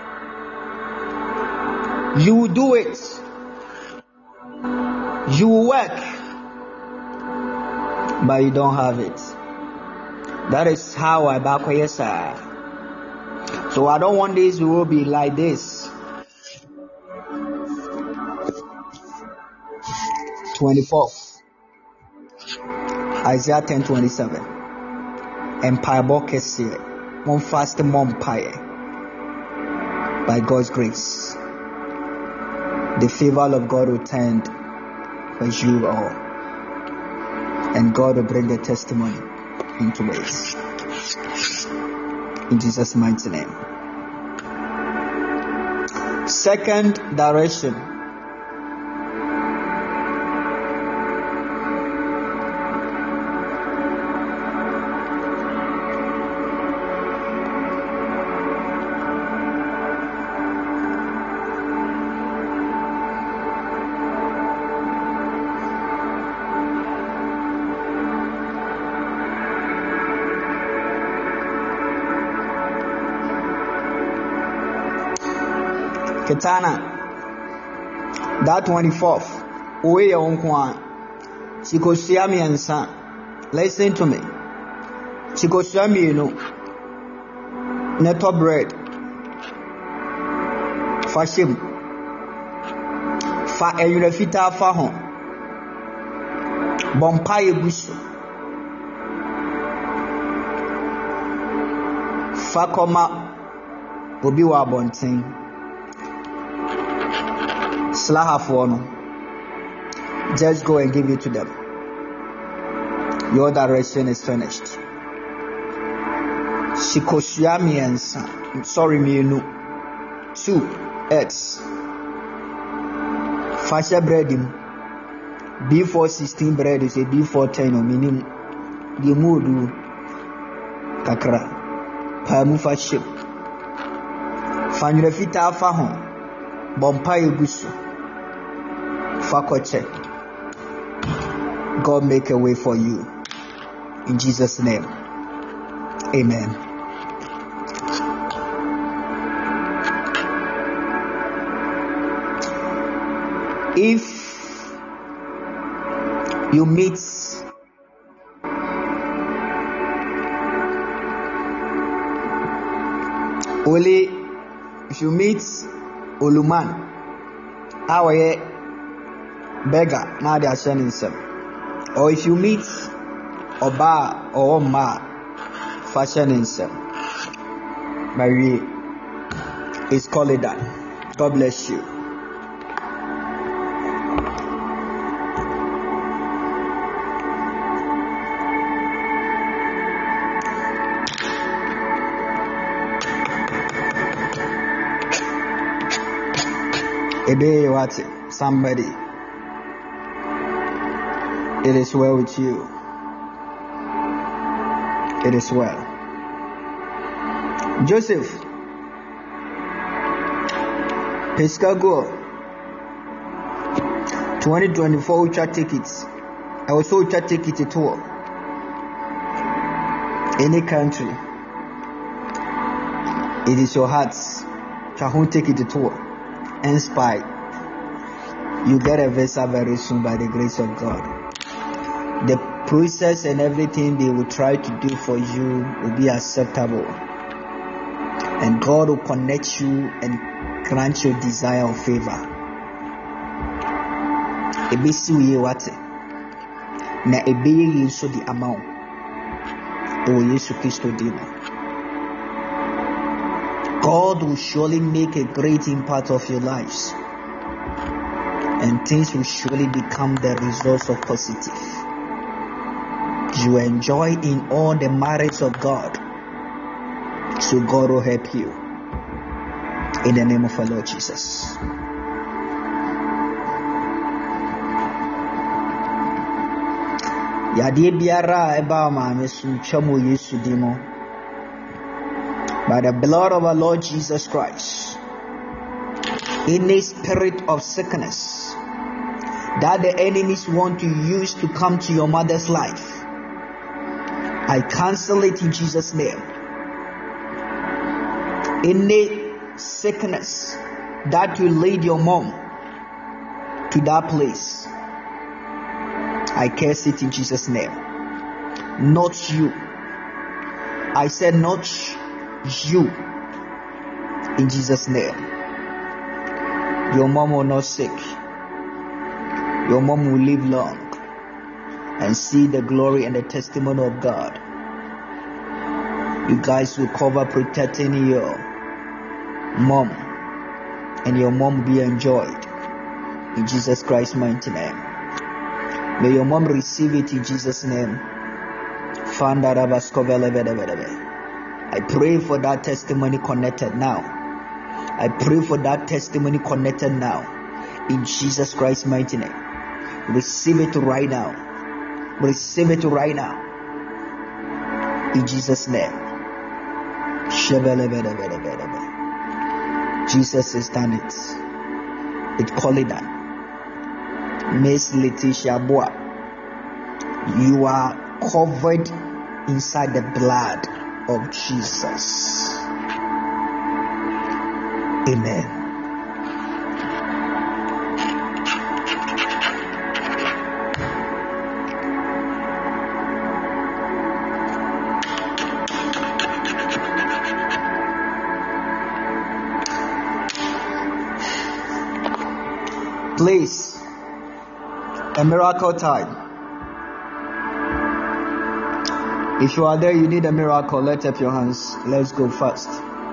you do it, you work, but you don't have it. That is how I back here, sir. So I don't want this will be like this. 24th, Isaiah 10:27. Empire Bokes here. One fast empire. By God's grace, the favor of God will tend for you all, and God will bring the testimony into ways. In Jesus' mighty name. Second direction. Ketana, that 24th, Uwe Onkwa, Chikosiami and San. Listen to me. Chikosiami, you know, netto bread, Fashim, Fa Eurefita Fahon, Bompaye Busu, Fakoma, Obiwa Bonting. Slahafono. Just go and give it to them. Your direction is finished. Shikoshiami and son. Sorry, me no. 2 X. Fasha breadim. B416 bread is a B410 or minimum. The mood kakra. Pamu faship. Fanrefita fahon. Bompaye Gusu. Fakoche. God make a way for you. In Jesus' name. Amen. If you meet Oluman, our beggar, now they are sending some. Or if you meet Oba or Oma, fashioning some. Marie is calling that. God bless you. Ebe what? Somebody. It is well with you. It is well. Joseph. Pescago. 2024 Ultra tickets. I also Ultra ticket to tour. Any country. It is your heart's. Chahun take it to tour. Inspired. You get a visa very soon by the grace of God. The process and everything they will try to do for you will be acceptable. And God will connect you and grant your desire of favor. Ebesi uye wate. Na ebeye so the amount. Oh, Yesu Christo Dimo. God will surely make a great impact of your lives, and things will surely become the results of positive. You enjoy in all the merits of God, so God will help you. In the name of our Lord Jesus. Yadie biara eba maame sum twamo Yesu dimo. By the blood of our Lord Jesus Christ, any spirit of sickness that the enemies want to use to come to your mother's life, I cancel it in Jesus' name. Any sickness that will lead your mom to that place, I curse it in Jesus' name. Not you. I said not you. In Jesus' name. Your mom will not sick. Your mom will live long and see the glory and the testimony of God. You guys will cover protecting your mom, and your mom will be enjoyed in Jesus Christ's mighty name. May your mom receive it in Jesus' name. I pray for that testimony connected now. I pray for that testimony connected now in Jesus Christ's mighty name. Receive it right now. Receive it right now in Jesus' name. Jesus has done it. It call it done. Miss Letitia Boa, you are covered inside the blood of Jesus. Amen. Please, a miracle time. If you are there, you need a miracle. Lift up your hands. Let's go fast.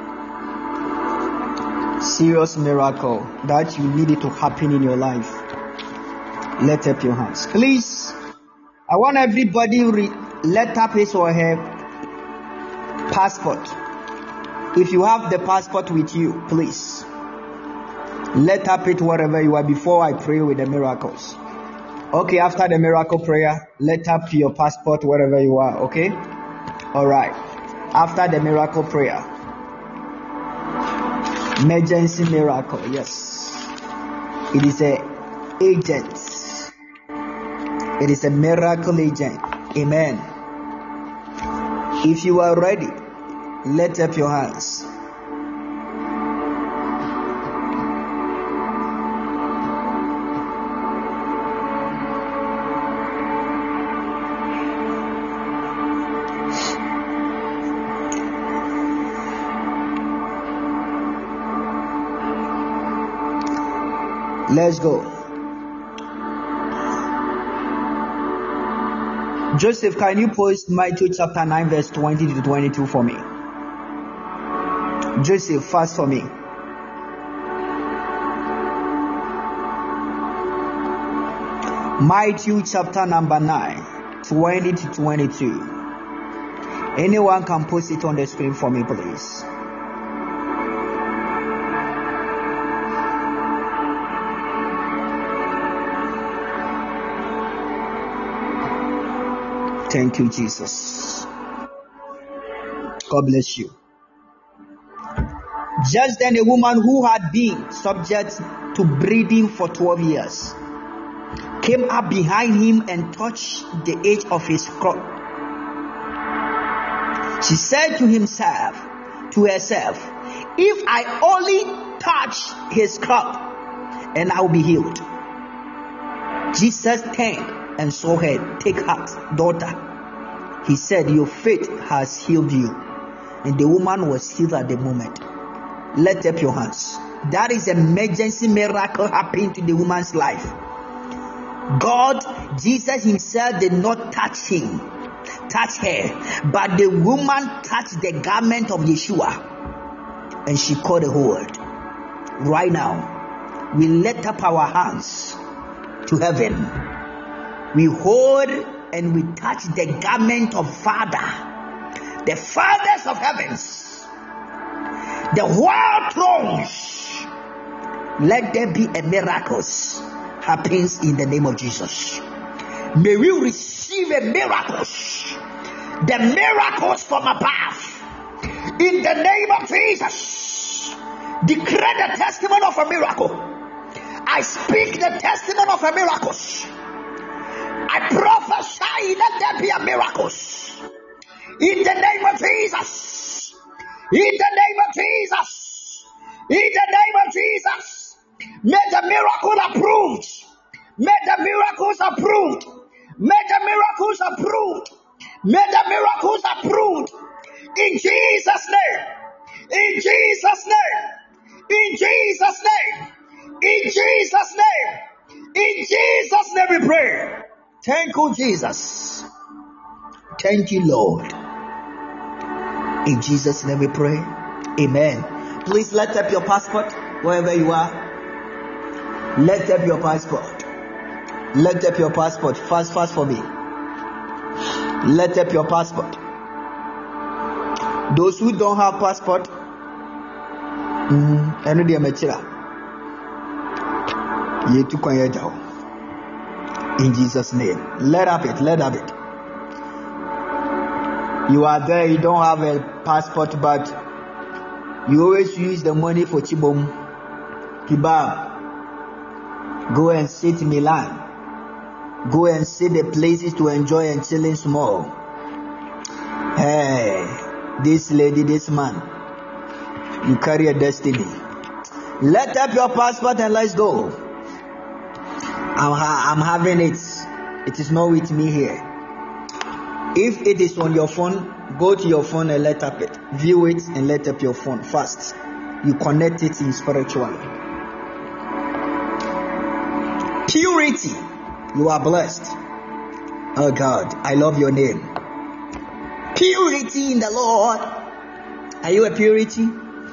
Serious miracle that you need it to happen in your life. Lift up your hands. Please, I want everybody let up his or her passport. If you have the passport with you, please let up it wherever you are before I pray with the miracles. Okay, after the miracle prayer, let up your passport wherever you are, okay? All right. After the miracle prayer, emergency miracle, yes. It is a agent. It is a miracle agent. Amen. If you are ready, let up your hands. Let's go. Joseph, can you post Matthew chapter 9 verse 20 to 22 for me? Joseph, fast for me. Matthew chapter number 9, 20 to 22. Anyone can post it on the screen for me, please. Thank you, Jesus. God bless you. Just then a woman who had been subject to bleeding for 12 years came up behind him and touched the edge of his cloak. She said to herself, if I only touch his cloak, and I will be healed. Jesus turned and saw her. Take heart, daughter. He said, your faith has healed you. And the woman was healed at the moment. Lift up your hands. That is an emergency miracle happening to the woman's life. God, Jesus himself did not touch him. touch her, but the woman touched the garment of Yeshua, and she caught a hold. Right now, we lift up our hands to heaven. We hold and we touch the garment of Father, the fathers of heavens, the world thrones. Let there be a miracle happens in the name of Jesus. May we receive a miracles, the miracles from above, in the name of Jesus. Declare the testimony of a miracle. I speak the testimony of a miracles. I prophesy, let there be a miracles in the name of Jesus. In the name of Jesus. In the name of Jesus. May the miracle approved. May the miracles approved. May the miracles approved. May the miracles approved. In Jesus' name. In Jesus' name. In Jesus' name. In Jesus' name. In Jesus' name we pray. Thank you, Jesus. Thank you, Lord. In Jesus' name we pray. Amen. Please let up your passport wherever you are. Let up your passport. Let up your passport. Fast for me. Let up your passport. Those who don't have passport, in Jesus' name. Let up it. You are there, you don't have a passport, but you always use the money for chibom, kebab. Go and sit in Milan. Go and see the places to enjoy and chilling small. Hey, this lady, this man, you carry a destiny. Let up your passport and let's go. I'm having it. It is not with me here. If it is on your phone, go to your phone and let up it. View it and let up your phone fast. You connect it in spiritually. Purity. You are blessed. Oh God, I love your name. Purity in the Lord. Are you a purity?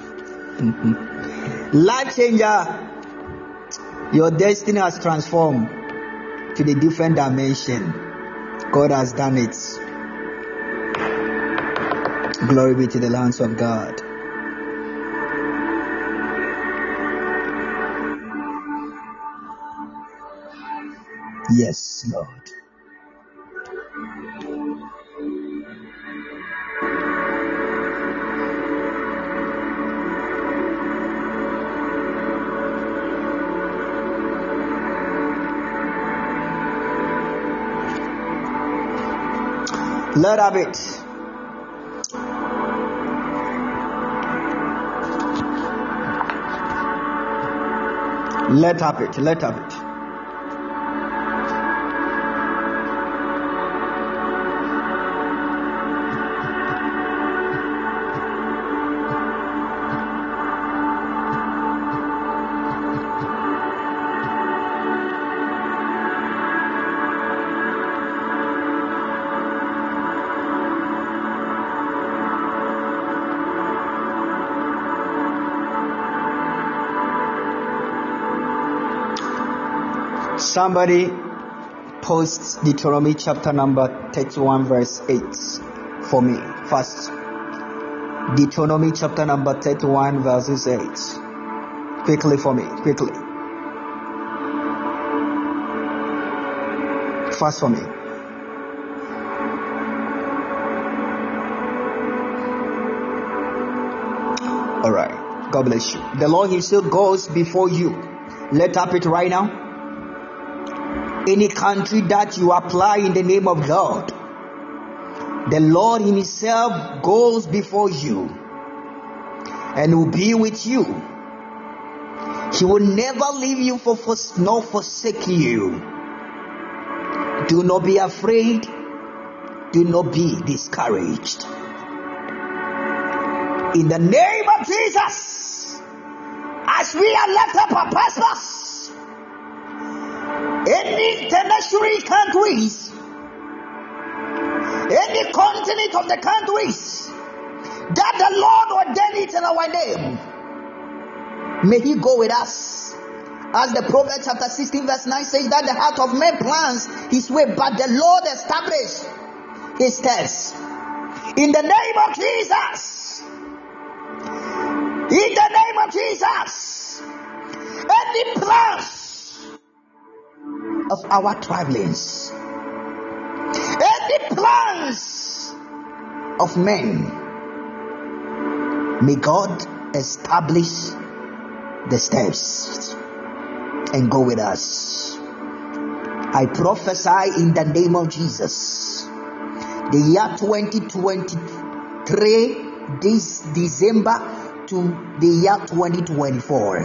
Life changer. Your destiny has transformed to the different dimension. God has done it. Glory be to the lands of God. Yes, Lord. Let have it. Let have it. Let have it. Somebody posts Deuteronomy chapter number 31 verse 8 for me first. Deuteronomy chapter number 31 verses 8. Quickly for me, quickly. Fast for me. All right. God bless you. The Lord himself goes before you. Let up it right now. Any country that you apply in the name of God, the Lord himself goes before you and will be with you. He will never leave you nor forsake you. Do not be afraid. Do not be discouraged. In the name of Jesus, as we are left up our pastors, any international countries Any continent of the countries that the Lord ordained it in our name, may He go with us. As the Proverbs chapter 16 verse 9 says that the heart of man plans his way, but the Lord establishes His steps. In the name of Jesus, in the name of Jesus, any plans of our travelings, any plans of men, may God establish the steps and go with us. I prophesy in the name of Jesus, the year 2023, this December to the year 2024,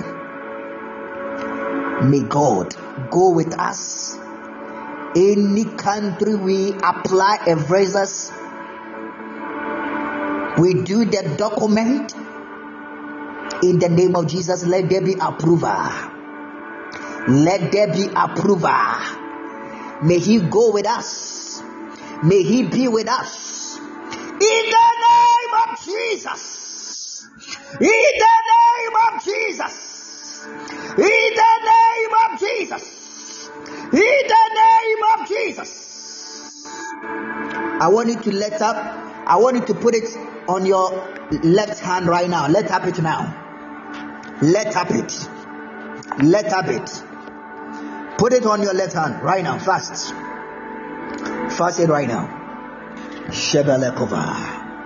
may God go with us. Any country we apply a visas, we do the document, in the name of Jesus, let there be approval. Let there be approval. May He go with us. May He be with us. In the name of Jesus. In the name of Jesus. In the name of Jesus. In the name of Jesus. I want you to let up. I want you to put it on your left hand right now. Let up it now. Let up it. Let up it. Put it on your left hand right now. Fast. Fast it right now. Shebelekova.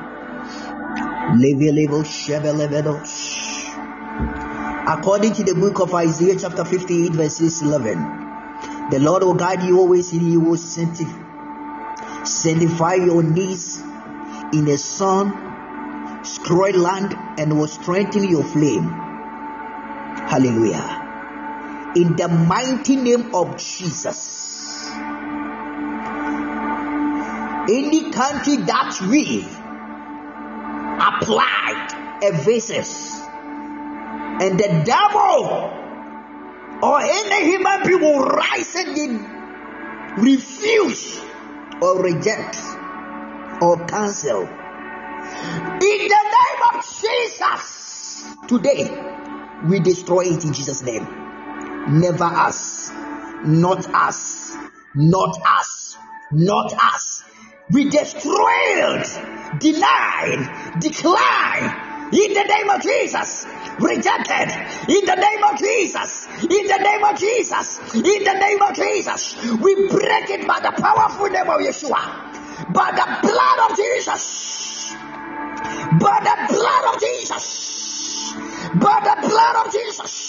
Level Shebelevedos. According to the book of Isaiah chapter 58 verses 11, the Lord will guide you always, and He will sanctify your knees in a sun-scorched land, and will strengthen your flame. Hallelujah. In the mighty name of Jesus, any country that we applied a visas, and the devil or any human being will rise and refuse or reject or cancel, in the name of Jesus, today we destroy it in Jesus' name. Never us, not us, not us, not us. We destroyed, denied, declined in the name of Jesus, rejected in the name of Jesus, in the name of Jesus, in the name of Jesus. We break it by the powerful name of Yeshua, by the blood of Jesus, by the blood of Jesus, by the blood of Jesus.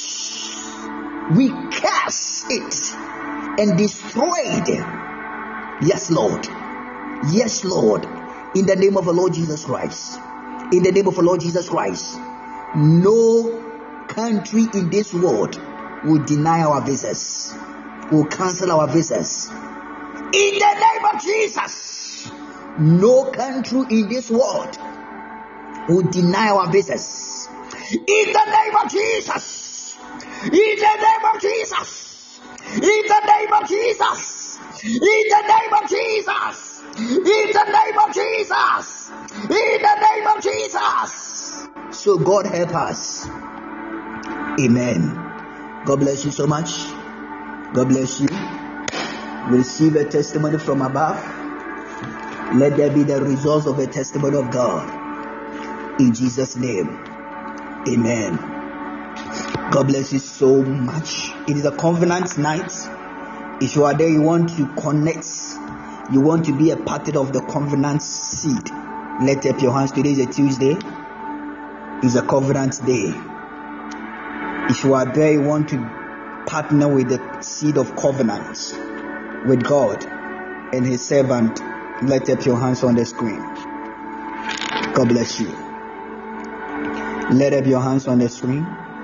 We curse it and destroy it. Yes, Lord. Yes, Lord. In the name of the Lord Jesus Christ. In the name of the Lord Jesus Christ. No country in this world will deny our visas, will cancel our visas. In the name of Jesus. No country in this world will deny our visas. In the name of Jesus. In the name of Jesus. In the name of Jesus. In the name of Jesus. In the name of Jesus. In the name of Jesus. So God help us. Amen. God bless you so much. God bless you. Receive a testimony from above. Let there be the results of a testimony of God. In Jesus' name. Amen. God bless you so much. It is a covenant night. If you are there, you want to connect, you want to be a part of the covenant seed, lift up your hands. Today is a Tuesday. It's a covenant day. If you are there, you want to partner with the seed of covenant with God and His servant, lift up your hands on the screen. God bless you. Lift up your hands on the screen.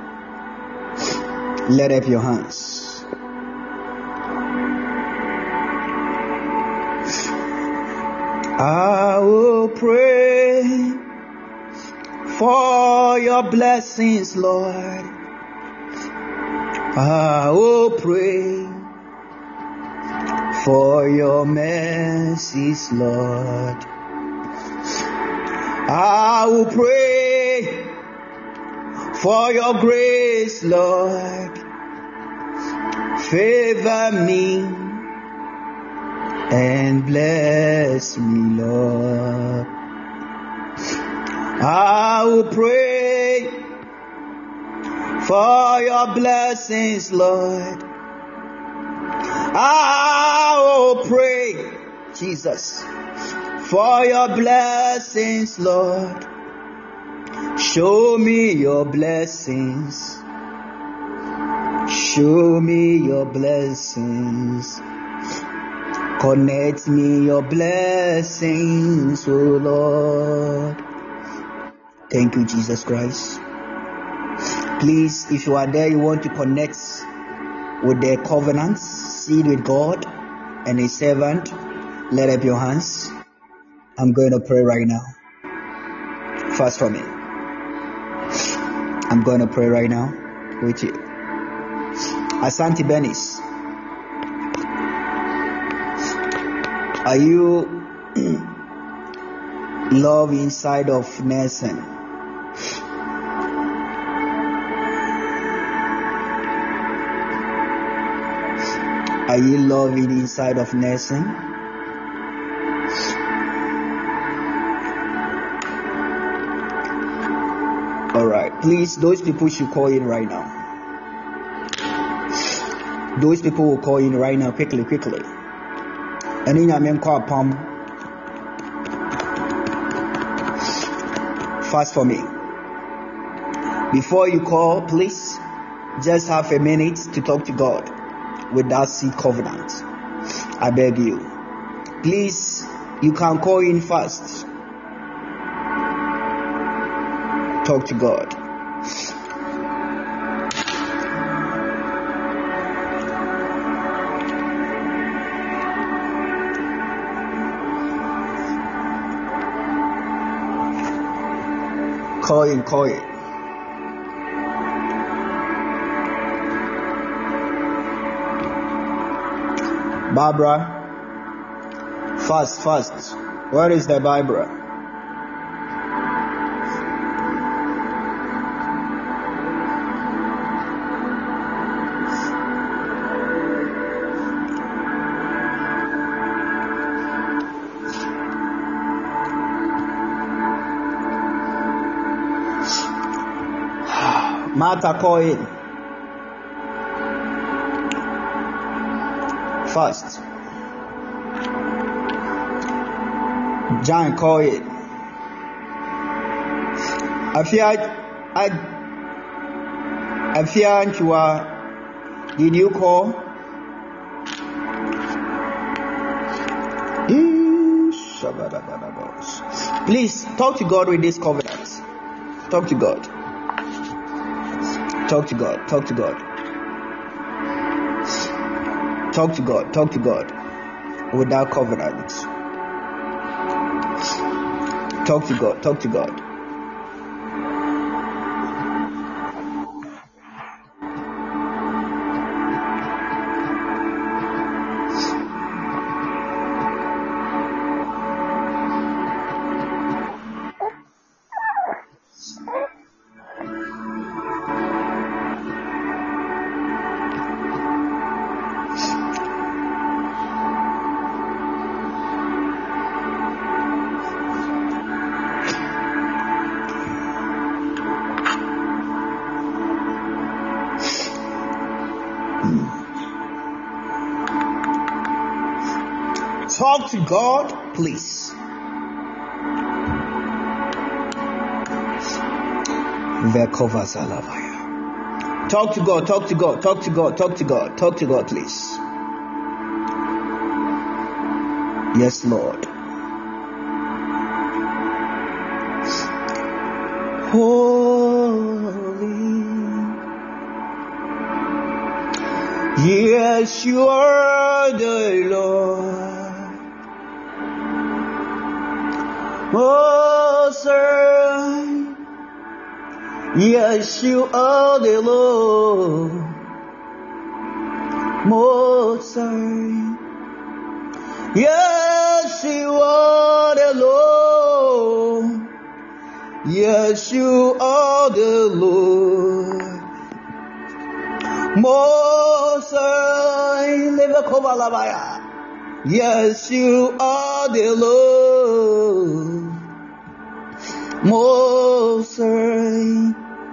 Lift up your hands. I will pray for your blessings, Lord. I will pray for your mercies, Lord. I will pray for your grace, Lord. Favor me and bless me, Lord. I will pray for your blessings, Lord. I will pray, Jesus, for your blessings, Lord. Show me your blessings. Show me your blessings. Connect me your blessings, oh Lord. Thank you, Jesus Christ. Please, if you are there, you want to connect with the covenant, seed with God and His servant, let up your hands. I'm going to pray right now. Fast for me. I'm going to pray right now with you. Asante Benis, are you love inside of nursing? Are you loving inside of nursing? All right, please, those people should call in right now. Those people will call in right now, quickly. And in your call palm. Fast for me. Before you call, please just have a minute to talk to God with that seed covenant. I beg you. Please, you can call in fast. Talk to God. Call in. Barbara, fast. Where is the Barbara? Martha, call in. Fast. John, call it. Afia, did you call? Please talk to God with this covenant. Talk to God. Talk to God. Talk to God. Talk to God. Talk to God with that covenant. Talk to God. Talk to God. Talk to God, please. Talk to God, talk to God, talk to God, talk to God, talk to God, please. Yes, Lord. Holy. Yes, you are the Lord. Most High. Yes, you are the Lord. Most High. Yes, you are the Lord. Yes, you are the Lord. Most High, yes, you are the Lord. Most High,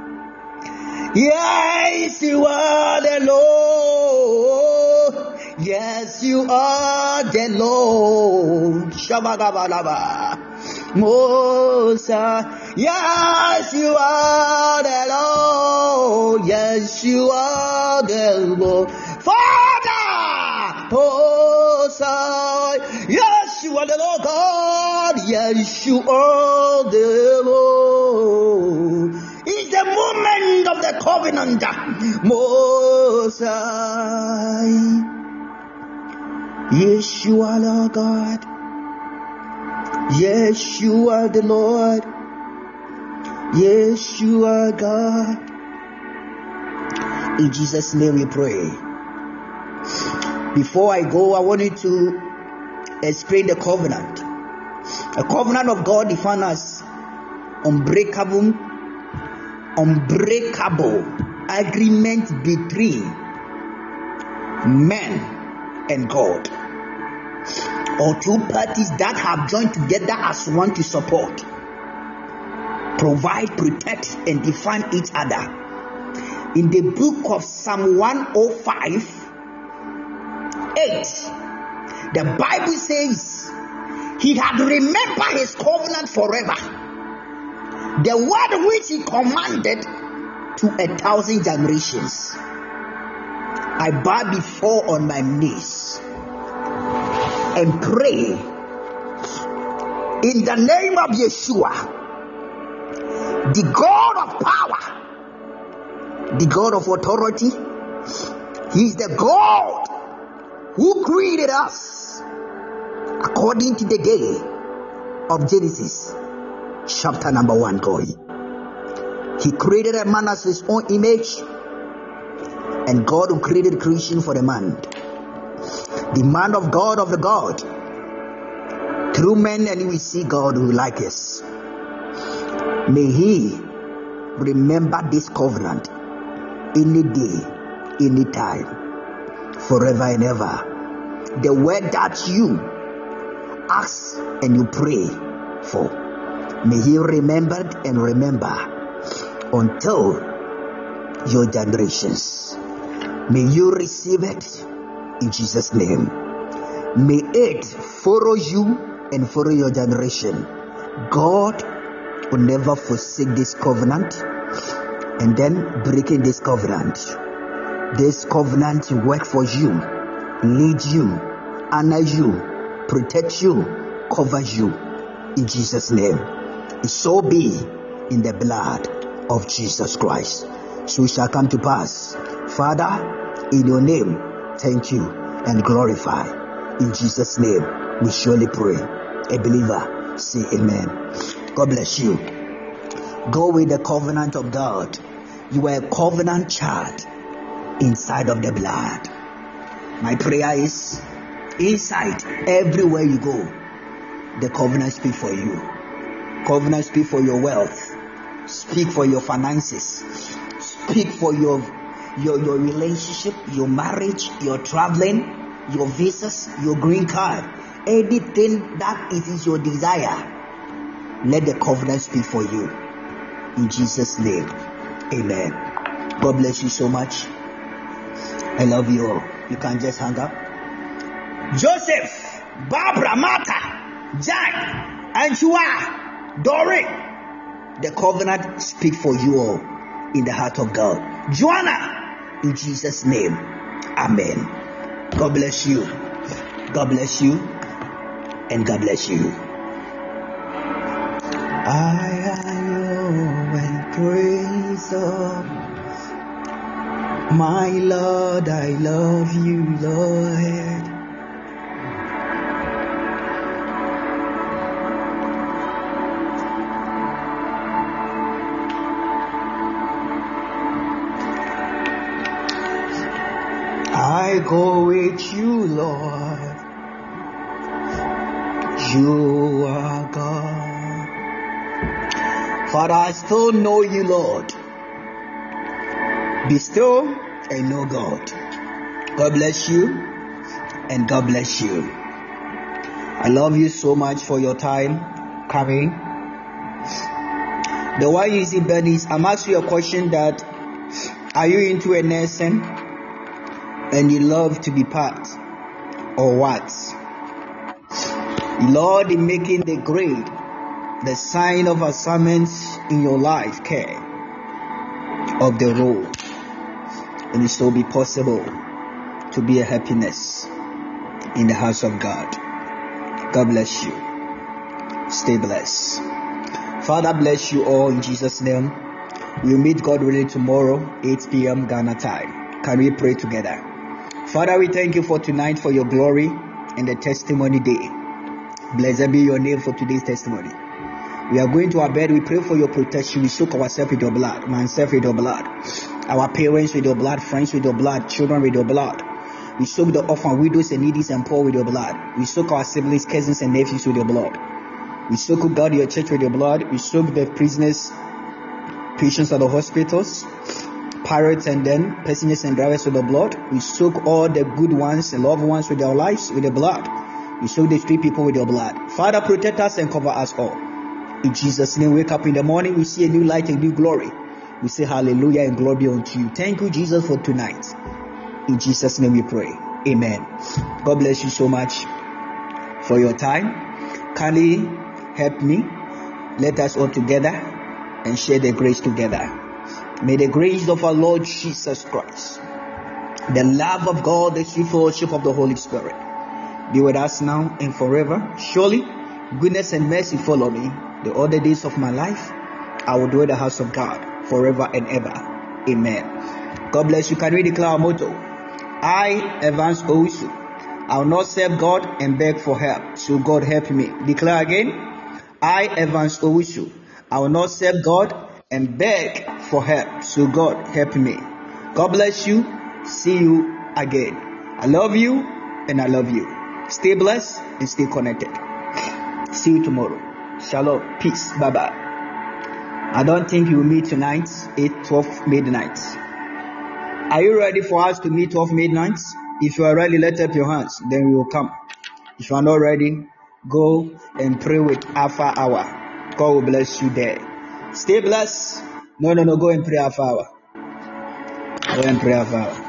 yes, you are the Lord. Yes, you are the Lord. Shabagabalaba. Most High, yes, you are the Lord. Yes, you are the Lord. Father, Most High, yes, you are the Lord God. Yes, you are the Lord. It's the moment of the covenant. Most High, yes, you are Lord God. Yes, you are the Lord. Yes, you are God. In Jesus' name we pray. Before I go, I want you to explain the covenant. A covenant of God defined as unbreakable agreement between man and God, or two parties that have joined together as one to support, provide, protect, and define each other. In the book of Psalm 105:8, the Bible says, He had remembered His covenant forever, the word which He commanded to 1,000 generations. I bow before on my knees and pray in the name of Yeshua, the God of power, the God of authority. He is the God who created us according to the day of Genesis chapter number 1. God, He created a man as His own image, and God who created creation for the man, the man of God of the God, through men, and we see God who like us. May He remember this covenant any day, any time, forever and ever. The word that you ask and you pray for, may He remember and remember until your generations. May you receive it in Jesus' name. May it follow you and follow your generation. God will never forsake this covenant and then breaking this covenant. This covenant will work for you, lead you, honor you, protect you, cover you in Jesus' name. It shall be in the blood of Jesus Christ. So it shall come to pass. Father, in your name, thank you and glorify. In Jesus' name, we surely pray. A believer, say amen. God bless you. Go with the covenant of God. You are a covenant child inside of the blood. My prayer is, inside, everywhere you go, the covenant speak for you. Covenant speak for your wealth. Speak for your finances. Speak for your relationship, your marriage, your traveling, your visas, your green card. Anything that it is your desire, let the covenant speak for you. In Jesus' name, amen. God bless you so much. I love you all. You can just hang up. Joseph, Barbara, Martha, Jack, Anshua, Doreen, the covenant speak for you all in the heart of God. Joanna, in Jesus' name, amen. God bless you. God bless you. And God bless you. I am and praise of my Lord. I love you, Lord. I go with you, Lord. You are God. Father, I still know you, Lord. Be still and know God. God bless you and God bless you. I love you so much for your time coming. The why you see Bernice, I'm asking you a question that are you into a nursing and you love to be part or what? Lord, in making the grade, the sign of assignments in your life, care of the role, and it shall be possible to be a happiness in the house of God. God bless you. Stay blessed. Father, bless you all in Jesus' name. We'll meet God willing tomorrow, 8 p.m. Ghana time. Can we pray together? Father, we thank you for tonight, for your glory and the testimony day. Blessed be your name for today's testimony. We are going to our bed. We pray for your protection. We soak ourselves with your blood, myself with your blood, our parents with your blood, friends with your blood, children with your blood. We soak the orphan, widows, and needy and poor with your blood. We soak our siblings, cousins, and nephews with your blood. We soak, God, your church with your blood. We soak the prisoners, patients at the hospitals, pirates, and then passengers and drivers with the blood. We soak all the good ones and loved ones with their lives with the blood. We soak the street people with your blood. Father, protect us and cover us all. In Jesus' name, wake up in the morning, we see a new light and new glory. We say hallelujah and glory be unto you. Thank you, Jesus, for tonight. In Jesus' name we pray. Amen. God bless you so much for your time. Kindly help me. Let us all together and share the grace together. May the grace of our Lord Jesus Christ, the love of God, the sweet fellowship of the Holy Spirit be with us now and forever. Surely goodness and mercy follow me the other days of my life. I will dwell in the house of God forever and ever. Amen. God bless you. Can we declare our motto? I, Evans Owusu, I will not serve God and beg for help, so God help me. Declare again. I, Evans Owusu, I will not serve God and beg for help, so God help me. God bless you. See you again. I love you and I love you. Stay blessed and stay connected. See you tomorrow. Shalom. Peace. Bye-bye. I don't think you will meet tonight, 12 midnight. Are you ready for us to meet 12 midnight? If you are ready, let up your hands. Then we will come. If you are not ready, go and pray with Alpha Hour. God will bless you there. Stay blessed. No. Go and pray Alpha Hour. Go and pray Alpha Hour.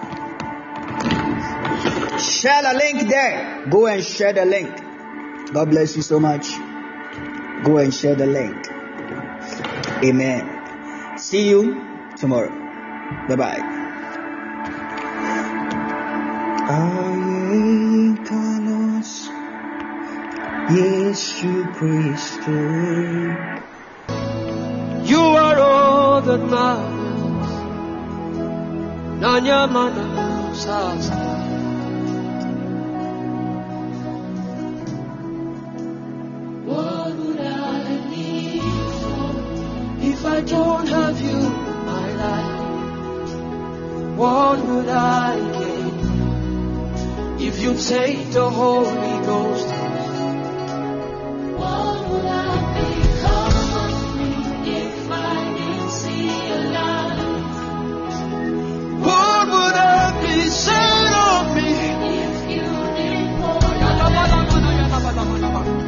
Share the link there. Go and share the link. God bless you so much. Go and share the link. Amen. See you tomorrow. Bye-bye. You are all that matters. Nanya mana sasa. What would I live for if I don't have you in my life? What would I gain if you take the Holy Ghost